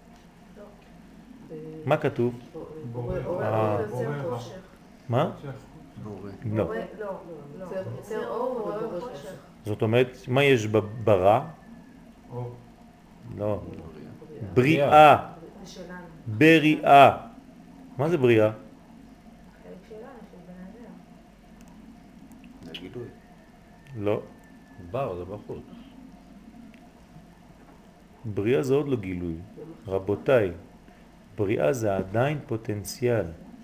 [SPEAKER 1] מה כתוב? מה? לא.
[SPEAKER 5] לא, לא. יוצר אור ובורא חושך.
[SPEAKER 1] זאת אומרת, מה יש ברע? לא. בריאה. בריאה. מה זה בריאה?
[SPEAKER 5] חלק שלנו, של בן אדם.
[SPEAKER 3] זה גילוי.
[SPEAKER 1] לא.
[SPEAKER 7] בר, זה בחוץ.
[SPEAKER 1] בריאה זה עוד לא גילוי. רבותיי, בריאה זה עדיין פוטנציאל.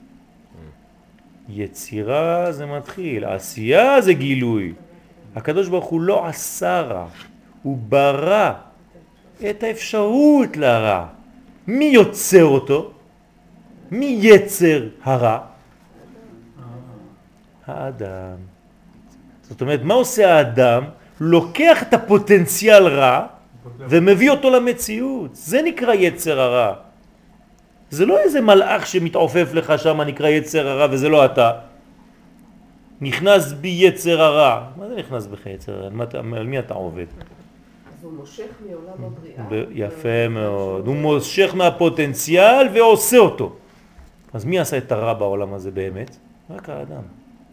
[SPEAKER 1] יצירה זה מתחיל, עשייה זה גילוי. הקדוש ברוך הוא לא עשה רע, הוא ברא את האפשרות לרע. מי יוצר אותו? מי יצר הרע? האדם. זאת אומרת, מה עושה האדם? לוקח את הפוטנציאל רע ומביא אותו למציאות. זה נקרא יצר הרע. זה לא איזה מלאך שמתעופף לך שם נקרא יצר הרע וזה לא אתה. נכנס בי יצר הרע. מה זה נכנס בך יצר הרע? על מי אתה עובד?
[SPEAKER 6] אז הוא מושך מעולם הבריאה.
[SPEAKER 1] ב- יפה מאוד. הוא מושך מהפוטנציאל ועושה אותו. אז מי עשה את הרע בעולם הזה באמת? רק האדם.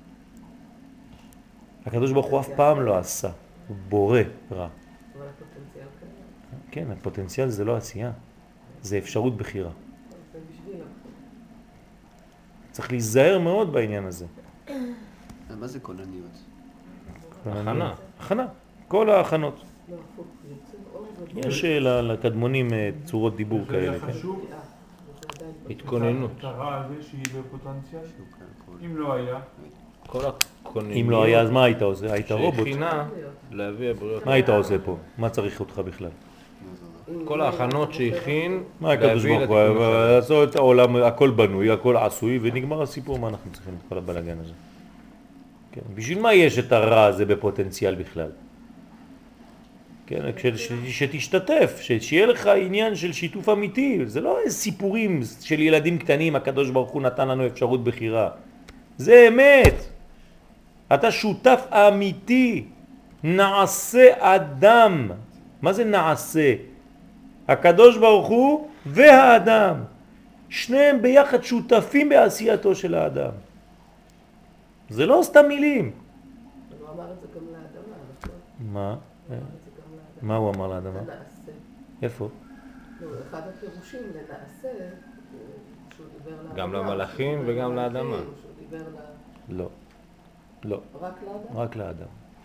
[SPEAKER 1] הקדוש ברוך הוא אף פעם לא עשה. הוא בורא רע.
[SPEAKER 6] אבל הפוטנציאל קיים.
[SPEAKER 1] כן, הפוטנציאל זה לא עשייה. זה אפשרות בחירה.
[SPEAKER 6] זה בשביל הבחירה.
[SPEAKER 1] צריך להיזהר מאוד בעניין הזה.
[SPEAKER 3] מה זה כונניות?
[SPEAKER 7] הכנה.
[SPEAKER 1] הכנה. כל ההכנות.
[SPEAKER 6] לא, הפוך, זה יוצר אור גדול.
[SPEAKER 1] יש אה, לקדמונים אה, צורות דיבור
[SPEAKER 4] זה
[SPEAKER 1] כאלה.
[SPEAKER 4] היה
[SPEAKER 1] כן?
[SPEAKER 4] חשוב,
[SPEAKER 6] בריאה, וזה עדיין
[SPEAKER 7] התכוננות.
[SPEAKER 4] את הרע הזה שהיא בפוטנציאל.
[SPEAKER 3] כן,
[SPEAKER 4] אם לא היה,
[SPEAKER 7] כל הכונניות.
[SPEAKER 1] אם לא היה, אז מה היית עושה? היית רובוט.
[SPEAKER 7] שהכינה להביא הבריאות.
[SPEAKER 1] מה היית עושה פה? מה צריך אותך בכלל?
[SPEAKER 7] כל ההכנות שהכין
[SPEAKER 1] מה הקדוש
[SPEAKER 7] להביא
[SPEAKER 1] ברוך הוא?
[SPEAKER 7] לתיקון השלם.
[SPEAKER 1] לעשות את העולם, הכל בנוי, הכל עשוי, ונגמר הסיפור, מה אנחנו צריכים את כל הבלגן הזה? כן, בשביל מה יש את הרע הזה בפוטנציאל בכלל? כן, כש- שתשתתף, ש- שיהיה לך עניין של שיתוף אמיתי, זה לא איזה סיפורים של ילדים קטנים, הקדוש ברוך הוא נתן לנו אפשרות בחירה. זה אמת. אתה שותף אמיתי, נעשה אדם. מה זה נעשה? הקדוש ברוך הוא והאדם. שניהם ביחד שותפים בעשייתו של האדם. זה לא סתם מילים.
[SPEAKER 6] הוא אמר את זה גם לאדמה, נכון?
[SPEAKER 1] מה?
[SPEAKER 6] הוא אמר את זה גם לאדמה.
[SPEAKER 1] מה הוא אמר לאדמה?
[SPEAKER 6] לנעשה.
[SPEAKER 1] איפה?
[SPEAKER 6] לא, אחד הפירושים לנעשה, שהוא דיבר לאדמה.
[SPEAKER 7] גם למלאכים
[SPEAKER 6] שהוא דיבר
[SPEAKER 7] וגם
[SPEAKER 6] למלאכים,
[SPEAKER 7] לאדמה.
[SPEAKER 6] שהוא דיבר ל...
[SPEAKER 1] לא. לא.
[SPEAKER 6] רק לאדם?
[SPEAKER 1] רק לאדם.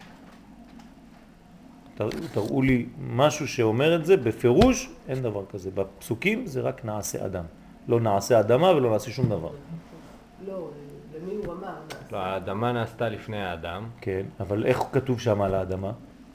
[SPEAKER 1] תראו, תראו לי משהו שאומר את זה, בפירוש אין דבר כזה. בפסוקים זה רק נעשה אדם. לא נעשה אדמה ולא נעשה שום דבר.
[SPEAKER 6] לא, למי הוא אמר נעשה?
[SPEAKER 7] לא, האדמה נעשתה לפני האדם.
[SPEAKER 1] כן, אבל איך כתוב שם על האדמה?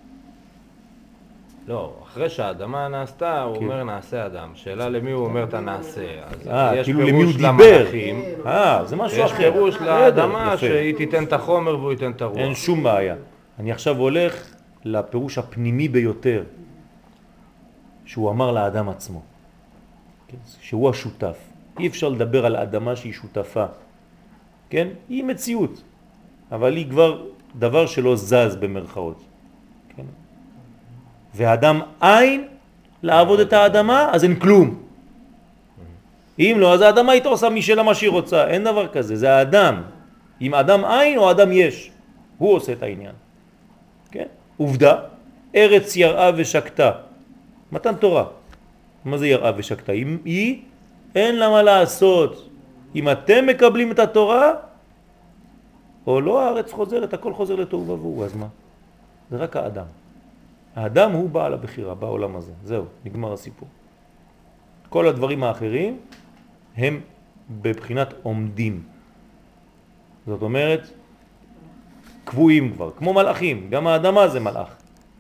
[SPEAKER 7] לא, אחרי שהאדמה נעשתה, הוא
[SPEAKER 1] כן.
[SPEAKER 7] אומר נעשה אדם. שאלה למי הוא אומר את הנעשה. אז
[SPEAKER 1] אה,
[SPEAKER 7] יש
[SPEAKER 1] כאילו למי הוא
[SPEAKER 7] פירוש
[SPEAKER 1] דיבר.
[SPEAKER 7] למלאכים.
[SPEAKER 1] אה, זה משהו
[SPEAKER 7] יש
[SPEAKER 1] אחר.
[SPEAKER 7] פירוש
[SPEAKER 1] בסדר,
[SPEAKER 7] לאדמה
[SPEAKER 1] יפה.
[SPEAKER 7] שהיא תיתן את החומר והוא ייתן את הרוח.
[SPEAKER 1] אין שום בעיה. אני עכשיו הולך לפירוש הפנימי ביותר, שהוא אמר לאדם עצמו. כן? שהוא השותף. אי אפשר לדבר על אדמה שהיא שותפה. כן? היא מציאות. אבל היא כבר דבר שלא זז במרכאות. כן? והאדם אין לעבוד את האדמה, אז אין כלום. אם לא, אז האדמה הייתה עושה משלה מה שהיא רוצה. אין דבר כזה, זה האדם. אם אדם אין או אדם יש. הוא עושה את העניין. כן? עובדה, ארץ יראה ושקטה. מתן תורה. מה זה יראה ושקטה? אם היא, אין לה מה לעשות. אם אתם מקבלים את התורה, או לא, הארץ חוזרת, הכל חוזר לתוהו ובוהו, אז מה? זה רק האדם. האדם הוא בעל הבחירה בעולם הזה. זהו, נגמר הסיפור. כל הדברים האחרים הם בבחינת עומדים. זאת אומרת, קבועים כבר, כמו מלאכים. גם האדמה זה מלאך.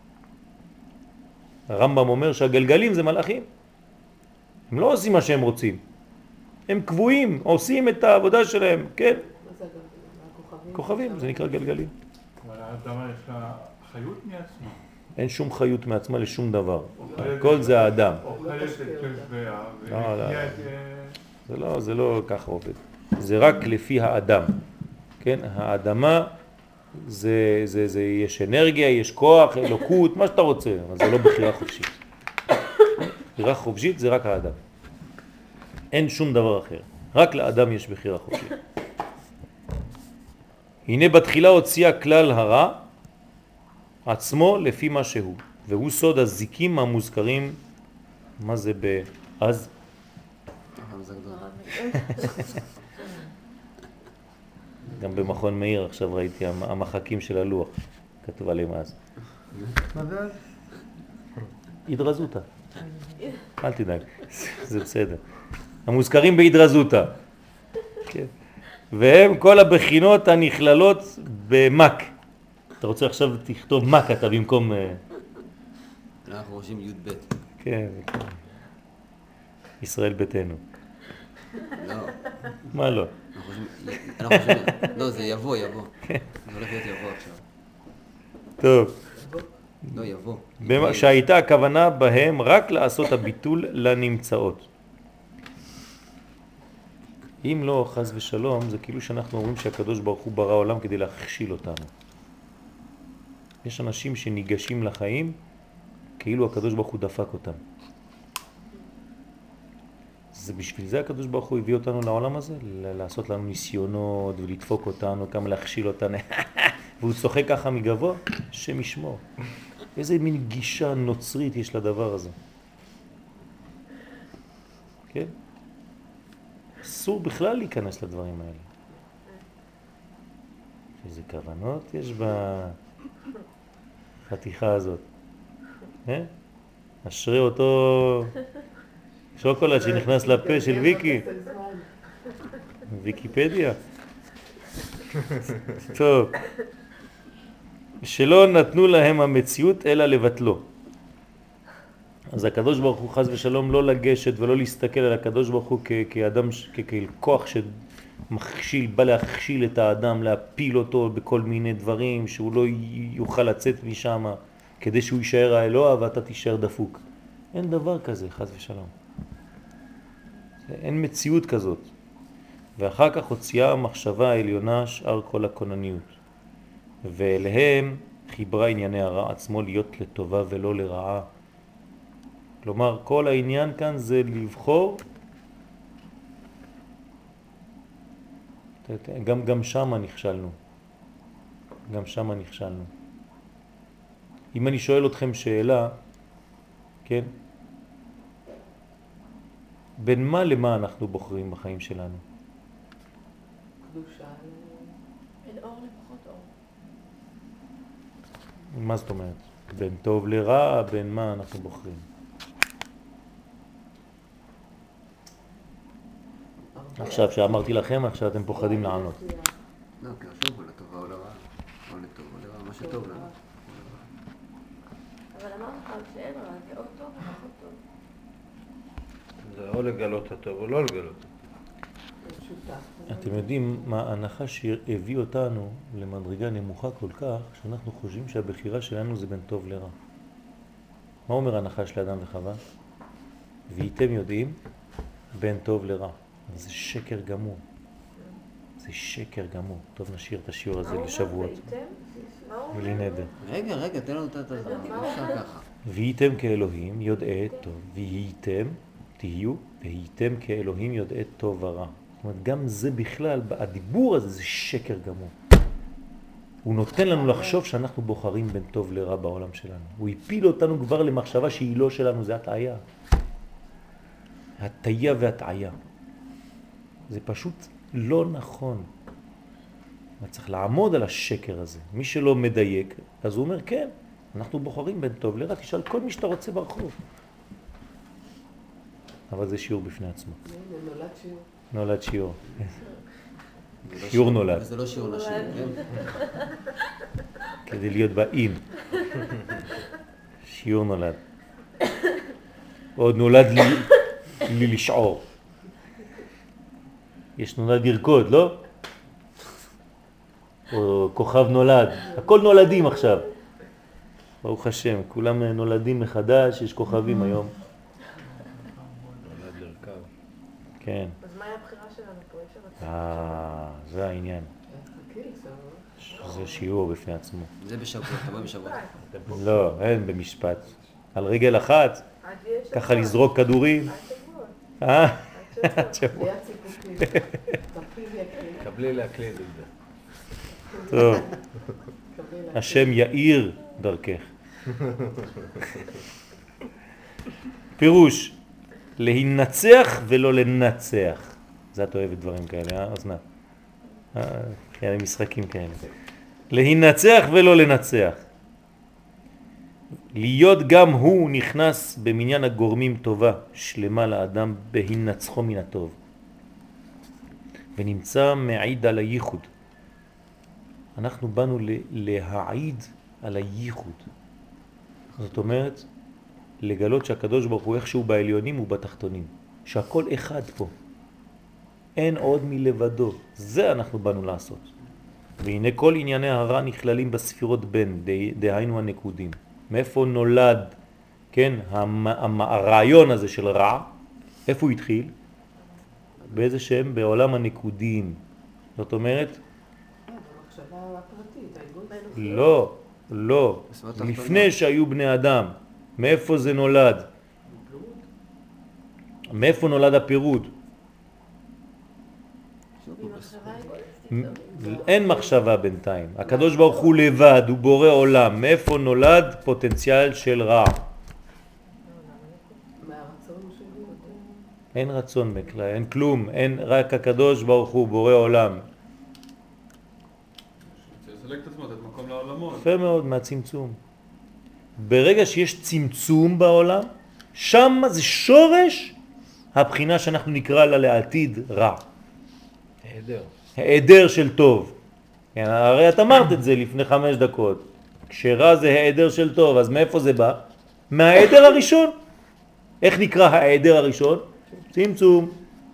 [SPEAKER 1] הרמב"ם אומר שהגלגלים זה מלאכים. הם לא עושים מה שהם רוצים. הם קבועים, עושים את העבודה שלהם, כן?
[SPEAKER 6] מה זה הגלגלים? הכוכבים?
[SPEAKER 1] כוכבים, זה נקרא גלגלים.
[SPEAKER 4] אבל האדמה יש לה חיות מעצמה.
[SPEAKER 1] אין שום חיות מעצמה לשום דבר.
[SPEAKER 4] אוכלת-
[SPEAKER 1] הכל זה האדם.
[SPEAKER 4] אוכלת את כלביה
[SPEAKER 1] לא, לא.
[SPEAKER 4] ומחיה את...
[SPEAKER 1] זה לא, זה לא ככה עובד. זה רק לפי האדם. כן? האדמה זה, זה, זה, יש אנרגיה, יש כוח, אלוקות, מה שאתה רוצה, אבל זה לא בחירה חופשית. בחירה חופשית זה רק האדם. אין שום דבר אחר. רק לאדם יש בחירה חופשית. הנה בתחילה הוציאה כלל הרע עצמו לפי מה שהוא, והוא סוד הזיקים המוזכרים. מה זה באז?
[SPEAKER 3] זה גדול.
[SPEAKER 1] גם במכון מאיר עכשיו ראיתי המ- המחקים של הלוח, כתוב עליהם אז.
[SPEAKER 8] מה זה אז?
[SPEAKER 1] התרזותה. אל תדאג, זה בסדר. המוזכרים בהתרזותה. כן. והם כל הבחינות הנכללות במק. אתה רוצה עכשיו תכתוב מק אתה במקום... אה,
[SPEAKER 3] אנחנו חושבים י' ב'.
[SPEAKER 1] כן, כן. ישראל ביתנו.
[SPEAKER 3] לא.
[SPEAKER 1] מה לא?
[SPEAKER 3] אנחנו חושבים... אנחנו חושבים... לא, זה יבוא, יבוא. זה הולך להיות יבוא עכשיו.
[SPEAKER 1] טוב.
[SPEAKER 3] לא יבוא.
[SPEAKER 1] במה- שהייתה הכוונה בהם רק לעשות הביטול לנמצאות. אם לא, חס ושלום, זה כאילו שאנחנו אומרים שהקדוש ברוך הוא ברא עולם כדי להכשיל אותנו. יש אנשים שניגשים לחיים כאילו הקדוש ברוך הוא דפק אותם. זה בשביל זה הקדוש ברוך הוא הביא אותנו לעולם הזה, ל- לעשות לנו ניסיונות ולדפוק אותנו, כמה להכשיל אותנו. והוא צוחק ככה מגבוה, שם ישמור. איזה מין גישה נוצרית יש לדבר הזה. כן? אסור בכלל להיכנס לדברים האלה. איזה כוונות יש בחתיכה הזאת. אה? אשרי אותו שוקולד שנכנס לפה של ויקי. ויקיפדיה. טוב. שלא נתנו להם המציאות אלא לבטלו. אז הקדוש ברוך הוא חס ושלום לא לגשת ולא להסתכל על הקדוש ברוך הוא כ- כאדם, כ- ככוח שמכשיל, בא להכשיל את האדם, להפיל אותו בכל מיני דברים, שהוא לא י- יוכל לצאת משם, כדי שהוא יישאר האלוה ואתה תישאר דפוק. אין דבר כזה, חס ושלום. אין מציאות כזאת. ואחר כך הוציאה המחשבה העליונה שאר כל הכונניות. ואליהם חיברה ענייני הרע עצמו להיות לטובה ולא לרעה. כלומר, כל העניין כאן זה לבחור, גם, גם שם נכשלנו. גם שם נכשלנו. אם אני שואל אתכם שאלה, כן? בין מה למה אנחנו בוחרים בחיים שלנו?
[SPEAKER 6] קדושה.
[SPEAKER 2] בין אור לפחות אור.
[SPEAKER 1] מה זאת אומרת? בין טוב לרע, בין מה אנחנו בוחרים? עכשיו שאמרתי לכם, עכשיו אתם פוחדים לענות.
[SPEAKER 3] לא, כי עכשיו הוא לטובה או לרעה. או לטוב או לרעה, מה שטוב לנו.
[SPEAKER 5] אבל אמרנו לך שאין רע, זה או טוב או פחות טוב.
[SPEAKER 7] זה או לגלות הטוב או לא לגלות.
[SPEAKER 1] אתם יודעים מה ההנחה שהביא אותנו למדרגה נמוכה כל כך, שאנחנו חושבים שהבחירה שלנו זה בין טוב לרע. מה אומר ההנחה של אדם וחווה? והייתם יודעים בין טוב לרע. זה שקר גמור. זה שקר גמור. טוב, נשאיר את השיעור הזה לשבועות. בלי נדר.
[SPEAKER 3] רגע, רגע, תן לנו את זה. אפשר ככה.
[SPEAKER 1] והייתם כאלוהים יודעי טוב. והייתם, תהיו, והייתם כאלוהים יודעי טוב ורע. זאת אומרת, גם זה בכלל, הדיבור הזה זה שקר גמור. הוא נותן לנו לחשוב שאנחנו בוחרים בין טוב לרע בעולם שלנו. הוא הפיל אותנו כבר למחשבה שהיא לא שלנו, זה הטעיה. הטעיה והטעיה. זה פשוט לא נכון. צריך לעמוד על השקר הזה. מי שלא מדייק, אז הוא אומר, כן, אנחנו בוחרים בין טוב לרע, תשאל כל מי שאתה רוצה ברחוב. אבל זה שיעור בפני עצמו.
[SPEAKER 6] נולד שיעור.
[SPEAKER 1] נולד שיעור. שיעור נולד.
[SPEAKER 3] וזה לא שיעור נשים, כן?
[SPEAKER 1] כדי להיות באים. שיעור נולד. עוד נולד לי, לי לשעור. יש נולד לרקוד, לא? או כוכב נולד. הכל נולדים עכשיו. ברוך השם, כולם נולדים מחדש, יש כוכבים היום.
[SPEAKER 7] נולד לרכב.
[SPEAKER 1] כן.
[SPEAKER 5] אז מה היה הבחירה שלנו פה? יש שם
[SPEAKER 1] אה, זה העניין. זה שיעור בפני עצמו.
[SPEAKER 3] זה בשבוע, תבוא בשבוע.
[SPEAKER 1] לא, אין במשפט. על רגל אחת, ככה לזרוק כדורים. אה? עד שבוע.
[SPEAKER 7] קבלי להקליד את זה.
[SPEAKER 1] טוב. השם יאיר דרכך. פירוש, להינצח ולא לנצח. זה את אוהבת דברים כאלה, אה? אוזנת. אה, כאלה משחקים כאלה. להינצח ולא לנצח. להיות גם הוא נכנס במניין הגורמים טובה שלמה לאדם בהינצחו מן הטוב. ונמצא מעיד על הייחוד. אנחנו באנו להעיד על הייחוד. זאת אומרת, לגלות שהקדוש ברוך הוא איכשהו בעליונים ובתחתונים. שהכל אחד פה. אין עוד מלבדו. זה אנחנו באנו לעשות. והנה כל ענייני הרע נכללים בספירות בין, דהיינו הנקודים. מאיפה נולד, כן, המ, הרעיון הזה של רע, איפה הוא התחיל? באיזה שם? בעולם הנקודים. זאת אומרת,
[SPEAKER 6] במחשבה הפרטית, האגואיסט.
[SPEAKER 1] לא, לא, לפני שהיו בני אדם, מאיפה זה נולד? מאיפה נולד הפירוד? אין מחשבה בינתיים. הקדוש ברוך הוא לבד, הוא בורא עולם. מאיפה נולד פוטנציאל של רע?
[SPEAKER 6] מהרצון שלי.
[SPEAKER 1] אין רצון בכלל, אין כלום, אין, רק הקדוש ברוך הוא בורא עולם.
[SPEAKER 4] לסלק את עצמו, לתת מקום לעולמות.
[SPEAKER 1] יפה מאוד, מהצמצום. ברגע שיש צמצום בעולם, שם זה שורש הבחינה שאנחנו נקרא לה לעתיד רע.
[SPEAKER 7] היעדר.
[SPEAKER 1] העדר של טוב. הרי את אמרת את זה לפני חמש דקות. כשרע זה העדר של טוב, אז מאיפה זה בא? מהעדר הראשון. איך נקרא העדר הראשון? צמצום.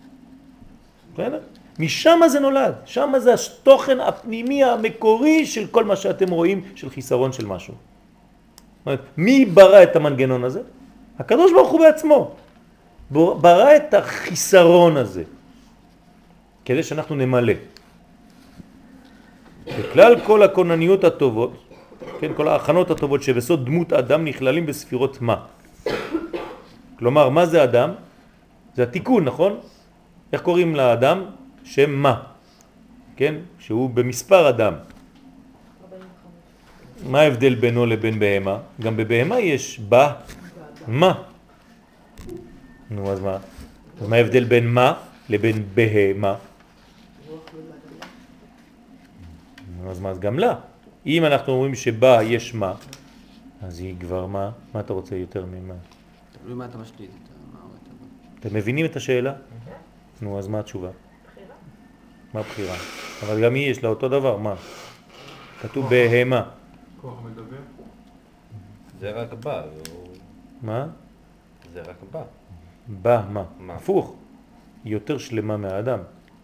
[SPEAKER 1] משם זה נולד. שם זה התוכן הפנימי המקורי של כל מה שאתם רואים של חיסרון של משהו. מי ברא את המנגנון הזה? הקדוש ברוך הוא בעצמו. ברא את החיסרון הזה. כדי שאנחנו נמלא. בכלל כל הכונניות הטובות, כן, כל ההכנות הטובות שבסוד דמות אדם נכללים בספירות מה. כלומר, מה זה אדם? זה התיקון, נכון? איך קוראים לאדם? שם מה. כן? שהוא במספר אדם. מה ההבדל בינו לבין בהמה? גם בבהמה יש בה מה. נו, אז מה? מה ההבדל בין מה לבין בהמה? אז מה? אז גם לה. אם אנחנו אומרים שבה יש מה, אז היא כבר מה? מה אתה רוצה יותר ממה?
[SPEAKER 3] תלוי מה אתה משליט.
[SPEAKER 1] אתם מבינים את השאלה? נו, אז מה התשובה? בחירה. מה בחירה? אבל גם היא יש לה אותו דבר, מה? כתוב בהמה.
[SPEAKER 4] כוח מדבר?
[SPEAKER 7] זה רק בא.
[SPEAKER 1] מה?
[SPEAKER 7] זה רק בא.
[SPEAKER 1] בא מה?
[SPEAKER 7] מה?
[SPEAKER 1] הפוך. היא יותר שלמה מהאדם.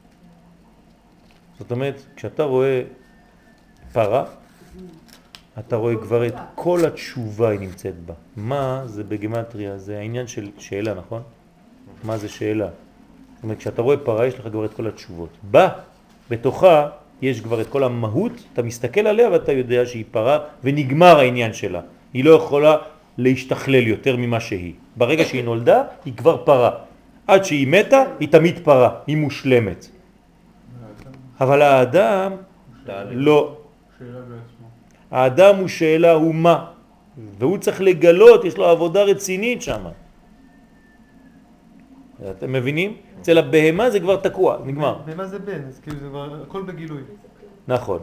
[SPEAKER 1] זאת אומרת, כשאתה רואה פרה, אתה רואה כבר את כל התשובה היא נמצאת בה. מה זה בגימטריה? זה העניין של שאלה, נכון? מה זה שאלה? זאת אומרת, כשאתה רואה פרה, יש לך כבר את כל התשובות. בה, בתוכה, יש כבר את כל המהות, אתה מסתכל עליה ואתה יודע שהיא פרה, ונגמר העניין שלה. היא לא יכולה להשתכלל יותר ממה שהיא. ברגע שהיא נולדה, היא כבר פרה. עד שהיא מתה, היא תמיד פרה, היא מושלמת. אבל האדם, לא.
[SPEAKER 4] שאלה בעצמו.
[SPEAKER 1] האדם הוא שאלה, הוא מה. והוא צריך לגלות, יש לו עבודה רצינית שם. אתם מבינים? אצל הבהמה זה כבר תקוע, נגמר.
[SPEAKER 8] בהמה זה בן, אז כאילו זה כבר הכל בגילוי.
[SPEAKER 1] נכון.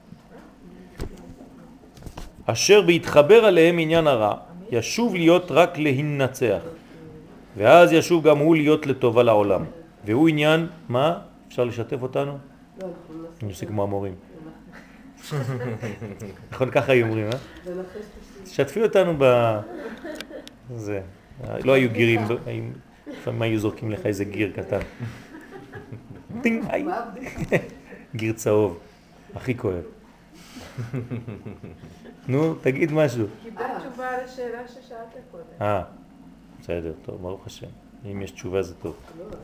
[SPEAKER 1] אשר בהתחבר עליהם עניין הרע, ישוב להיות רק להינצח. ואז ישוב גם הוא להיות לטובה לעולם. והוא עניין, מה? אפשר לשתף אותנו? אני עושה כמו המורים. נכון, ככה היו אומרים, אה? שתפי אותנו ב... זה. לא היו גירים, לפעמים היו זורקים לך איזה גיר קטן. טינג, היי. גיר צהוב. הכי כואב. נו, תגיד משהו.
[SPEAKER 5] קיבלת תשובה על השאלה ששאלת קודם.
[SPEAKER 1] אה, בסדר, טוב, ברוך השם. אם יש תשובה זה טוב.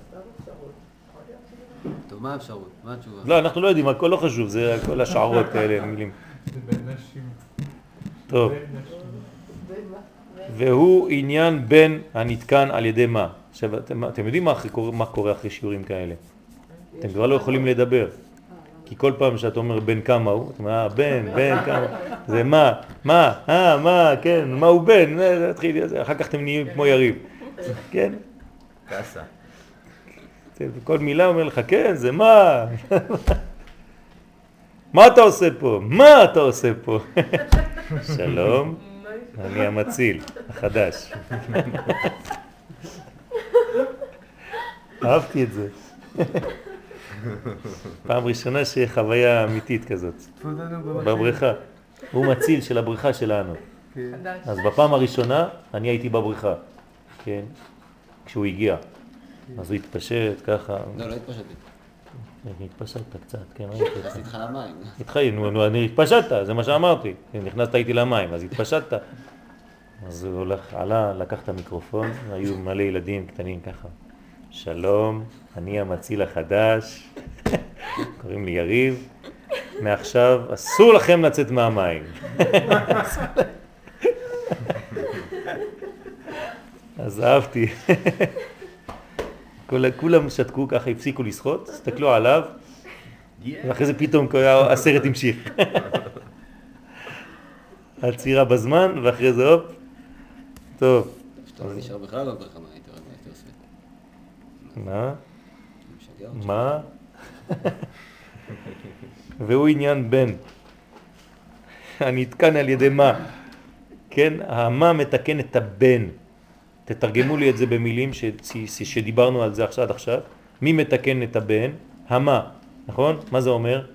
[SPEAKER 3] טוב, מה האפשרות? מה התשובה?
[SPEAKER 1] לא, אנחנו לא יודעים, הכל לא חשוב, זה כל השערות האלה, מילים.
[SPEAKER 4] זה בין נשים.
[SPEAKER 1] טוב.
[SPEAKER 4] בין נשים.
[SPEAKER 1] והוא עניין בין הנתקן על ידי מה? עכשיו, אתם, אתם יודעים מה, מה קורה אחרי שיעורים כאלה? אתם כבר לא יכולים לדבר. כי כל פעם שאת אומר בין כמה הוא, אתה אומר, אה, בין, בין, כמה, זה מה, מה, אה, מה, כן, מה הוא בין, אחר כך אתם נהיים כמו יריב. כן?
[SPEAKER 7] כסה.
[SPEAKER 1] כל מילה אומר לך, כן, זה מה? מה אתה עושה פה? מה אתה עושה פה? שלום, אני המציל, החדש. אהבתי את זה. פעם ראשונה שיהיה חוויה אמיתית כזאת. בבריכה. הוא מציל של הבריכה שלנו. אז בפעם הראשונה אני הייתי בבריכה. כן? כשהוא הגיע. אז הוא התפשט ככה.
[SPEAKER 3] לא, לא התפשטתי.
[SPEAKER 1] התפשטת קצת, כן,
[SPEAKER 3] נכנס איתך למים.
[SPEAKER 1] איתך, נו, אני התפשטת, זה מה שאמרתי. נכנסת איתי למים, אז התפשטת. אז הוא הולך, עלה, לקח את המיקרופון, היו מלא ילדים קטנים ככה. שלום, אני המציל החדש, קוראים לי יריב, מעכשיו אסור לכם לצאת מהמים. אז אהבתי. כולם שתקו ככה, הפסיקו לשחות, הסתכלו עליו, ואחרי זה פתאום הסרט המשיך. עצירה בזמן, ואחרי זה הופ. טוב.
[SPEAKER 3] שאתה לא נשאר בכלל בבריכה, מה הייתי עושה?
[SPEAKER 1] מה? מה? והוא עניין בן. הנתקן על ידי מה? כן, המה מתקן את הבן. תתרגמו לי את זה במילים ש... שדיברנו על זה עכשיו עד עכשיו. מי מתקן את הבן? המה, נכון? מה זה אומר?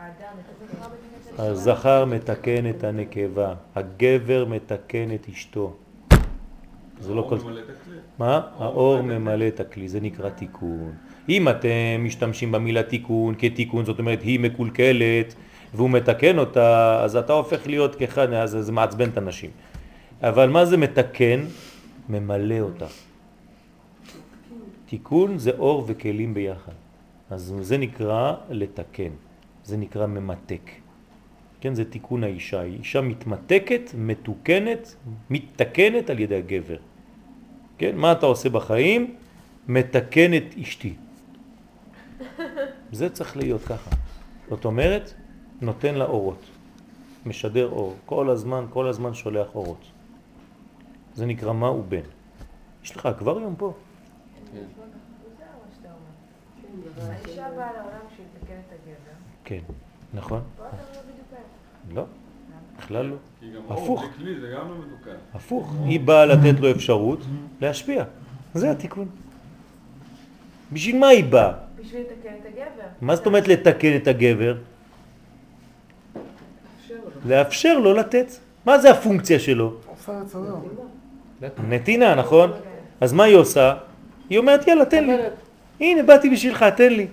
[SPEAKER 1] הזכר מתקן את הנקבה, הגבר מתקן את אשתו. זה לא כל... מה? האור ממלא את הכלי, זה נקרא תיקון. אם אתם משתמשים במילה תיקון כתיקון, זאת אומרת היא מקולקלת והוא מתקן אותה, אז אתה הופך להיות כאחד, אז זה מעצבן את הנשים. אבל מה זה מתקן? ממלא אותה. תיקון זה אור וכלים ביחד. אז זה נקרא לתקן, זה נקרא ממתק. כן, זה תיקון האישה. אישה מתמתקת, מתוקנת, מתקנת על ידי הגבר. כן, מה אתה עושה בחיים? מתקן את אשתי. זה צריך להיות ככה. זאת אומרת, נותן לה אורות. משדר אור. כל הזמן, כל הזמן שולח אורות. זה נקרא מה הוא בן. יש לך אקווריום פה?
[SPEAKER 5] כן. האישה באה לעולם שהיא תקן את הגבר.
[SPEAKER 1] כן, נכון.
[SPEAKER 5] פה אתה לא בדיוק.
[SPEAKER 1] לא, בכלל לא.
[SPEAKER 4] כי גם
[SPEAKER 1] הפוך.
[SPEAKER 4] אור בכלי זה גם לא מתוקן.
[SPEAKER 1] הפוך. היא באה לתת לו אפשרות להשפיע. זה התיקון. בשביל מה היא באה?
[SPEAKER 5] בשביל לתקן את הגבר.
[SPEAKER 1] מה זאת אומרת לתקן את הגבר? לאפשר לו לתת. מה זה הפונקציה שלו?
[SPEAKER 8] עושה רצונו.
[SPEAKER 1] נתינה, נכון? אז מה היא עושה? היא אומרת, יאללה, תן לי. הנה, באתי בשבילך, תן לי.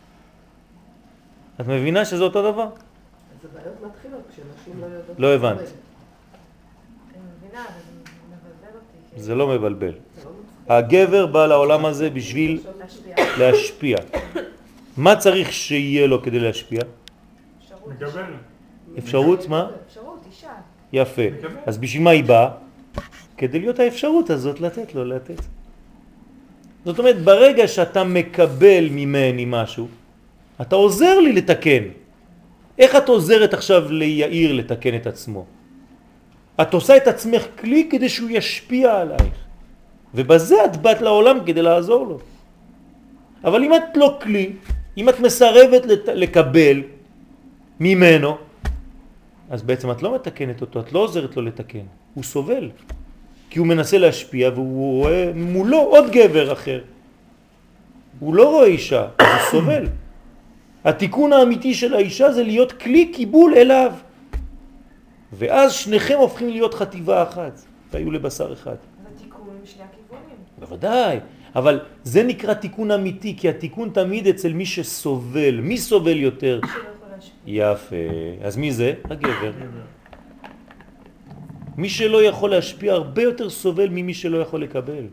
[SPEAKER 1] את מבינה שזה אותו דבר?
[SPEAKER 6] אז הבעיות מתחילות כשנשים לא יודעות...
[SPEAKER 1] לא הבנת.
[SPEAKER 5] אני מבינה, אבל זה מבלבל אותי.
[SPEAKER 1] זה לא מבלבל. הגבר בא לעולם הזה בשביל להשפיע. מה צריך שיהיה לו כדי להשפיע?
[SPEAKER 4] מקבל.
[SPEAKER 1] אפשרות, מה?
[SPEAKER 5] אפשרות, אישה.
[SPEAKER 1] יפה. אז בשביל מה היא באה? כדי להיות האפשרות הזאת לתת לו, לתת. זאת אומרת, ברגע שאתה מקבל ממני משהו, אתה עוזר לי לתקן. איך את עוזרת עכשיו ליאיר לתקן את עצמו? את עושה את עצמך כלי כדי שהוא ישפיע עלייך. ובזה את באת לעולם כדי לעזור לו. אבל אם את לא כלי, אם את מסרבת לת... לקבל ממנו, אז בעצם את לא מתקנת אותו, את לא עוזרת לו לתקן. הוא סובל. כי הוא מנסה להשפיע והוא רואה מולו עוד גבר אחר. הוא לא רואה אישה, הוא סובל. התיקון האמיתי של האישה זה להיות כלי קיבול אליו. ואז שניכם הופכים להיות חטיבה אחת, והיו לבשר אחד.
[SPEAKER 5] זה תיקון משני הכיוונים.
[SPEAKER 1] בוודאי, אבל זה נקרא תיקון אמיתי, כי התיקון תמיד אצל מי שסובל. מי סובל יותר?
[SPEAKER 5] שלא יכול להשפיע.
[SPEAKER 1] יפה. אז מי זה? הגבר. מי שלא יכול להשפיע הרבה יותר סובל ממי שלא יכול לקבל.
[SPEAKER 6] זה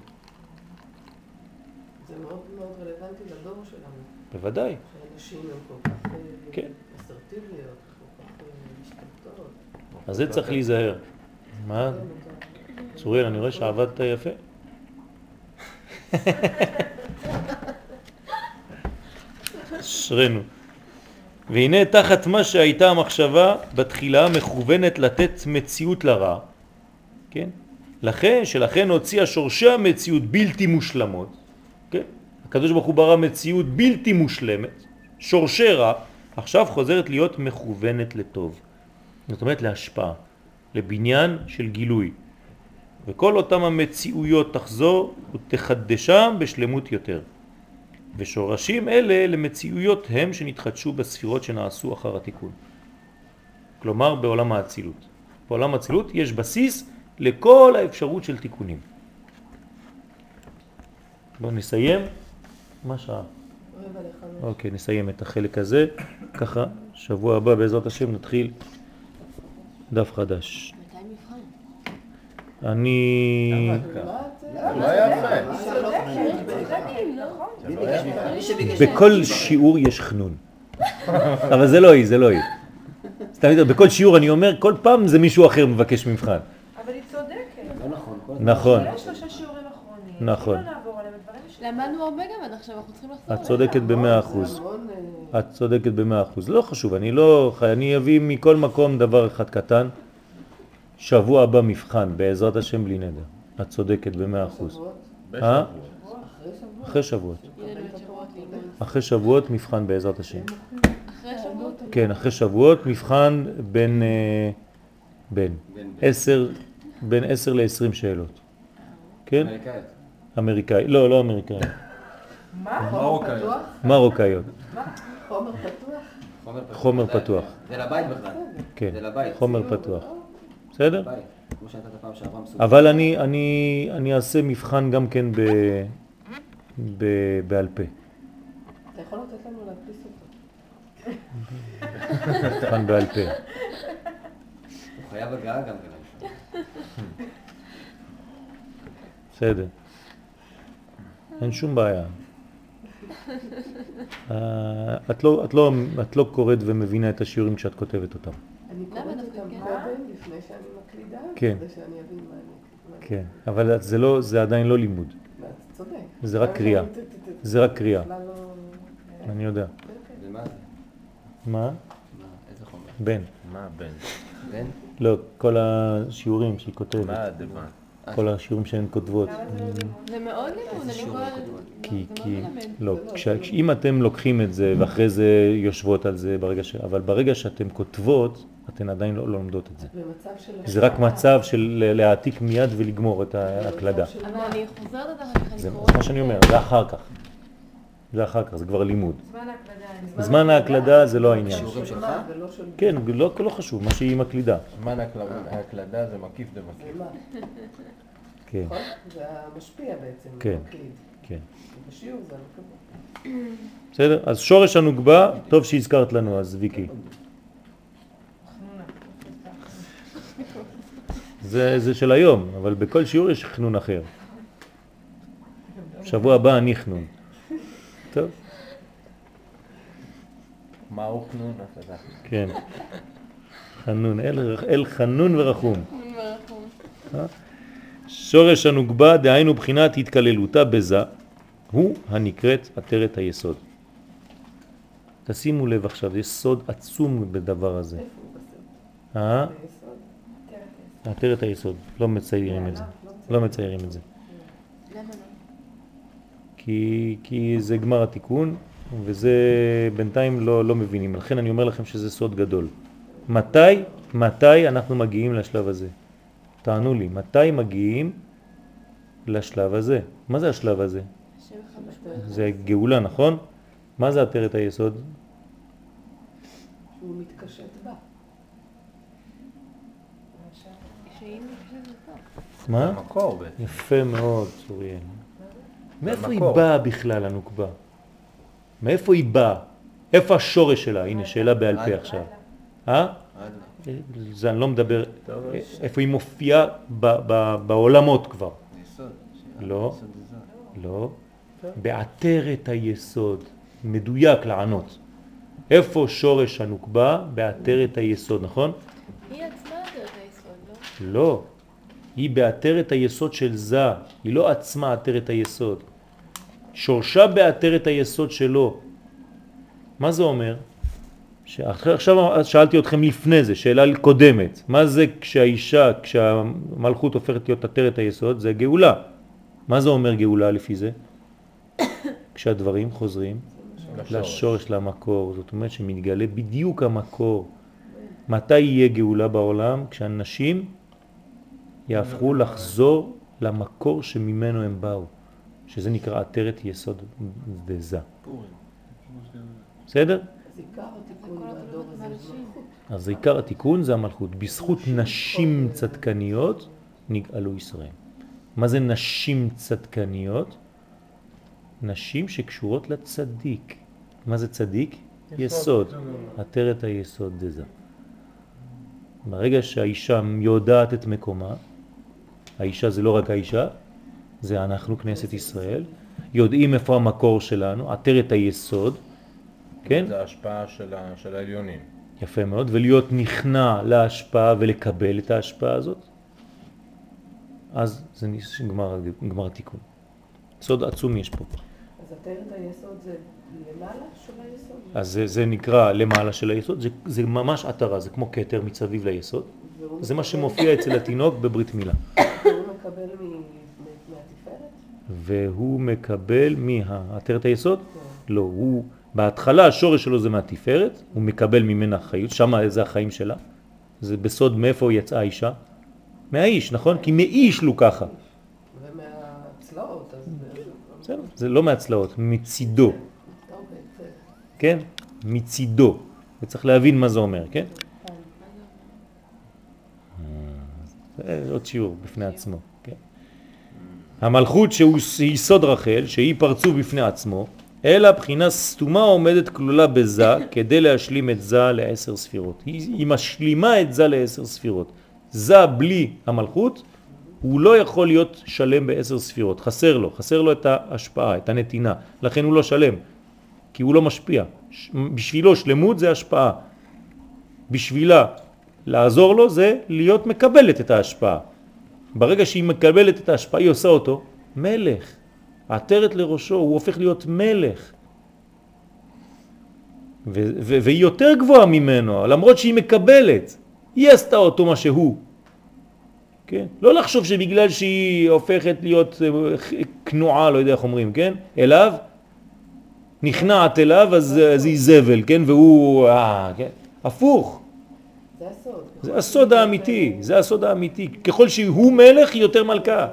[SPEAKER 6] מאוד מאוד רלוונטי לדור שלנו.
[SPEAKER 1] בוודאי.
[SPEAKER 6] שאנשים הם כל כך
[SPEAKER 1] כן.
[SPEAKER 6] אסרטיביות, כל כך משתלטות.
[SPEAKER 1] אז זה צריך להיזהר. מה? צוריאל, אני רואה שעבדת יפה. אשרנו. והנה תחת מה שהייתה המחשבה בתחילה מכוונת לתת מציאות לרע, כן? לכן, שלכן הוציאה שורשי המציאות בלתי מושלמות, כן? הקדוש ברוך הוא ברא מציאות בלתי מושלמת, שורשי רע, עכשיו חוזרת להיות מכוונת לטוב. זאת אומרת להשפעה, לבניין של גילוי. וכל אותם המציאויות תחזור ותחדשם בשלמות יותר. ושורשים אלה למציאויות הם שנתחדשו בספירות שנעשו אחר התיקון. כלומר בעולם האצילות. בעולם האצילות יש בסיס לכל האפשרות של תיקונים. בואו נסיים. מה שעה?
[SPEAKER 6] רבע לחמש.
[SPEAKER 1] אוקיי, נסיים את החלק הזה. ככה, שבוע הבא בעזרת השם נתחיל דף חדש.
[SPEAKER 9] מתי מבחן?
[SPEAKER 1] אני...
[SPEAKER 7] לא יפה.
[SPEAKER 1] בכל שיעור יש חנון. אבל זה לא היא, זה לא היא. סתם יותר, בכל שיעור אני אומר, כל פעם זה מישהו אחר מבקש מבחן.
[SPEAKER 2] אבל היא צודקת.
[SPEAKER 3] לא נכון. כל
[SPEAKER 1] נכון,
[SPEAKER 2] יש שלושה שיעורים אחרונים.
[SPEAKER 1] נכון.
[SPEAKER 2] אם לא נעבור עליהם, הדברים יש...
[SPEAKER 9] למדנו הרבה גם עד עכשיו, אנחנו צריכים לחזור.
[SPEAKER 1] את צודקת במאה אחוז. את צודקת במאה אחוז. לא חשוב, אני לא... אני אביא מכל מקום דבר אחד קטן. שבוע הבא מבחן, בעזרת השם בלי נדר. את צודקת במאה אחוז. אה? אחרי שבועות. אחרי שבועות מבחן בעזרת השם.
[SPEAKER 9] אחרי שבועות?
[SPEAKER 1] כן, אחרי שבועות מבחן בין... בין עשר, בין עשר לעשרים שאלות. כן?
[SPEAKER 3] אמריקאית.
[SPEAKER 1] אמריקאי. לא, לא אמריקאי.
[SPEAKER 6] מה?
[SPEAKER 4] מרוקאיות.
[SPEAKER 1] מרוקאיות.
[SPEAKER 6] חומר פתוח?
[SPEAKER 1] חומר פתוח.
[SPEAKER 3] זה לבית בכלל.
[SPEAKER 1] כן,
[SPEAKER 3] זה לבית.
[SPEAKER 1] חומר פתוח. בסדר?
[SPEAKER 3] לבית. כמו שהייתה את הפעם שעברה מסוים.
[SPEAKER 1] אבל אני, אני, אני אעשה מבחן גם כן ב, ב, בעל פה.
[SPEAKER 6] אתה יכול לתת לנו להדפיס אותו.
[SPEAKER 1] מבחן בעל פה.
[SPEAKER 3] הוא חייב הגעה גם כן.
[SPEAKER 1] בסדר. אין שום בעיה. אה, את לא, את לא, את לא קוראת ומבינה את השיעורים כשאת כותבת אותם.
[SPEAKER 6] אני קוראת אותם קודם, לפני שאני מקלידה,
[SPEAKER 1] כן.
[SPEAKER 6] כדי שאני אבין מה אני...
[SPEAKER 1] כן, אבל זה לא, זה עדיין לא לימוד.
[SPEAKER 6] אתה צודק.
[SPEAKER 1] זה רק קריאה. זה רק קריאה.
[SPEAKER 6] בכלל לא...
[SPEAKER 1] אני יודע.
[SPEAKER 3] ומה זה?
[SPEAKER 1] מה?
[SPEAKER 3] מה? איזה חומר?
[SPEAKER 1] בן.
[SPEAKER 7] מה בן?
[SPEAKER 3] בן?
[SPEAKER 1] לא, כל השיעורים שהיא כותבת.
[SPEAKER 7] מה הדבר?
[SPEAKER 1] כל השיעורים שהן כותבות.
[SPEAKER 9] זה מאוד לימוד, אני
[SPEAKER 3] שיעור
[SPEAKER 9] כל...
[SPEAKER 3] כותבות?
[SPEAKER 1] כי,
[SPEAKER 9] זה
[SPEAKER 1] כי,
[SPEAKER 9] מאוד מלמד.
[SPEAKER 1] לא, כש- אם אתם לוקחים את זה ואחרי זה יושבות על זה ברגע ש... אבל ברגע שאתם כותבות, אתן עדיין לא לא לומדות את זה.
[SPEAKER 6] במצב של...
[SPEAKER 1] זה רק מצב של להעתיק מיד ולגמור את ההקלדה.
[SPEAKER 9] אבל אני חוזרת את זה אחר כך, אני
[SPEAKER 1] זה
[SPEAKER 9] קוראת...
[SPEAKER 1] מה שאני אומר, זה אחר כך. זה אחר כך, זה כבר לימוד.
[SPEAKER 2] זמן ההקלדה. אני-
[SPEAKER 1] זמן ההקלדה זה לא העניין.
[SPEAKER 3] שיעורים שלך?
[SPEAKER 6] ולא של...
[SPEAKER 1] כן, לא, לא חשוב, מה שהיא מקלידה.
[SPEAKER 7] זמן ההקלדה זה מקיף דמקיף.
[SPEAKER 6] מה?
[SPEAKER 1] כן,
[SPEAKER 6] נכון? זה המשפיע בעצם.
[SPEAKER 1] כן.
[SPEAKER 6] מקליד.
[SPEAKER 1] כן.
[SPEAKER 6] בשיעור זה המקום.
[SPEAKER 1] בסדר? אז שורש הנוגבה, טוב שהזכרת לנו, אז ויקי. זה, זה של היום, אבל בכל שיעור יש חנון אחר. שבוע הבא אני חנון. טוב?
[SPEAKER 7] מה הוא חנון? אתה יודע.
[SPEAKER 1] כן. חנון, אל, אל חנון ורחום. אה? שורש הנוגבה, דהיינו בחינת התקללותה בזה, הוא הנקראת עטרת היסוד. תשימו לב עכשיו, יש סוד עצום בדבר הזה.
[SPEAKER 6] איפה הוא בסרט?
[SPEAKER 1] אה?
[SPEAKER 6] ביסוד.
[SPEAKER 1] עטרת היסוד, לא מציירים את זה. לא מציירים את זה.
[SPEAKER 9] למה לא?
[SPEAKER 1] כי, כי זה גמר התיקון, וזה בינתיים לא, לא מבינים. לכן אני אומר לכם שזה סוד גדול. מתי, מתי אנחנו מגיעים לשלב הזה? תענו לי, מתי מגיעים לשלב הזה? מה זה השלב הזה?
[SPEAKER 9] השם אחד משפט.
[SPEAKER 1] זה גאולה, נכון? מה זה עטרת היסוד?
[SPEAKER 6] הוא מתקשט בה.
[SPEAKER 9] שאם נקשת זה טוב.
[SPEAKER 1] מה?
[SPEAKER 7] המקור בעצם.
[SPEAKER 1] יפה מאוד, צוריאל. מאיפה היא
[SPEAKER 7] במקור.
[SPEAKER 1] באה בכלל, הנוקבה? מאיפה היא באה? איפה השורש שלה? הנה, שאלה בעל פה עכשיו. אה? זה אני לא מדבר, איפה היא מופיעה ב- ב- בעולמות כבר.
[SPEAKER 3] יסוד.
[SPEAKER 1] לא.
[SPEAKER 3] יסוד זה.
[SPEAKER 1] לא. בעטרת היסוד. מדויק לענות. איפה שורש הנוקבה? בעטרת היסוד, נכון?
[SPEAKER 9] היא עצמה עטרת היסוד, לא?
[SPEAKER 1] לא. היא בעטרת היסוד של זה. היא לא עצמה עטרת היסוד. שורשה בעטרת היסוד שלו. מה זה אומר? עכשיו שאלתי אתכם לפני זה, שאלה קודמת. מה זה כשהאישה, כשהמלכות הופכת להיות עטרת היסוד? זה גאולה. מה זה אומר גאולה לפי זה? כשהדברים חוזרים לשורש, למקור. זאת אומרת שמתגלה בדיוק המקור. מתי יהיה גאולה בעולם? כשאנשים יהפכו לחזור למקור שממנו הם באו. שזה נקרא עטרת יסוד דזה. בסדר?
[SPEAKER 6] אז עיקר התיקון בדור הזה זה מלכות.
[SPEAKER 1] אז עיקר התיקון זה המלכות. בזכות נשים צדקניות נגאלו ישראל. מה זה נשים צדקניות? נשים שקשורות לצדיק. מה זה צדיק? יסוד. עטרת היסוד דזה. ברגע שהאישה יודעת את מקומה, האישה זה לא רק האישה, זה אנחנו, כנסת ישראל, יודעים איפה המקור שלנו, עטרת היסוד, כן?
[SPEAKER 7] זה ההשפעה של, ה... של העליונים.
[SPEAKER 1] יפה מאוד, ולהיות נכנע להשפעה ולקבל את ההשפעה הזאת, אז זה נגמר, נגמר התיקון. סוד עצום יש פה.
[SPEAKER 6] אז עטרת היסוד זה למעלה של היסוד?
[SPEAKER 1] אז זה, זה נקרא למעלה של היסוד, זה, זה ממש עטרה, זה כמו כתר מצביב ליסוד. זה מה שמופיע אצל התינוק בברית מילה.
[SPEAKER 6] והוא מקבל מ... מהתפארת?
[SPEAKER 1] והוא מקבל מהעטרת היסוד? לא, הוא בהתחלה השורש שלו זה מהתפארת, הוא מקבל ממנה חיות, שם זה החיים שלה. זה בסוד מאיפה יצאה האישה? מהאיש, נכון? כי מאיש לו ככה.
[SPEAKER 6] ומהצלעות, אז...
[SPEAKER 1] בסדר, זה לא מהצלעות, מצידו. כן? מצידו. וצריך להבין מה זה אומר, כן? זה עוד שיעור בפני עצמו, כן? המלכות שהוא יסוד רחל, שהיא פרצוף בפני עצמו, אלא בחינה סתומה עומדת כלולה בזה, כדי להשלים את זה לעשר ספירות. היא, היא משלימה את זה לעשר ספירות. זה בלי המלכות, הוא לא יכול להיות שלם בעשר ספירות. חסר לו, חסר לו את ההשפעה, את הנתינה. לכן הוא לא שלם, כי הוא לא משפיע. בשבילו שלמות זה השפעה. בשבילה לעזור לו זה להיות מקבלת את ההשפעה. ברגע שהיא מקבלת את ההשפעה, היא עושה אותו מלך. עטרת לראשו, הוא הופך להיות מלך. ו- ו- והיא יותר גבוהה ממנו, למרות שהיא מקבלת. היא עשתה אותו מה שהוא. כן? לא לחשוב שבגלל שהיא הופכת להיות כנועה, לא יודע איך אומרים, כן? אליו, נכנעת אליו, אז, אז היא זבל, כן? והוא, אה, כן? הפוך.
[SPEAKER 6] זה הסוד.
[SPEAKER 1] זה הסוד האמיתי, זה הסוד האמיתי. ככל שהוא מלך, היא יותר מלכה.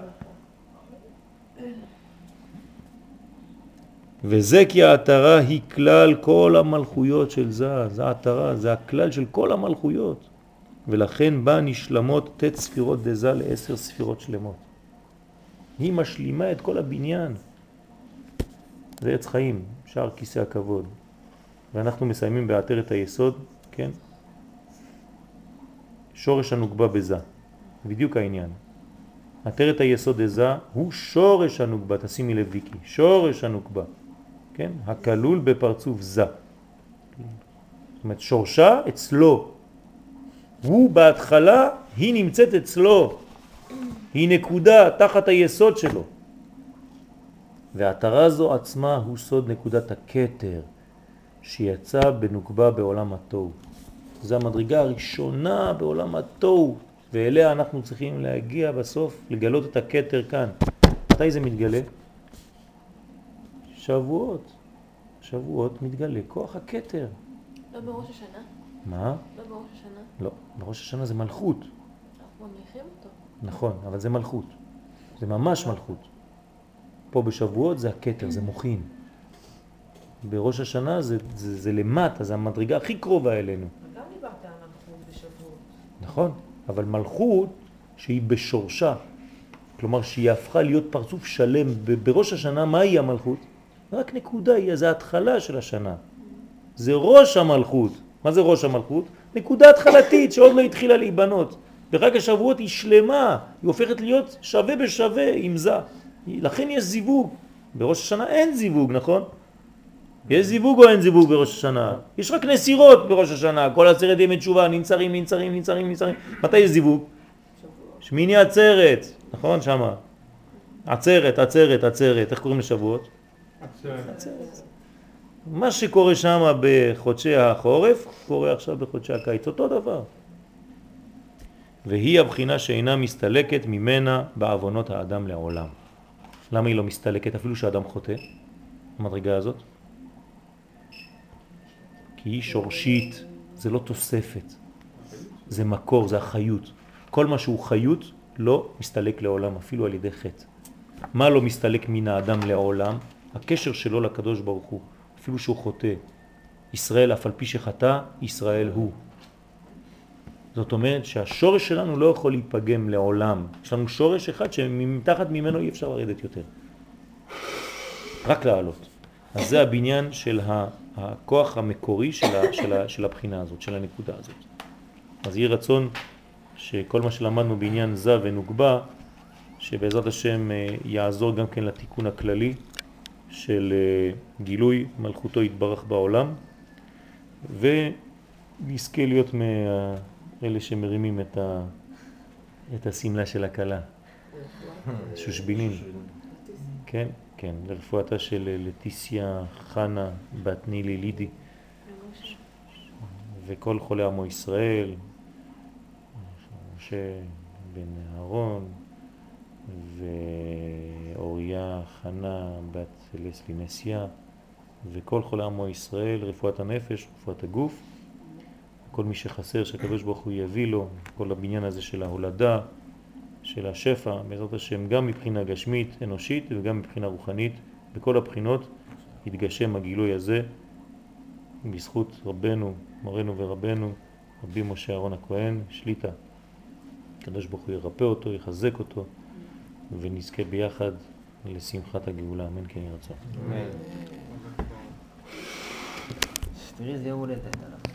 [SPEAKER 1] וזה כי העטרה היא כלל כל המלכויות של זה, זה העטרה, זה הכלל של כל המלכויות. ולכן בה נשלמות תת ספירות דזה לעשר ספירות שלמות. היא משלימה את כל הבניין. זה עץ חיים, שער כיסא הכבוד. ואנחנו מסיימים בעטרת היסוד, כן? שורש הנוגבה בזה. בדיוק העניין. עטרת היסוד דזה הוא שורש הנוגבה, תשימי לב ויקי, שורש הנוגבה. כן? הכלול בפרצוף זה. זאת אומרת, שורשה אצלו. הוא בהתחלה, היא נמצאת אצלו. היא נקודה תחת היסוד שלו. והעטרה זו עצמה הוא סוד נקודת הכתר שיצא בנוקבה בעולם התוהו. זו המדרגה הראשונה בעולם התוהו, ואליה אנחנו צריכים להגיע בסוף, לגלות את הכתר כאן. מתי זה מתגלה? שבועות. שבועות מתגלה כוח הכתר.
[SPEAKER 9] לא בראש השנה?
[SPEAKER 1] מה?
[SPEAKER 9] לא בראש השנה?
[SPEAKER 1] לא, בראש השנה זה מלכות.
[SPEAKER 9] אנחנו ממליכים אותו.
[SPEAKER 1] נכון, אבל זה מלכות. זה ממש מלכות. פה בשבועות זה הכתר, זה מוחין. בראש השנה זה, זה, זה למטה, זה המדרגה הכי קרובה אלינו.
[SPEAKER 2] גם דיברת על מלכות בשבועות.
[SPEAKER 1] נכון, אבל מלכות שהיא בשורשה, כלומר שהיא הפכה להיות פרצוף שלם. בראש השנה מה היא המלכות? רק נקודה, היא, זה ההתחלה של השנה. זה ראש המלכות. מה זה ראש המלכות? נקודה התחלתית שעוד לא התחילה להיבנות. ורק השבועות היא שלמה, היא הופכת להיות שווה בשווה עם זה. לכן יש זיווג. בראש השנה אין זיווג, נכון? יש זיווג או אין זיווג בראש השנה? יש רק נסירות בראש השנה, כל עצרת ימי תשובה, ננצרים, ננצרים, ננצרים, ננצרים. מתי יש זיווג? שמיני עצרת, נכון? שמה. עצרת, עצרת, עצרת. איך קוראים לשבועות? עצרת. מה שקורה שם בחודשי החורף, קורה עכשיו בחודשי הקיץ. אותו דבר. והיא הבחינה שאינה מסתלקת ממנה בעוונות האדם לעולם. למה היא לא מסתלקת אפילו שהאדם חוטא? המדרגה הזאת? כי היא שורשית, זה לא תוספת, זה מקור, זה החיות. כל מה שהוא חיות לא מסתלק לעולם, אפילו על ידי חטא. מה לא מסתלק מן האדם לעולם? הקשר שלו לקדוש ברוך הוא, אפילו שהוא חוטא. ישראל, אף על פי שחטא, ישראל הוא. זאת אומרת שהשורש שלנו לא יכול להיפגם לעולם. יש לנו שורש אחד שמתחת ממנו אי אפשר לרדת יותר. רק לעלות. אז זה הבניין של הכוח המקורי של, ה, של, ה, של הבחינה הזאת, של הנקודה הזאת. אז יהיה רצון שכל מה שלמדנו בעניין זה ונוגבה, שבעזרת השם יעזור גם כן לתיקון הכללי של גילוי מלכותו יתברך בעולם, ונזכה להיות מאלה שמרימים את, ה, את הסמלה של הקלה, שושבינים. כן, כן, לרפואתה של לטיסיה חנה בת נילי לידי, וכל חולי עמו ישראל, משה בן אהרון, ואוריה חנה בת לסלי נסיה, וכל חולי עמו ישראל, רפואת הנפש, רפואת הגוף, כל מי שחסר שהקדוש ברוך הוא יביא לו, כל הבניין הזה של ההולדה, של השפע, בעזרת השם, גם מבחינה גשמית, אנושית, וגם מבחינה רוחנית, בכל הבחינות יתגשם הגילוי הזה, בזכות רבנו, מורנו ורבנו, רבי משה אהרון הכהן, שליטה. הקדוש ברוך הוא ירפא אותו, יחזק אותו, ונזכה ביחד לשמחת הגאולה. אמן כן ירצה.
[SPEAKER 3] תראי, זה יום הולדת עליו.